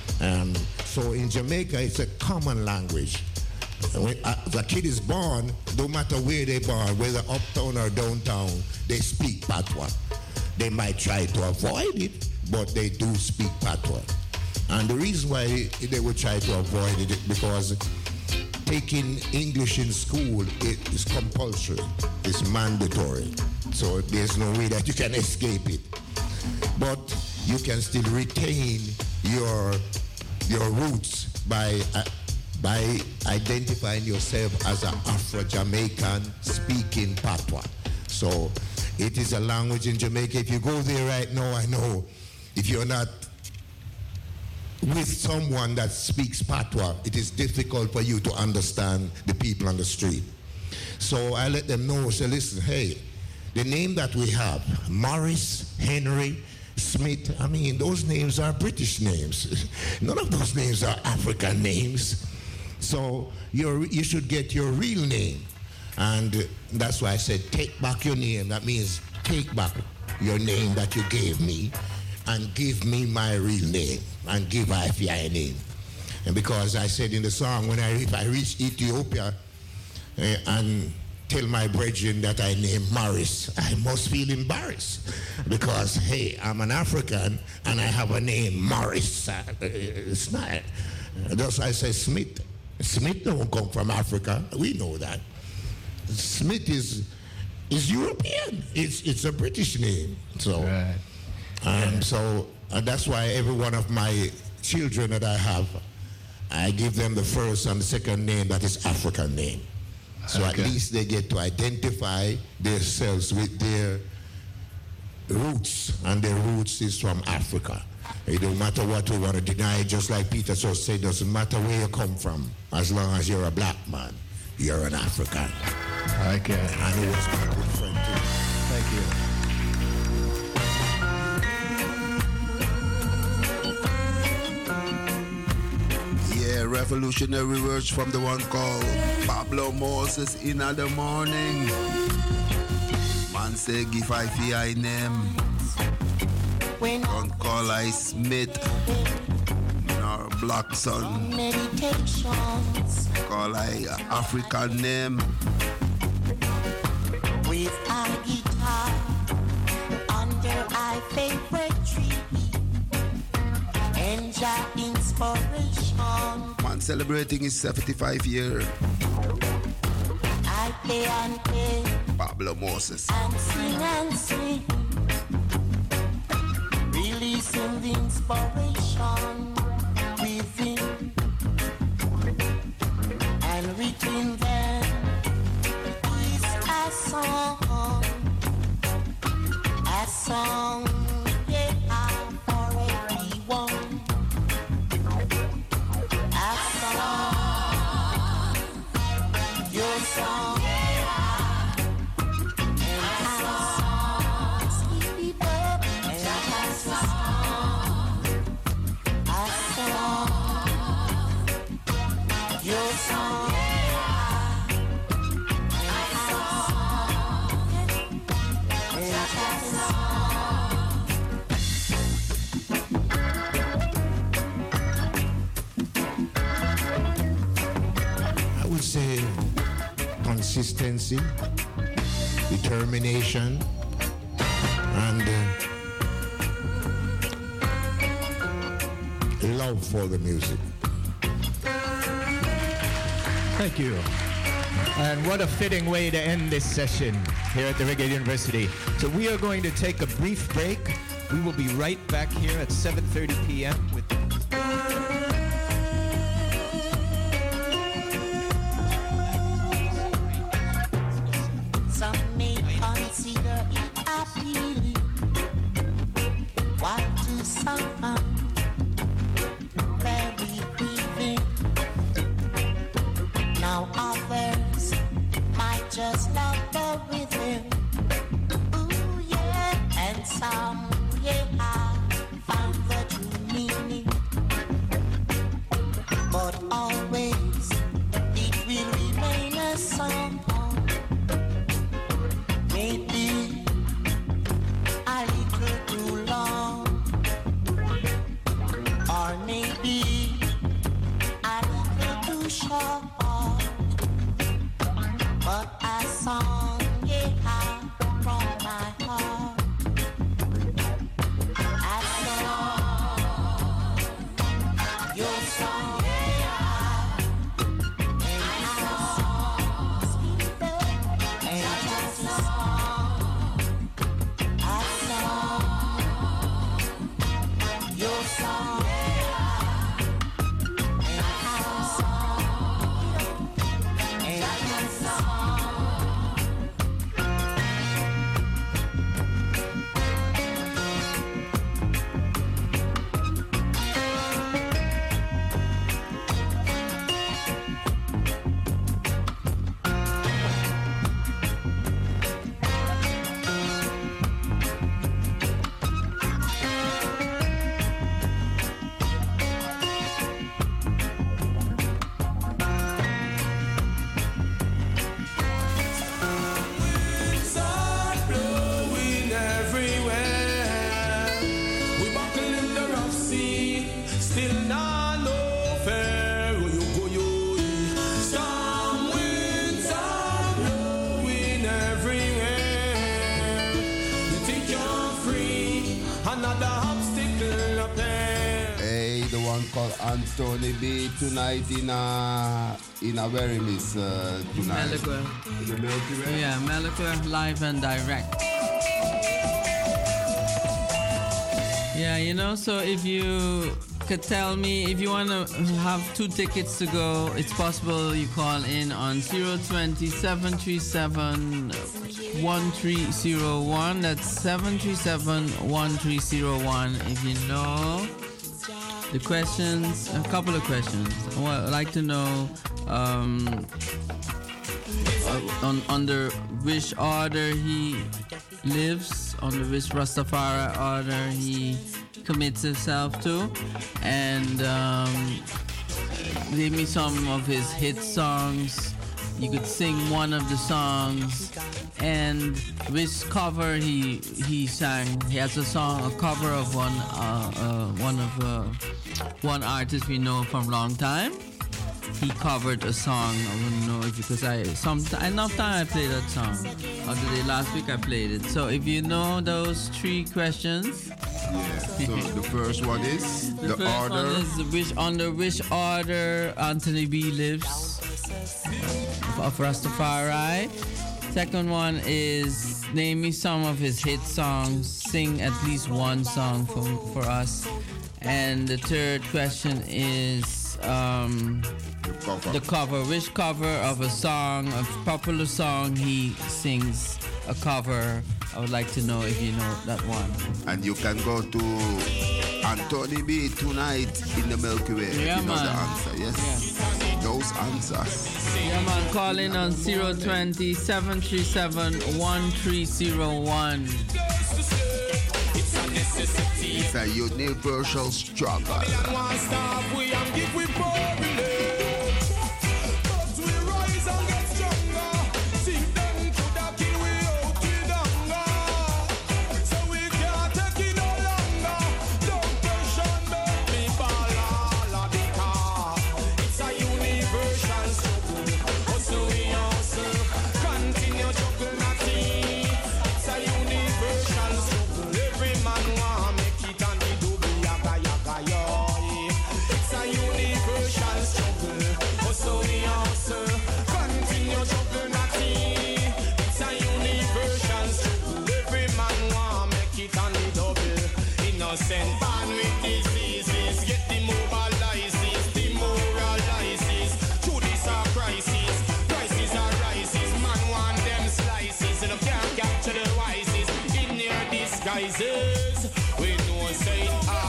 in Jamaica, it's a common language. When the kid is born, no matter where they're born, whether uptown or downtown, they speak patois. They might try to avoid it, but they do speak patois. And the reason why they would try to avoid it is because taking English in school is compulsory. It's mandatory. So there's no way that you can escape it. But you can still retain your roots by identifying yourself as an Afro-Jamaican speaking patois. So it is a language in Jamaica. If you go there right now, I know if you're not with someone that speaks patois, it is difficult for you to understand the people on the street. So I let them know, say, listen, hey, the name that we have, Morris, Henry, Smith, I mean, those names are British names. None of those names are African names. So you should get your real name. And that's why I said, take back your name. That means take back your name that you gave me and give me my real name and give I name. And because I said in the song, if I reach Ethiopia and tell my brethren that I named Morris, I must feel embarrassed because, hey, I'm an African and I have a name, Morris. It's not. That's why I say Smith. Smith don't come from Africa. We know that. Smith is European. It's a British name. So, so that's why every one of my children that I have, I give them the first and the second name that is African name. So at least they get to identify themselves with their roots, and their roots is from Africa. It don't matter what we want to deny, just like Peter just said, doesn't matter where you come from, as long as you're a black man, you're an African. Okay. And he was my good friend too. Thank you. Revolutionary words from the one called Pablo Moses in the morning. Man say give I fi name. Don't call I Smith nor black son. Call I African name. With a guitar under our favorite tree. Enjoy inspiration. Man celebrating his 75 year. I play and play. Pablo Moses. And sing. Releasing the inspiration within. And between them is a song. A song, yeah, for everyone. A song, your song. I would say consistency, determination, and love for the music. Thank you. And what a fitting way to end this session here at the Reggae University. So we are going to take a brief break. We will be right back here at 7:30 p.m. with Some may consider it appealing. What to some very grieving. Now others might just love the rhythm. Ooh yeah, and some yeah found the true meaning. But always it will remain a song. Maybe a little too long, or maybe a little too short. But a song, yeah, from my heart. A song, your song, yeah. And a song, and just a song. A song, your song, yeah. And a song, and just a song. Winds are blowing everywhere. We buckle in the rough sea, still not no fair. Oh, you go, you. Storm winds are blowing everywhere. You think you're free, another obstacle up there. Hey, the one called Anthony B tonight in a very miss tonight. Melkweg. The Milky Way. Yeah, Melkweg live and direct. Yeah, you know, so if you could tell me, if you want to have 2 tickets to go, it's possible you call in on 020-737-1301. That's 737-1301. If you know the questions, a couple of questions. I'd like to know under which order he lives, under which Rastafari order he commits himself to, and give me some of his hit songs. You could sing one of the songs, and which cover he sang. He has a song, a cover of one artist we know from long time. He covered a song. I wouldn't know if because enough time I played that song. Other day last week I played it. So if you know those 3 questions. Yeah. So the first one is the first order. One is under which order Anthony B lives. of Rastafari. Second one is name me some of his hit songs. Sing at least one song for us. And the third question is the cover. Which cover of a song, a popular song he sings a cover? I would like to know if you know that one. And you can go to Anthony B tonight in the Milky Way. Yeah, you know man. the answer, yes? Those answers. Yeah, man. Call in on 020-737-1301. It's a universal struggle. Innocent born with diseases, get demobilizes, demoralizes. Through this our crisis, prices are rises. Man want them slices, and can't capture the wisest in their disguises. We know say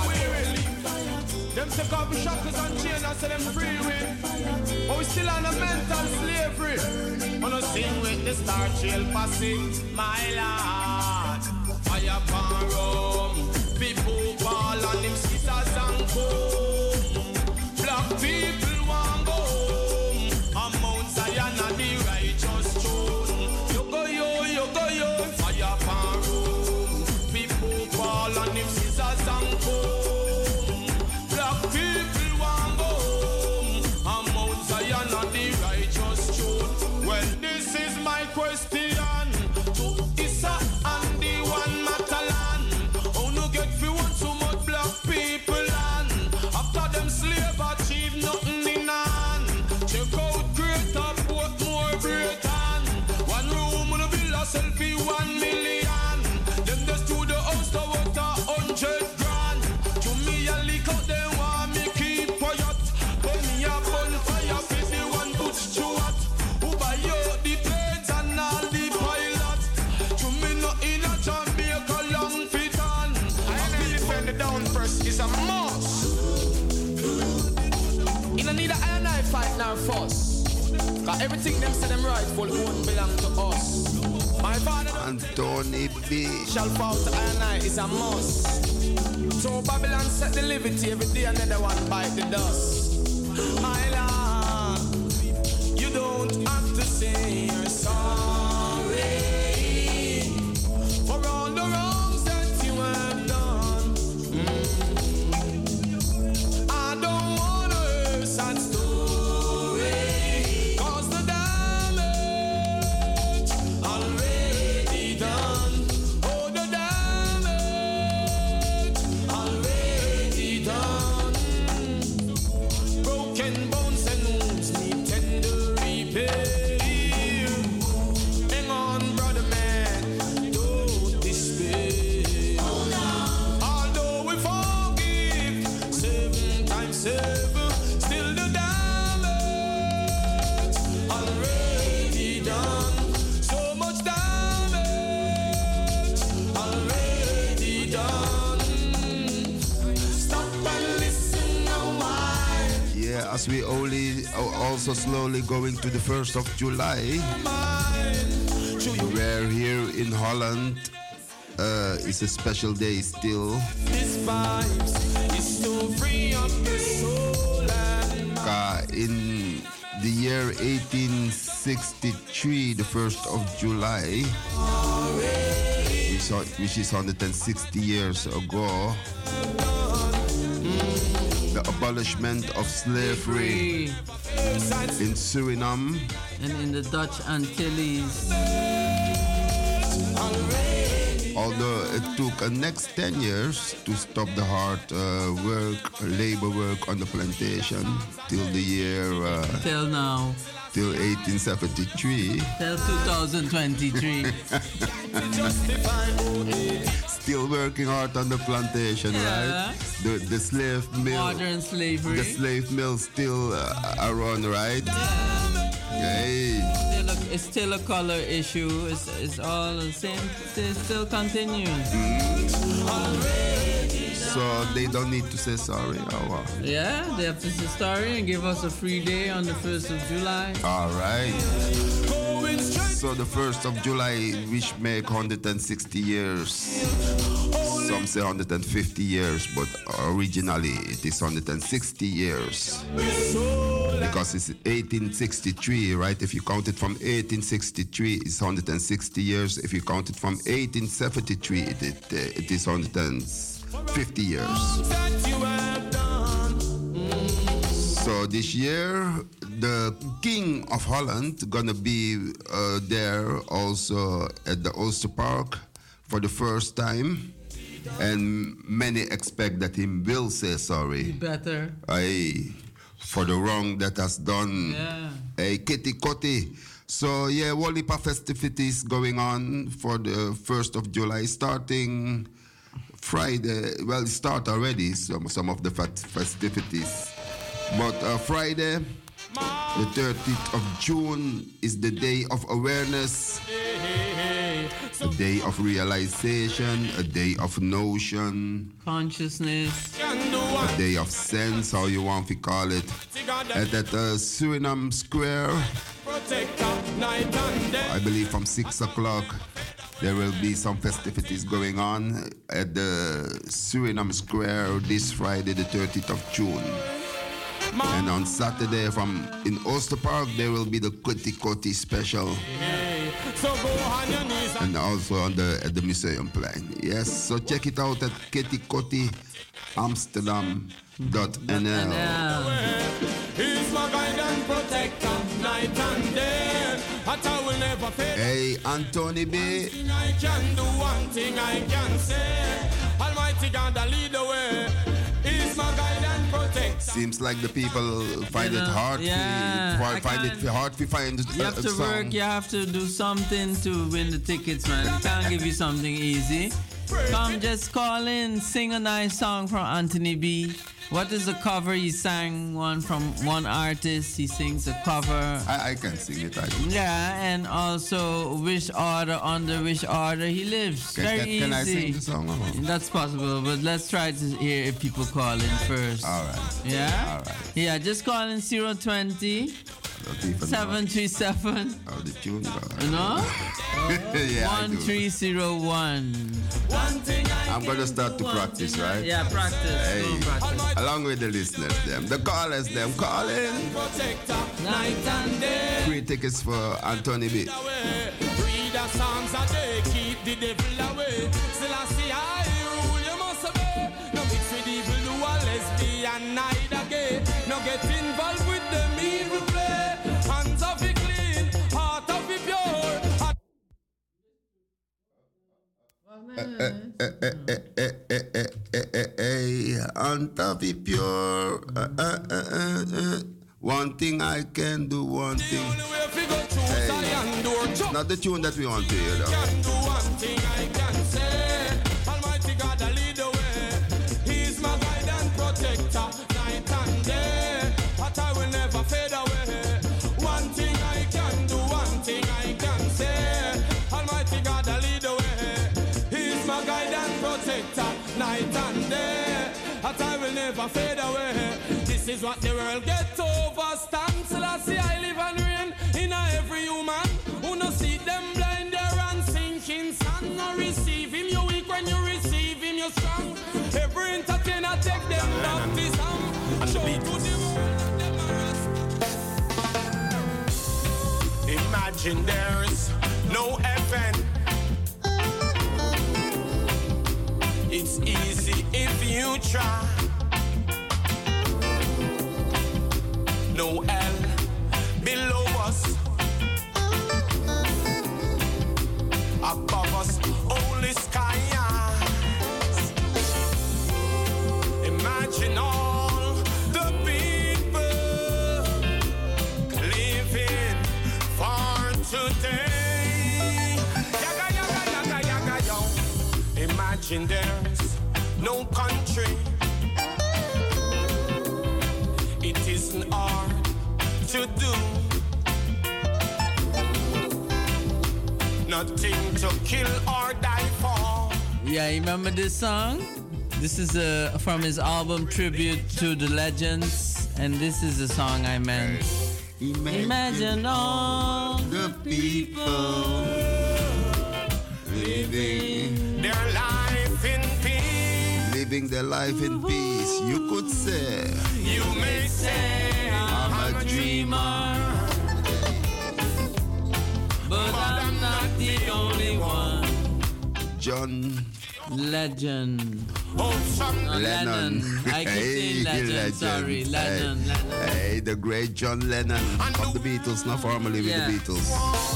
them take off the shackles and chains and say them free with. But we still on a mental slavery. Wanna sing with the Star Trail posse, my lord. Fire pan rum. People ball on them scissors and comb. Black people want go home. On Mount Zion and the righteous throne. You go yo, fire pan room. People ball on them scissors and comb. Black people want go home. On Mount Zion and the righteous throne. Well, this is my question to Issa and the one Matalan. Get fi want so much black people and after them slave achieve nothing in hand. Check out greater put more Britain. One room on a villa selfie 1 million. Them just to the house to what 100 grand. To me a leak out them want me keep quiet. But me a bonfire fi the one Butch Stewart. Who buy out the planes and all the pilots. To me not in a Jamaica long fit. The down first is a must. You don't need a iron eye fight nor fuss. Cause everything them say them rightful won't belong to us. My father Anthony B shall fall to iron eye is a must. So Babylon set the liberty every day another one bite the dust. My lord, you don't have to say you're sorry for all the wrongs that you have done. I don't wanna hear sad story, cause the damage already done. Oh, the damage already done. Broken bones and wounds need tender repair. Hang on, brother man, don't despair. Still the damage already done. So much damage already done. Stop and listen a while. Yeah, as we also slowly going to the 1st of July. We're here in Holland. It's a special day still. This vibes is to free up the soul and mind. In the year 1863, the 1st of July, which is 160 years ago, the abolishment of slavery in Suriname and in the Dutch Antilles. Although it took the next 10 years to stop the hard labor work on the plantation till the year... till now. till 1873. Till 2023. Still working hard on the plantation, right? The slave mill. Modern slavery. The slave mill still around, right? Hey. It's still a color issue. It's all the same. It still continues. So they don't need to say sorry. Oh, wow. Yeah, they have to say sorry and give us a free day on the 1st of July. All right. So the 1st of July, which make 160 years. Some say 150 years, but originally it is 160 years. Because it's 1863, right? If you count it from 1863, it's 160 years. If you count it from 1873, it is 150 years. So this year, the King of Holland gonna be there also at the Ulster Park for the first time. And many expect that he will say sorry. Better. For the wrong that has done. Yeah. Hey, Kitty Kotti. So yeah, whole heap of festivities going on for the 1st of July, starting Friday. Well, it start already, some of the festivities. But Friday, the 30th of June, is the day of awareness. A day of realization, a day of notion, consciousness, a day of sense, how you want to call it. And at Suriname Square, I believe from 6 o'clock, there will be some festivities going on at the Suriname Square this Friday, the 30th of June. And on Saturday in Ulster Park, there will be the Kitty Kotti special. And also at the Museumplein. Yes, so check it out at kittykottiamsterdam.nl. Hey, Anthony B. I can do one thing I can say. Almighty God, I lead the way. He's my guide and protector. Seems like the people find it hard. Find it hard to find. You have to work. You have to do something to win the tickets, man. I can't give you something easy. Come, just call in, sing a nice song from Anthony B. What is the cover? He sang one from one artist. He sings a cover. I can sing it. Yeah, and also which order, under which order he lives. Very easy. Can I sing the song? That's possible, but let's try to hear if people call in first. All right. Yeah? All right. Yeah, just call in 020 737. Oh, the tune. No? Yeah, 1301. I'm going to start to practice, right? Yeah, practice. Hey, practice. Along with the listeners, the callers, call in. Night and day. Free tickets for Anthony B. Read the songs that they keep the devil away. Still I see I rule, you must obey. No mix with evil, do a lesbian night again. No get involved with the evil play. Hands of it clean, heart of it pure. On top of pure. One thing I can do, one thing. Hey, not the tune that we want to hear, though. Can do one thing I can say. Almighty God, I lead the way. He's my guide and protector, night and day. But I will never fade away. One thing I can do, one thing I can say. Almighty God, I lead the way. He's my guide and protector, night and day. But I will never fade away. This is what the world get over. Stand till I see I live and reign in every human. Who no see them blind there and sinking sun. No receive him, you weak when you receive him, you strong. Every entertainer take them baptism. Show to the world that them are. Imagine there's no heaven. It's easy if you try. No hell below us, above us only skies. Imagine all the people living Imagine there's no country. It isn't hard to do. Nothing to kill or die for. Yeah, you remember this song? This is from his album Tribute to the Legends, and this is the song I meant. Imagine all the people living their life in peace. Living their life in peace. You could say. You may say I'm a dreamer, but I'm not the only one. John Legend. Lennon. I keep saying legend. Sorry, Lennon. Hey, the great John Lennon of the Beatles, not formerly with the Beatles.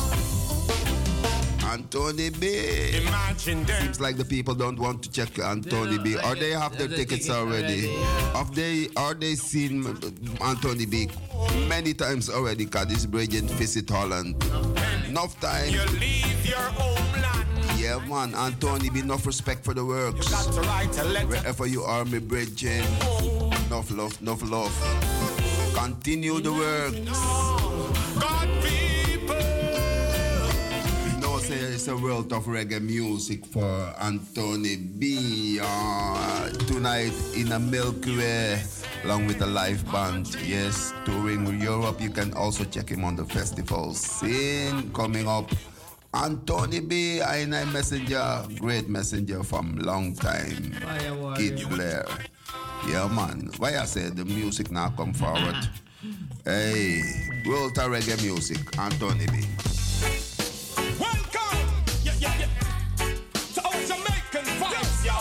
Anthony B. Seems like the people don't want to check Anthony B. Or they have their tickets already. Are they seen Anthony B many times already? Cause this brilliant visit Holland. Enough time. You leave your homeland. Yeah, man, Anthony B. Enough respect for the works. Wherever you are, my bridging. Enough love, enough love. Continue the works. God people. No, say it's a world of reggae music for Anthony B. Tonight in a Milky Way, along with a live band. Yes, touring Europe. You can also check him on the festival scene coming up. Anthony B. I messenger, great messenger from long time. Kid Blair. Yeah, man. Why I say the music now come forward? Hey, world of reggae music, Anthony B. Welcome, to our Jamaican vibes, yo.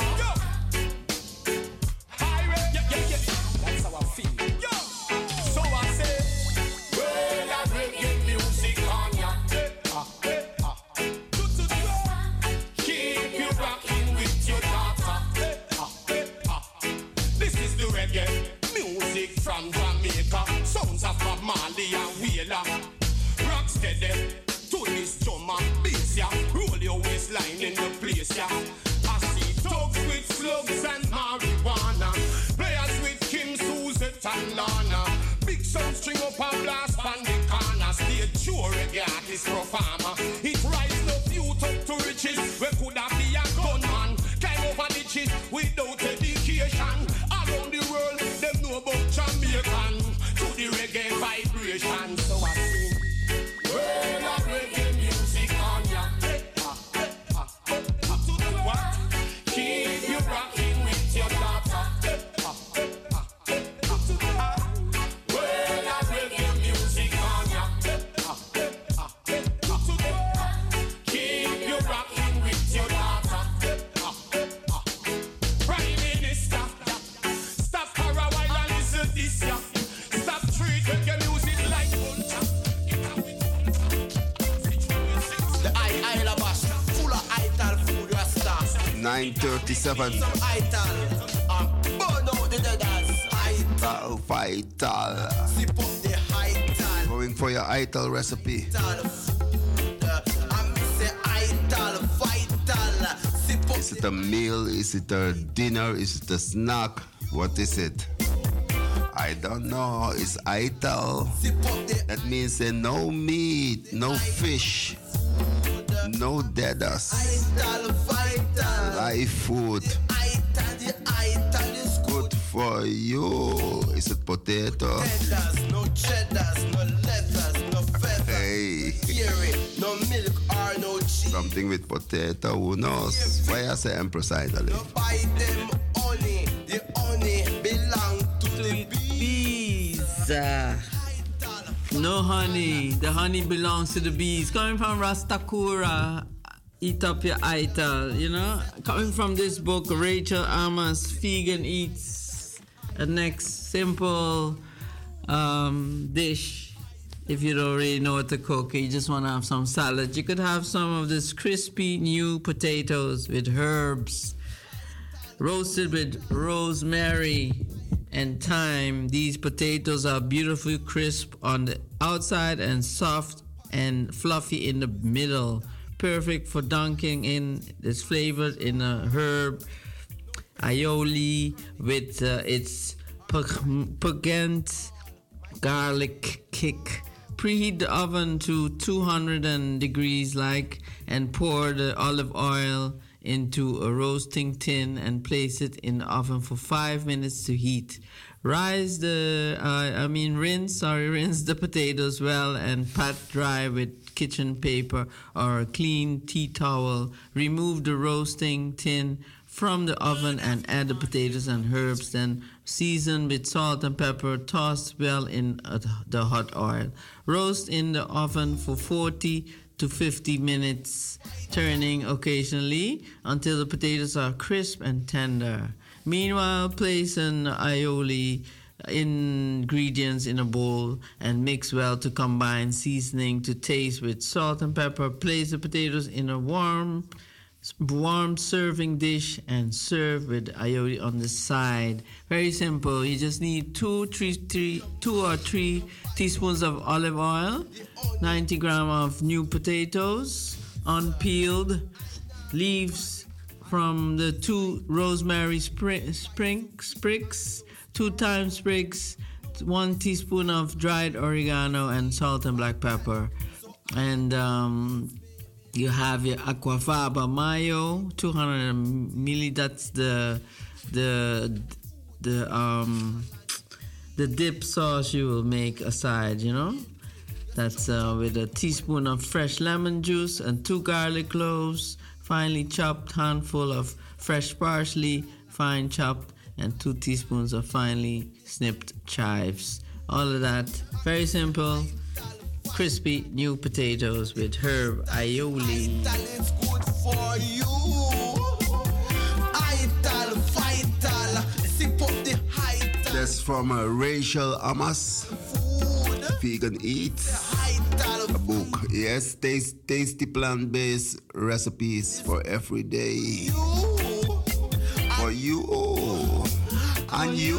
That's how I feel. Yo. So I say, well, I reggae music on ya. Keep you rocking with your daughter. This is the reggae music from Jamaica. Sounds of Bob Marley and Wheeler. Rock steady to this drum and bass, yeah. Roll your waistline in the place, yeah. I see dogs with slugs and marijuana. Players with Kim, Suzette and Lana. Big sound string up a blast on the corner. Stay true reggae artist performer. It rise up youth up to riches. We could have be a gunman. Climb over ditches without education. Around the world, them know about Jamaican. To the reggae vibration. So I sing, well, I reggae music on ya. What? Keep you rocking with your daughter. Well, I reggae music on ya. Keep you rocking with your daughter. Prime Minister, stop for a while and listen this ya. Stop treat reggae music like culture. The Isle Bash, full of ital food rasta. 9:37. Some ital, burn out the deaders. Vital, vital. Sip up the ital. Going for your ital recipe. Is it a meal? Is it a dinner? Is it a snack? What is it? I don't know. It's ital. That means no meat, no fish, no deaders. Live food. Good for you. Is it potato? No cheddars, no letters, no feathers. Hey. No milk or no cheese. Something with potato, who knows? Why I say Empress Idol? Buy them honey. The honey belong to the bees. No honey. The honey belongs to the bees. Coming from Rastakura, eat up your ital, you know? Coming from this book, Rachel Amos, Vegan Eats, a next simple dish. If you don't really know what to cook, you just want to have some salad, you could have some of this crispy new potatoes with herbs, roasted with rosemary and thyme. These potatoes are beautifully crisp on the outside and soft and fluffy in the middle. perfect for dunking in. It's flavored in a herb aioli with its pungent garlic kick. Preheat the oven to 200 degrees and pour the olive oil into a roasting tin and place it in the oven for 5 minutes to heat. Rinse the potatoes well and pat dry with kitchen paper or a clean tea towel. Remove the roasting tin from the oven and add the potatoes and herbs. Then season with salt and pepper. Toss well in the hot oil. Roast in the oven for 40 to 50 minutes, turning occasionally until the potatoes are crisp and tender. Meanwhile, place an aioli ingredients in a bowl and mix well to combine, seasoning to taste with salt and pepper. Place the potatoes in a warm serving dish and serve with aioli on the side. Very simple. You just need 2 or 3 teaspoons of olive oil, 90 grams of new potatoes, unpeeled, leaves from the 2 rosemary sprigs, 2 thyme sprigs, 1 teaspoon of dried oregano, and salt and black pepper. And you have your aquafaba mayo, 200 ml. That's the dip sauce you will make aside, you know. That's with a teaspoon of fresh lemon juice and 2 garlic cloves, finely chopped, handful of fresh parsley, fine chopped, and 2 teaspoons of finely snipped chives. All of that, very simple. Crispy new potatoes with herb aioli. It's good for you. Ital, vital. Sip up the height. That's from Rachel Amas. Vegan Eat. A book. Yes, tasty plant-based recipes for every day. For you and you.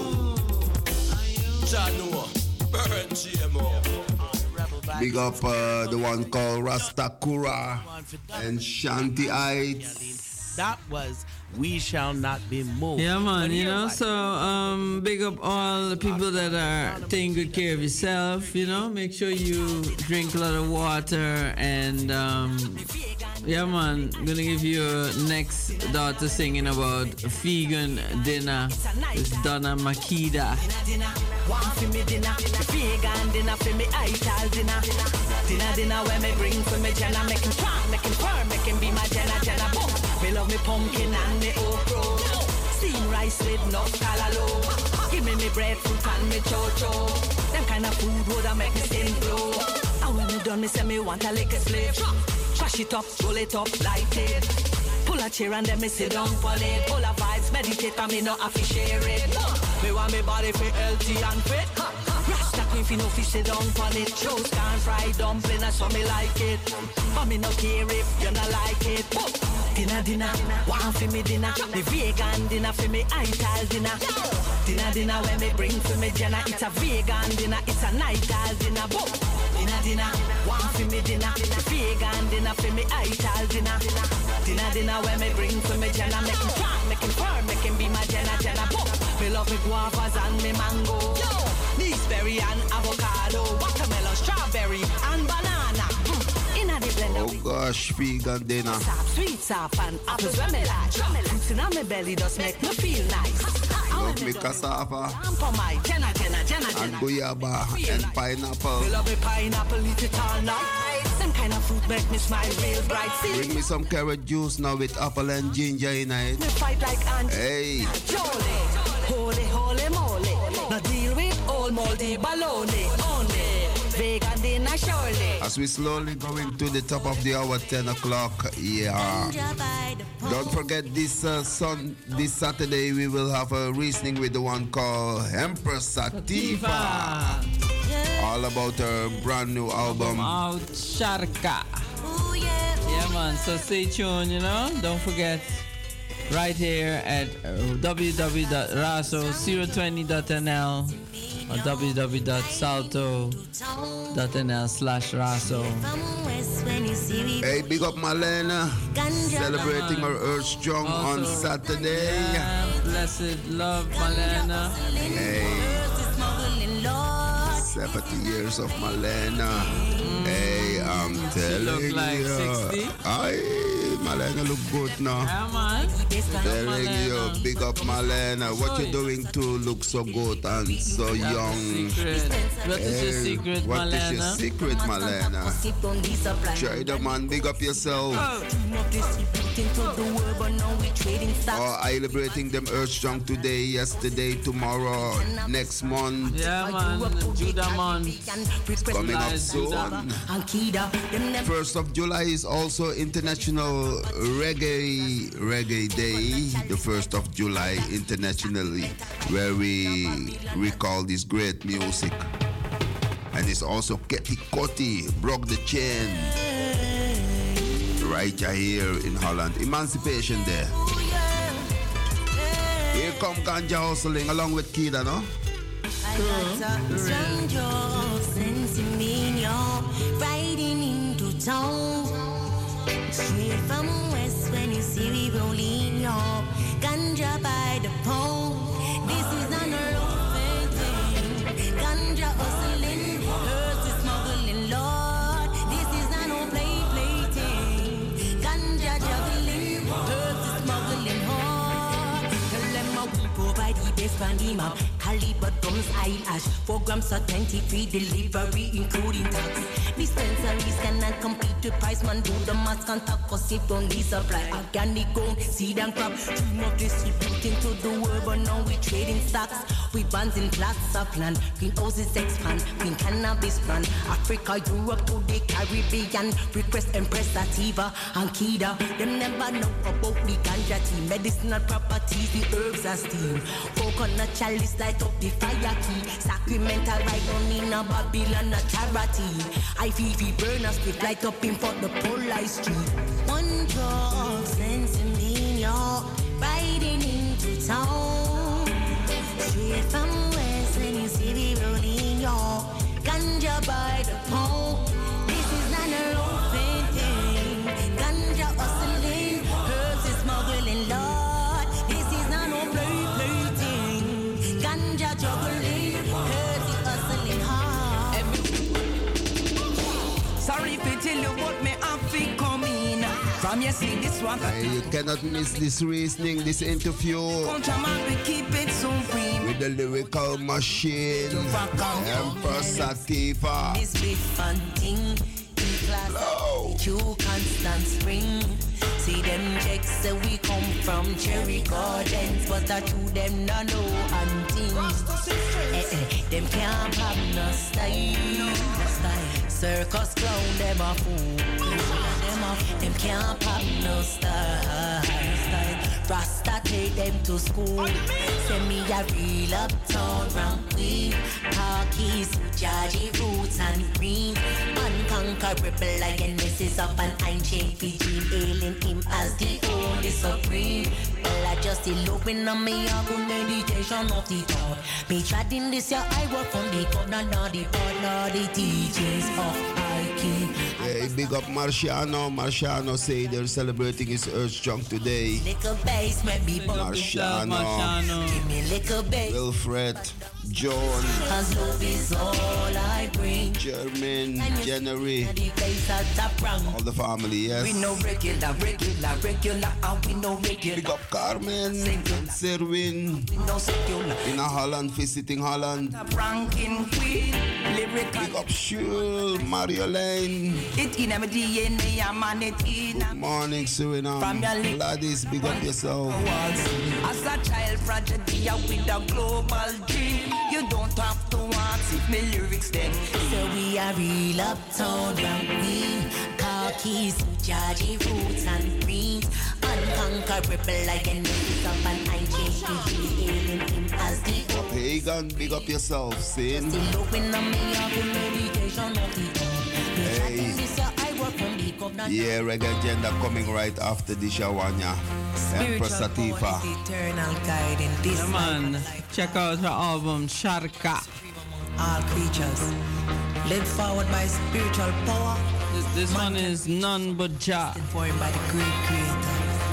Janua, burn GMO. Big up the one called Rastakura and Shanti Heights. That was We Shall Not Be Moved. Yeah, man, you know, so big up all the people that are taking good care of yourself, you know. Make sure you drink a lot of water and, yeah, man, I'm gonna give you next daughter singing about a vegan dinner with Donna Makida. One for me dinner, vegan dinner for me ital dinner. Dinner where me bring for me Jenna, make him strong, make him firm, make him be my Jenna boom. Me love me pumpkin and me okra, steamed rice with no callaloo. Give me bread fruit and me chocho. Them kind of food would make me skin glow. And when me done, me say me want a lick a slave. Trash it up, roll it up, light it. Pull a chair and then me sit down on it. Pull a vibes, meditate and me no have to share it. Me want me body for healthy and fit. Rasta queen fi no fi sit down on it. Toast and fried dumpling, that's what me like it. But me no care if you no like it. Dinner, one for me dinner. Me vegan dinner for me ital dinner. Dinner when me bring for me Jenna. It's a vegan dinner, it's a nightal dinner. Dinner, one for me dinner. Me vegan dinner for me ital dinner. Dinner when me bring for me Jenna. Make him strong, make him firm, make him be my Jenna. Me love me guavas and me mango. Gooseberry and avocado. Watermelon, strawberry and banana. Inna the blender. Oh gosh, vegan dinner. Sweet sap and apples when me like. Fruits inna me belly just make me feel nice. Love me cassava For my Jenna. and guayaba and pineapple. Me love me pineapple, eat it all night. Some kind of fruit make me smile real bright. Bring me some carrot juice now with apple and ginger in it. Me fight like ant. Hey. Holy moly. Now deal with old moldy baloney. Only vegan dinner surely. As we slowly going to the top of the hour, 10 o'clock. Yeah. Don't forget this Saturday we will have a reasoning with the one called Empress Sativa. All about her brand new album. Out Sharka. Yeah, man. So stay tuned, you know. Don't forget. Right here at www.raso020.nl or www.salto.nl/raso. Hey, big up Marlena, celebrating her Earth Strong on Saturday. Blessed love, Marlena. Hey, 70 years of Marlena. Hey, I'm telling look like you. 60. Marlena look good now. Yeah, man. Telling you, big up Marlena. What you doing to look so good and so young? What is your secret, What Marlena? is your secret, Marlena? Try the man, big up yourself. Oh, I celebrating them Earth Strong today, yesterday, tomorrow, next month. Yeah, man. Judah month. Coming up soon. 1st of July is also International Reggae Day. The 1st of July internationally, where we recall this great music. And it's also Ketty Kotti, Broke the Chain. Right here in Holland. Emancipation Day. Here come Ganja hustling along with Kida, no? Riding into town, straight from west when you see we rolling up, ganja by the pound. This is an urban thing, ganja hustling, earth is smuggling, Lord. This is an old play thing, ganja juggling, earth is smuggling hard. Tell them how we provide the best from the map. Caliber drums, eyelash, 4 grams of 23 delivery, including tax. Dispensaries cannot compete with price, man. Do the mass contact, cause it only supply. Organic gold, seed and crop. Dream of distributing to the world, but now we trading stocks. We bonds in plots of land. Greenhouses expand, green cannabis plant. Africa, Europe to the Caribbean. Request Empress Sativa and Kida. Them never know about the ganja tea. Medicinal properties, the herbs are steam. Coconut chalice light up the fire key. Sacramental right on in a Babylon, a charity. IVV burners with light up in front the Polite Street. One drop sense in me, y'all. Riding into town. Straight from west when you see the rolling, y'all. Ganja by the pound. This is not a open thing. Ganja hustling, herbs is smuggling, Lord. This is not no play thing. Ganja juggling, herbs is hustling hard. Sorry if you tell you what me have to come in. From you see this one. You cannot miss this reasoning, this interview. Contraman, we keep it supreme. With the lyrical machine, Empress Sativa. This big fun thing. You constant spring. See them checks say we come from Cherry Gardens, but I to them no know hunting. Them can't have no style. Circus clown them a fool. Them can't have no style. Rasta take them to school. Send me a real uptown rank queen. Khakis, Jaji roots and green. Unconquerable again, messes up and I'm chain Fiji, hailing him as the only supreme. Well, I just eloping on me, a good meditation of the thought. Me treading this year, I work from the corner, not the part, not the teachings of Ike. Hey, big up Marciano. Marciano say they're celebrating his Earth Strong today. Little bass, maybe Marciano. Give me little bass. Wilfred, John, Cause love is all I bring. Jermaine, January, all the family, yes. We know regular, and we know regular. Big up Carmen and Serwin. In Holland, visiting Holland. Ranking queen, lyrical. Big up Shul, Mario Lane. It in my DNA, I'm on it in. Good morning, Suriname. Gladys, big up yourself. As a child prodigy with a global dream, you don't have to ask if my lyrics dead. So we are real uptown queen. Khakis, Jaji roots and greens. Unconquerable like an up and I'm changing hailing him as the Pagan, big up yourself, Sin. Still looking on me, I've been meditation of the Hey. Yeah, reggae agenda coming right after the Shawanya. Empress Sativa. Eternal guide in this man, check out her album Sharka. all creatures. Led forward by spiritual power. This one is none but Jah. For him by the great creator.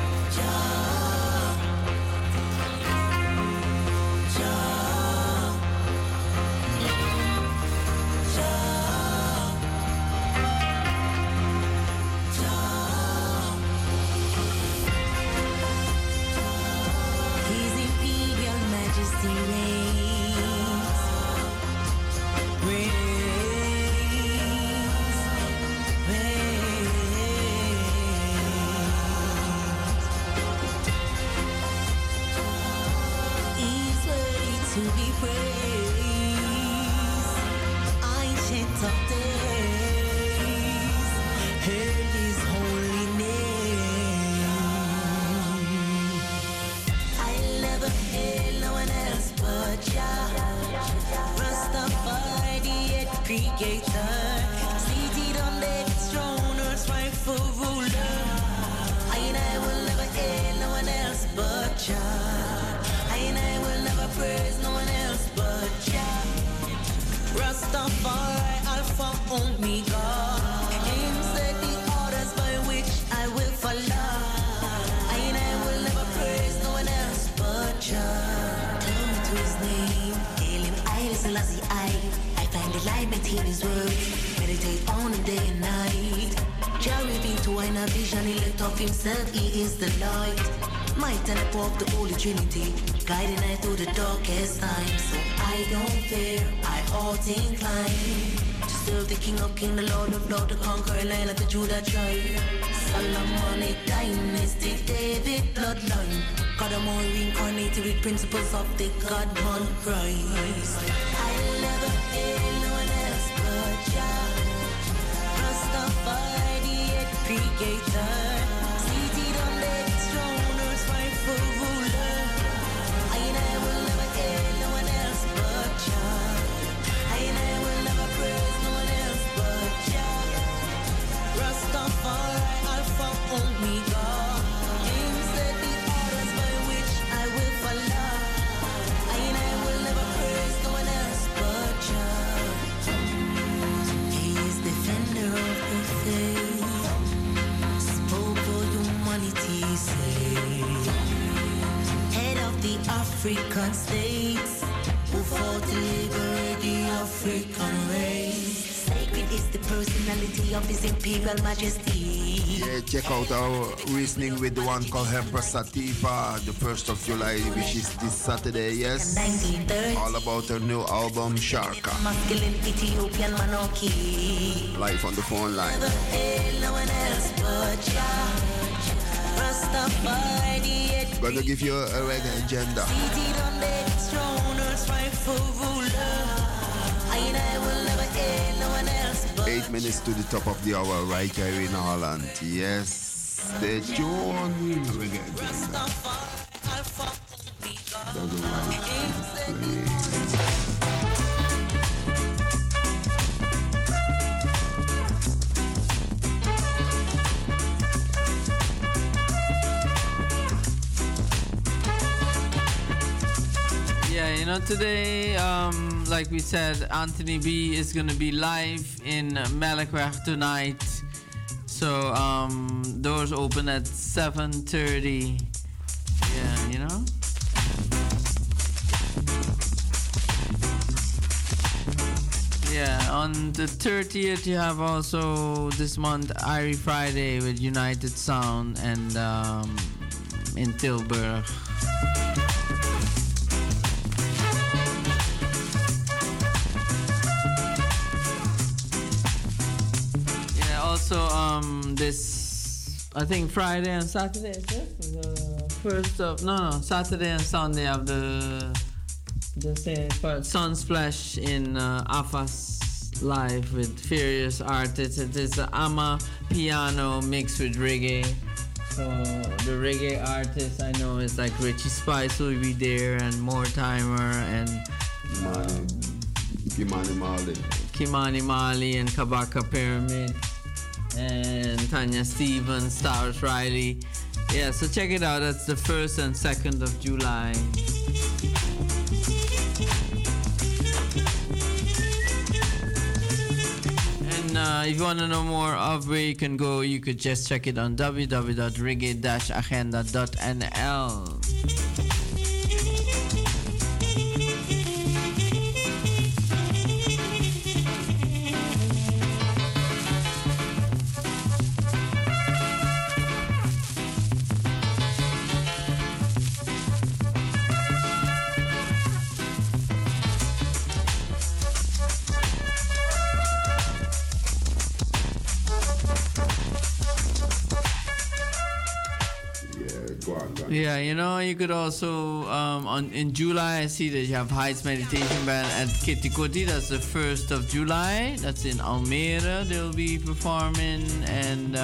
His imperial majesty He's worthy to be praised. Ancient of days, hail his holy name. I'll never hail no one else but Jah. Rastafari, the head creator, seated on David's throne, earth's rightful ruler. And I will never hail no one else but Jah. And I will never praise no one else but Jah. Rastafari, Alpha, Omega. Him set the orders by which I will follow. And I will never praise no one else but Jah. Glory to his name. Hail him, Haile Selassie, I find alignment in his word. Meditate on him day and night. Jah revealed to wine a vision, he lit up himself, he is the light. Might and the power of the Holy Trinity, guiding I through the darkest times. So I don't fear, I ought incline to serve the King of Kings, the Lord of Lords, the conqueror Lion of the Judah tribe. Solomonic dynasty, David bloodline. God am all reincarnated with principles of the God-man Christ. I'll never hail no one else but Jah. Rastafari, the head creator, seated on David's throne, earth's rightful ruler. And I will never hail no one else but Jah. And I will never praise no one else but Jah. Rastafari, Alpha, Omega. Him set the orders by which I will follow. And I will never praise no one else but Jah. He is defender of the faith, spoke for humanity's sake. Head of the African states, who fought to liberate the African race. Sacred is the personality of his imperial majesty. Yeah, check out our reasoning with the one called Empress Sativa, the 1st of July, which is this Saturday, yes. 1930. All about her new album, Sharka. Masculine Ethiopian monarchy. Live on the phone line. Never hail no one else but Jah. Rastafari, the head Gonna give you a reggae agenda. seated on David's throne, earth's rightful ruler. And I will never hail no one else but 8 minutes to the top of the hour, right here in Holland. Yes, stay tuned. Reggae agenda. Yeah, you know, today, like we said, Anthony B is going to be live in Melkweg tonight. So, doors open at 7:30. Yeah, you know? Yeah, on the 30th, you have also this month, Irie Friday with United Sound and in Tilburg. Also, this, I think Friday and Saturday, is it? The first of, no, Saturday and Sunday have the Sunsplash in AFAS live with various artists. It is Ama piano mixed with reggae. So the reggae artists I know is like Richie Spice will be there and Mortimer and Kimani Mali and Kabaka Pyramid. And Tanya Stevens, Stars Riley. Yeah, so check it out. That's the 1st and 2nd of July. if you want to know more of where you can go, you could just check it on www.reggae-agenda.nl. Yeah, you know, you could also in July I see that you have Heights Meditation Band at Kitikoti. That's the 1st of July. That's in Almere. They'll be performing. And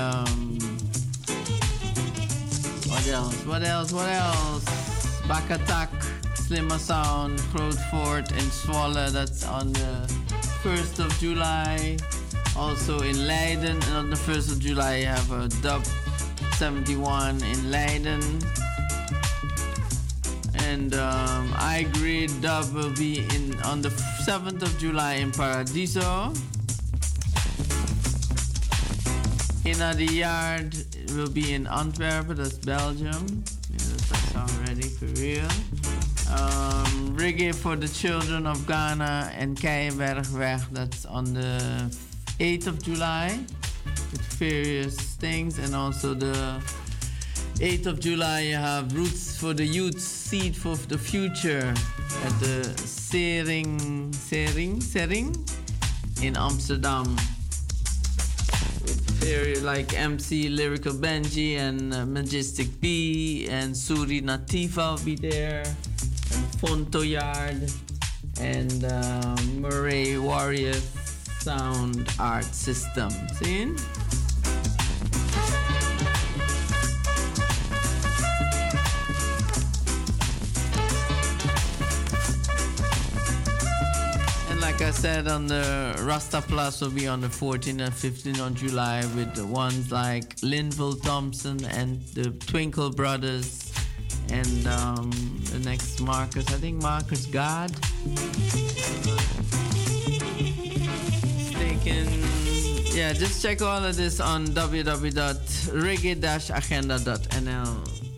what else? Back Attack, Slimmer Sound, Grootfort, and Zwolle. That's on the 1st of July. Also in Leiden, and on the 1st of July you have a Dub 71 in Leiden. And I Agree Dub will be on the 7th of July in Paradiso. Inna the Yard will be in Antwerp, that's Belgium. Yeah, that's already for real. Reggae for the Children of Ghana and Keienbergweg, that's on the 8th of July with various things. And also the 8th of July you have Roots for the Youth, Seed for the Future at the Sering in Amsterdam. Very like MC Lyrical Benji and Majestic B and Suri Nativa will be there, and Fonto Yard and Murray Warrior Sound Art System. See? Like I said, on the Rasta Plus will be on the 14th and 15th of July with the ones like Linville Thompson and the Twinkle Brothers and the next Marcus, I think Marcus God. Yeah, just check all of this on www.reggae-agenda.nl.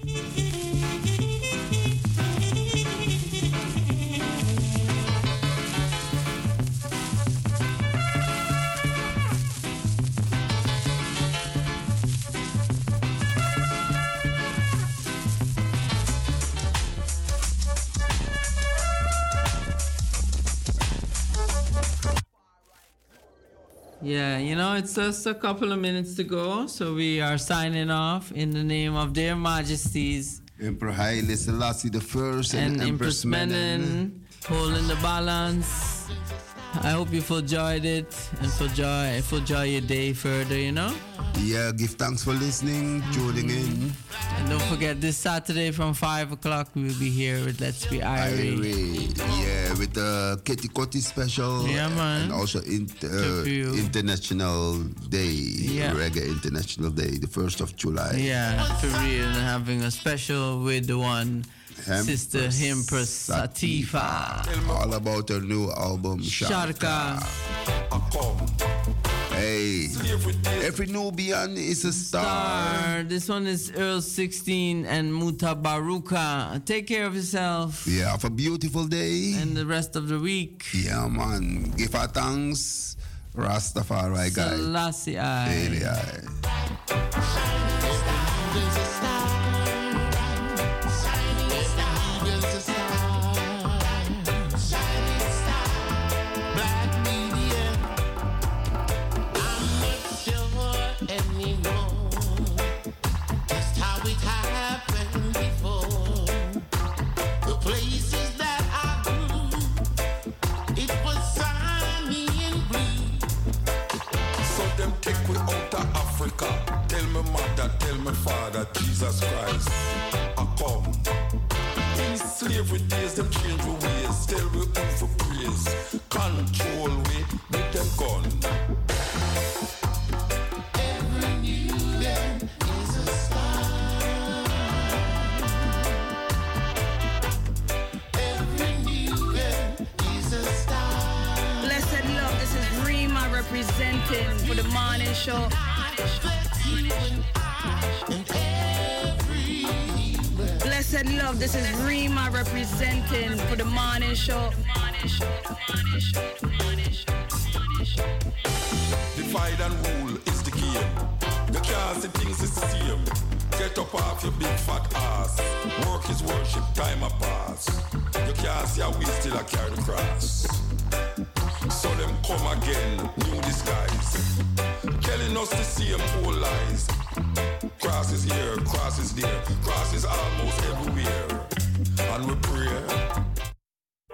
Yeah, you know, it's just a couple of minutes to go, so we are signing off in the name of their majesties. Emperor Haile Selassie the First and Empress Menen, holding the balance. I hope you enjoyed it and enjoy your day further, you know? Yeah, give thanks for listening, tuning in. And don't forget, this Saturday from 5 o'clock, we'll be here with Let's Be Irie. Yeah, with the Kitikoti special. Yeah, man. And also International Day, Reggae International Day, the 1st of July. Yeah, for real. And having a special with the one... Sister Empress Sativa. All about her new album, Sharka. Hey, every Nubian is a star. This one is Earl 16 and Muta Baruka. Take care of yourself. Yeah, have a beautiful day. And the rest of the week. Yeah, man. Give our thanks. Rastafari, guys. Selassie. Tell me mother, tell me father, Jesus Christ, I come. In slavery days, them change the ways. Tell we who for praise. Control we with them gun. Every new day is a star. Every new day is a star. Blessed love, this is Rima representing morning show. Blessed love, this is Rima representing for the morning show. Divide and rule is the game. You can't see things is the same. Get up off your big fat ass. Work is worship, time a pass. You can't see how we still a carry the cross. So them come again, new disguise. Telling us the same old lies. Cross is here, cross is there. Cross is almost everywhere. And we pray